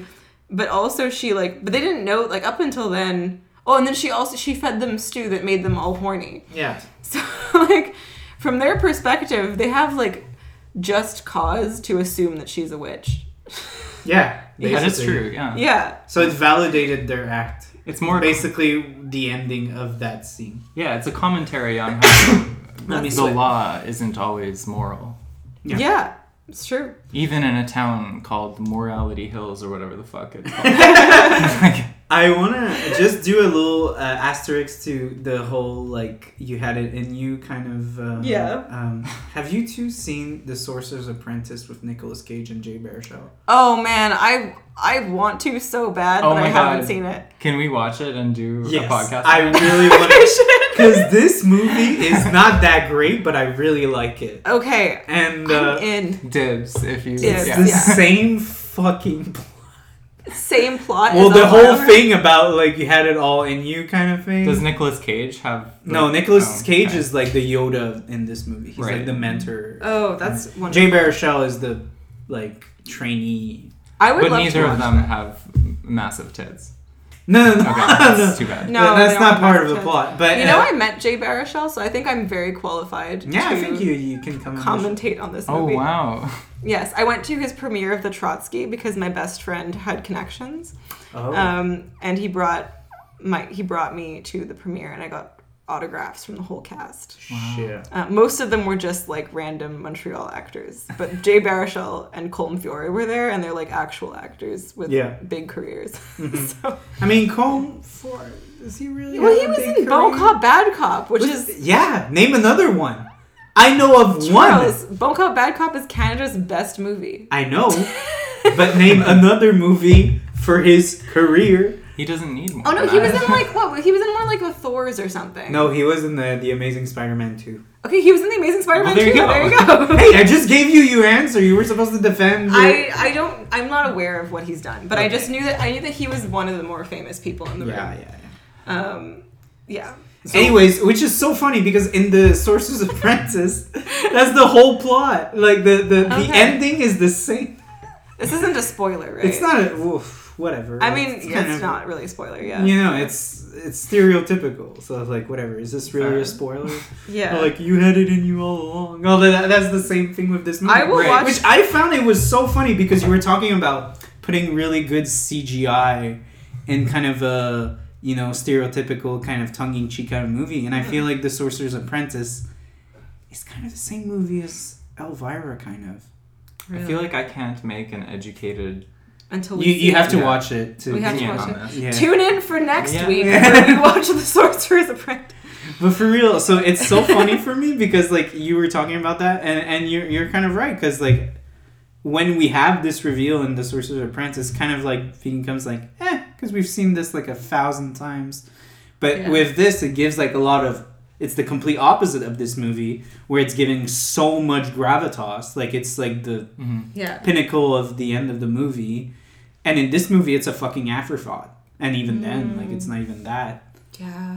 but also she like, but they didn't know like up until then. Oh, and then she also she fed them stew that made them all horny. Yeah. So like, from their perspective, they have like just cause to assume that she's a witch. Yeah. That is basically. true. Yeah. Yeah. So it's validated their act. It's more basically the ending of that scene. Yeah, it's a commentary on how Let me the switch. law isn't always moral. Yeah. Yeah. It's true. Even in a town called Morality Hills or whatever the fuck it's called. Like, I want to just do a little uh, asterisk to the whole, like, you had it in you kind of... Uh, Yeah. Um, have you two seen The Sorcerer's Apprentice with Nicolas Cage and Jay Baruchel? Oh man, I I want to so bad, Oh but I my haven't God. seen it. can we watch it and do Yes. a podcast? I on it? really want to... Because this movie is not that great, but I really like it. Okay, And uh, I'm in. Dibs, if you... it's Dibs, yeah. the yeah. same fucking... Same plot. Well, as the whole Elvira. thing about, like, you had it all in you kind of thing. Does Nicolas Cage have... the- No, Nicolas oh, Cage okay. is like the Yoda in this movie. He's Right. like the mentor. Oh, that's wonderful. Jay Baruchel is the like trainee. I would But love neither to of watch them that. have massive tits. No, no, no. Okay, no. that's too bad. No, That- they that's don't not have part of massive the tits. plot. But You know, uh, I met Jay Baruchel, so I think I'm very qualified yeah, to I think you you can come. and commentate on this Oh, movie. wow. Yes, I went to his premiere of the Trotsky because my best friend had connections. Oh. Um, and he brought my he brought me to the premiere, and I got autographs from the whole cast. Shit. Uh, most of them were just like random Montreal actors, but Jay Baruchel and Colm Fiore were there, and they're like actual actors with Yeah. big careers. Mhm. So, I mean, Colm for is he really? well, have he a was big in Bon career? Cop Bad Cop, which Was- is yeah. Name another one. I know of Charles. one. Bon Cop Bad Cop is Canada's best movie. I know, but name another movie for his career. He doesn't need more. Oh no, of he was that. in like what? He was in more like the Thors or something. No, he was in the the Amazing Spider-Man two. Okay, he was in the Amazing Spider-Man Well, there you too. go. There you go. Hey, I just gave you your answer. You were supposed to defend. Your... I, I don't I'm not aware of what he's done, but I Okay. just knew that I knew that he was one of the more famous people in the Yeah, room. yeah, yeah. Um, yeah. So- Anyways, which is so funny because in the Sorcerer's Apprentice, that's the whole plot. Like the the, the Okay. ending is the same. this isn't a spoiler, right? It's not a oof, whatever. I mean, it's yeah, kind it's of- not really a spoiler. Yeah. You know, it's it's stereotypical. So it's like whatever. Is this really Fair. a spoiler? Yeah. Or like you had it in you all along. Oh, that, that's the same thing with this movie. I will Right. watch. Which I found it was so funny because you were talking about putting really good C G I in kind of a, you know, stereotypical kind of tongue-in-cheek kind of movie. And I feel like The Sorcerer's Apprentice is kind of the same movie as Elvira, kind of. I feel like I can't make an educated until we You, see you have it. to Yeah. watch it to We have to opinion watch on it. this. yeah. Tune in for next Yeah. week Yeah. where we watch The Sorcerer's Apprentice. But for real, so it's so funny for me because like you were talking about that, and, and you're you're kind of right because like when we have this reveal in The Sorcerer's Apprentice, kind of like becomes like eh, because we've seen this like a thousand times, but Yeah. with this it gives like a lot of. It's the complete opposite of this movie where it's giving so much gravitas, like it's like the Mhm. Yeah. pinnacle of the end of the movie, and in this movie it's a fucking afterthought, and even then like it's not even that. Yeah.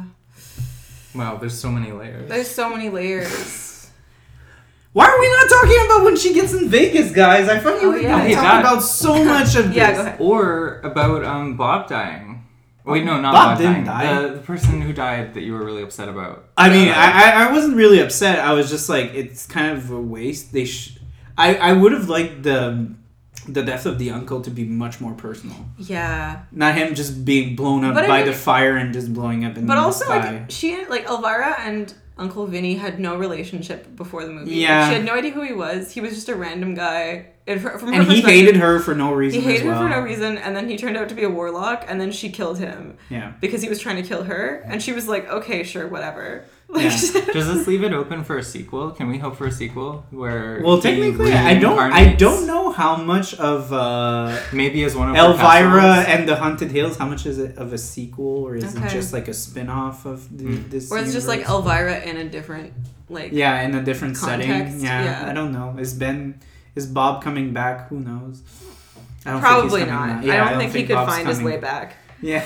Wow, there's so many layers. There's so many layers. Why are we not talking about when she gets in Vegas, guys? I fucking Oh, we yeah. talk Okay, that- about so much of this. Yeah, go ahead. Or about um Bob dying. Wait, no, not Bob Bob, didn't dying. die. The, the person who died that you were really upset about. I mean, Yeah. I, I I wasn't really upset. I was just like, it's kind of a waste. They, sh- I I would have liked the the death of the uncle to be much more personal. Yeah. Not him just being blown up But I by mean- the fire and just blowing up in But the also, sky. like, she, like, Elvira and Uncle Vinny had no relationship before the movie. Yeah. She had no idea who he was. He was just a random guy. And, her, from her and he perspective, hated her for no He reason. hated as well. her for no reason, and then he turned out to be a warlock, and then she killed him Yeah. because he was trying to kill her, and she was like, "Okay, sure, whatever." Like, Yeah. Does this leave it open for a sequel? Can we hope for a sequel where? Well, he technically, I don't. I reincarnates? don't know how much of uh, Maybe as one of her Elvira castles? and the Haunted Hills. How much is it of a sequel, or is Okay. it just like a spin-off of the, Mm. this? or it's just like universe? Elvira in a different, like, Yeah, in a different setting. Context, Yeah, yeah. I don't know. Is Ben, is Bob coming back? Who knows? I don't probably think he's coming not. back. Yeah, I don't think, he could Bob's find his coming. way back. Yeah,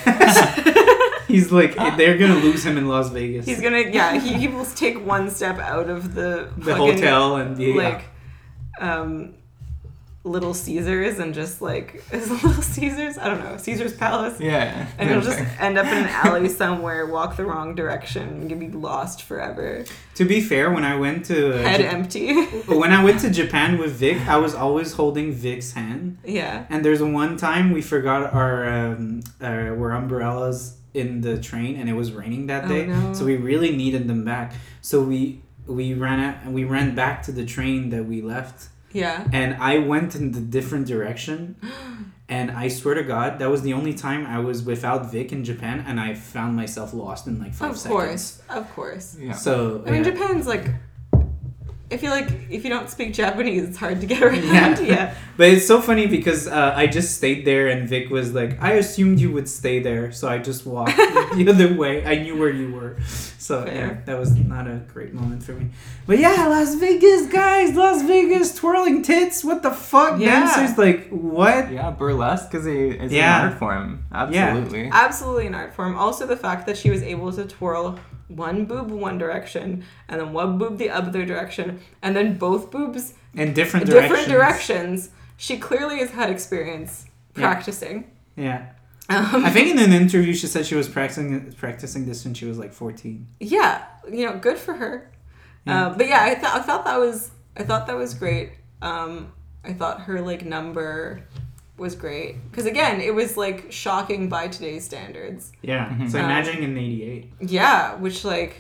he's like they're gonna lose him in Las Vegas. He's gonna, yeah, he, he will take one step out of the the fucking, hotel and the like, um, Little Caesars and just like is it Little Caesars? I don't know, Caesar's Palace. Yeah. And you'll just end up in an alley somewhere, walk the wrong direction, and you'll be lost forever. To be fair, when I went to uh, Head Ja- empty. when I went to Japan with Vic, I was always holding Vic's hand. Yeah. And there's one time we forgot our um, our, our umbrellas in the train, and it was raining that Oh, day, no. so we really needed them back. So we we ran out, we ran back to the train that we left. Yeah. And I went in the different direction, and I swear to God, that was the only time I was without Vic in Japan, and I found myself lost in like five Of seconds. course. Of course. Yeah. So I mean, yeah. Japan's like, I feel like if you don't speak Japanese, it's hard to get around. Yeah. Yeah. But it's so funny because uh, I just stayed there, and Vic was like, I assumed you would stay there, so I just walked the other way. I knew where you were. So Fair. yeah, that was not a great moment for me. But yeah, Las Vegas, guys, Las Vegas, twirling tits, what the fuck? Yeah. Dancers, like, what? Yeah, burlesque is a is Yeah. an art form. Absolutely. Absolutely an art form. Also, the fact that she was able to twirl one boob one direction and then one boob the other direction and then both boobs In different directions. different directions. She clearly has had experience Yeah. practicing. Yeah. Um, I think in an interview she said she was practicing practicing this when she was like fourteen. yeah, you know, good for her. Yeah. Uh, but yeah, I thought I thought that was I thought that was great. Um, I thought her like number was great because again, it was like shocking by today's standards. Yeah. Mhm. So Um, imagine in eighty-eight. Yeah, which like,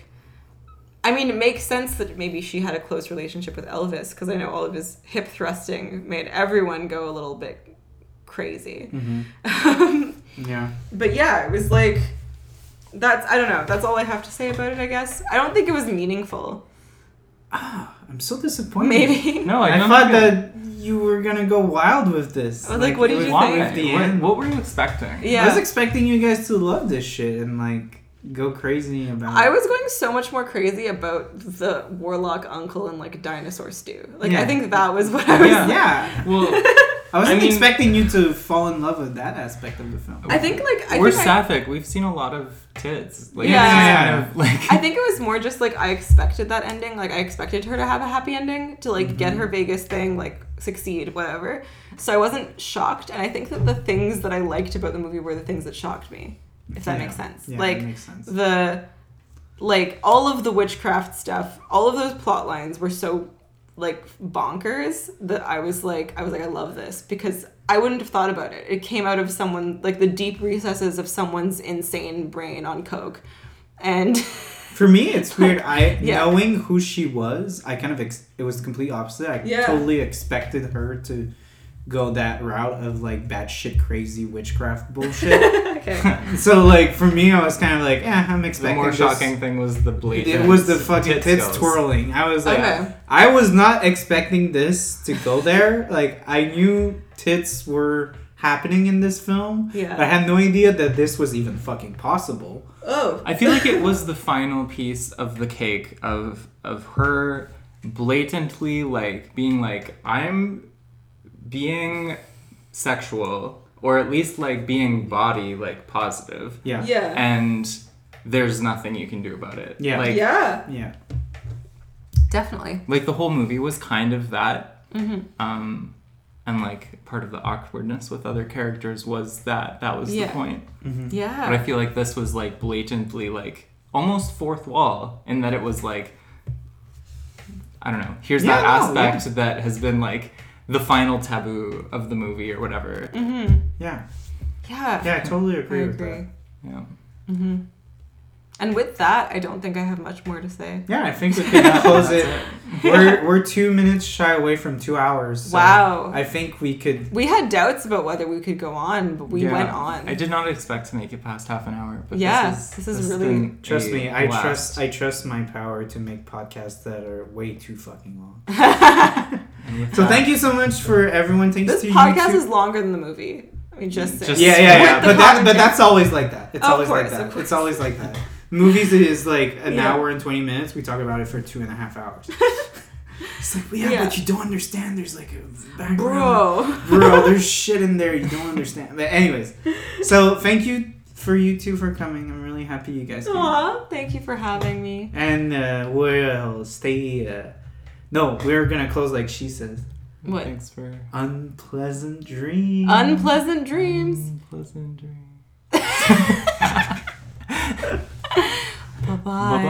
I mean, it makes sense that maybe she had a close relationship with Elvis because I know all of his hip thrusting made everyone go a little bit crazy. Mm-hmm. Yeah. But yeah, it was like, that's, I don't know, that's all I have to say about it, I guess. I don't think it was meaningful. Ah, I'm so disappointed. Maybe. No, I, I don't thought think it- that you were gonna go wild with this. I was like, what did it you was think? with the what, end. what were you expecting? Yeah. I was expecting you guys to love this shit and like go crazy about I it. was going so much more crazy about the warlock uncle and like dinosaur stew. Like, Yeah. I think that was what I was. Yeah. Yeah. Well, I wasn't I mean- expecting you to fall in love with that aspect of the film. I think like I we're think I, sapphic. We've seen a lot of tits. Like, Yeah. it's just Yeah. kind of, like, I think it was more just like I expected that ending. Like I expected her to have a happy ending to like get Mm-hmm. her Vegas thing, like succeed, whatever. So I wasn't shocked, and I think that the things that I liked about the movie were the things that shocked me. If that Yeah. makes sense. Yeah, like that makes sense. the like all of the witchcraft stuff, all of those plot lines were so like bonkers that I was like I was like I love this because I wouldn't have thought about it. It came out of someone like the deep recesses of someone's insane brain on coke. And For me, it's weird. I Yeah. knowing who she was, I kind of ex- it was the complete opposite. I Yeah. totally expected her to go that route of like batshit crazy witchcraft bullshit. okay. So like for me, I was kind of like, eh, I'm the expecting more this. shocking thing was the blatant. It was the fucking tit tits skills. twirling. I was like, Okay. I was not expecting this to go there. Like I knew tits were happening in this film. Yeah. But I had no idea that this was even fucking possible. Oh. I feel like it was the final piece of the cake of of her blatantly like being like I'm being sexual or at least like being body like positive Yeah. Yeah. and there's nothing you can do about it. Yeah. Like yeah. Yeah. Definitely. like the whole movie was kind of that. Mm-hmm. Um and like part of the awkwardness with other characters was that that was Yeah. the point. Mm-hmm. Yeah. But I feel like this was like blatantly like almost fourth wall in that it was like I don't know. Here's Yeah, that no, aspect that has been like the final taboo of the movie or whatever. Mm-hmm. Yeah. Yeah. Yeah, I totally I agree, with agree. that. Yeah. Mm-hmm. And with that, I don't think I have much more to say. Yeah, I think we can close it. We're we're two minutes shy away from two hours. So Wow. I think we could. We had doubts about whether we could go on, but we Yeah. went on. I did not expect to make it past half an hour, but Yeah, this is, this is has really- been Trust a me, I blast. trust I trust my power to make podcasts that are way too fucking long. And with So that- thank you so much for everyone. Thanks This to podcast YouTube. is longer than the movie. I mean, just, Just- Yeah, yeah, yeah. With the But that, but content. that's always like that. It's Of always course, like of that. course. It's always like that. Movies is like an Yeah. hour and twenty minutes. We talk about it for two and a half hours. It's like, yeah, Yeah. but you don't understand. There's like a background. Bro. Bro, there's shit in there you don't understand. But anyways, so thank you for you two for coming. I'm really happy you guys came. Aw, thank you for having me. And uh, we'll stay. Uh, no, we're gonna close like she says. What? Thanks for Unpleasant dreams. Unpleasant dreams. unpleasant dreams. Bye-bye.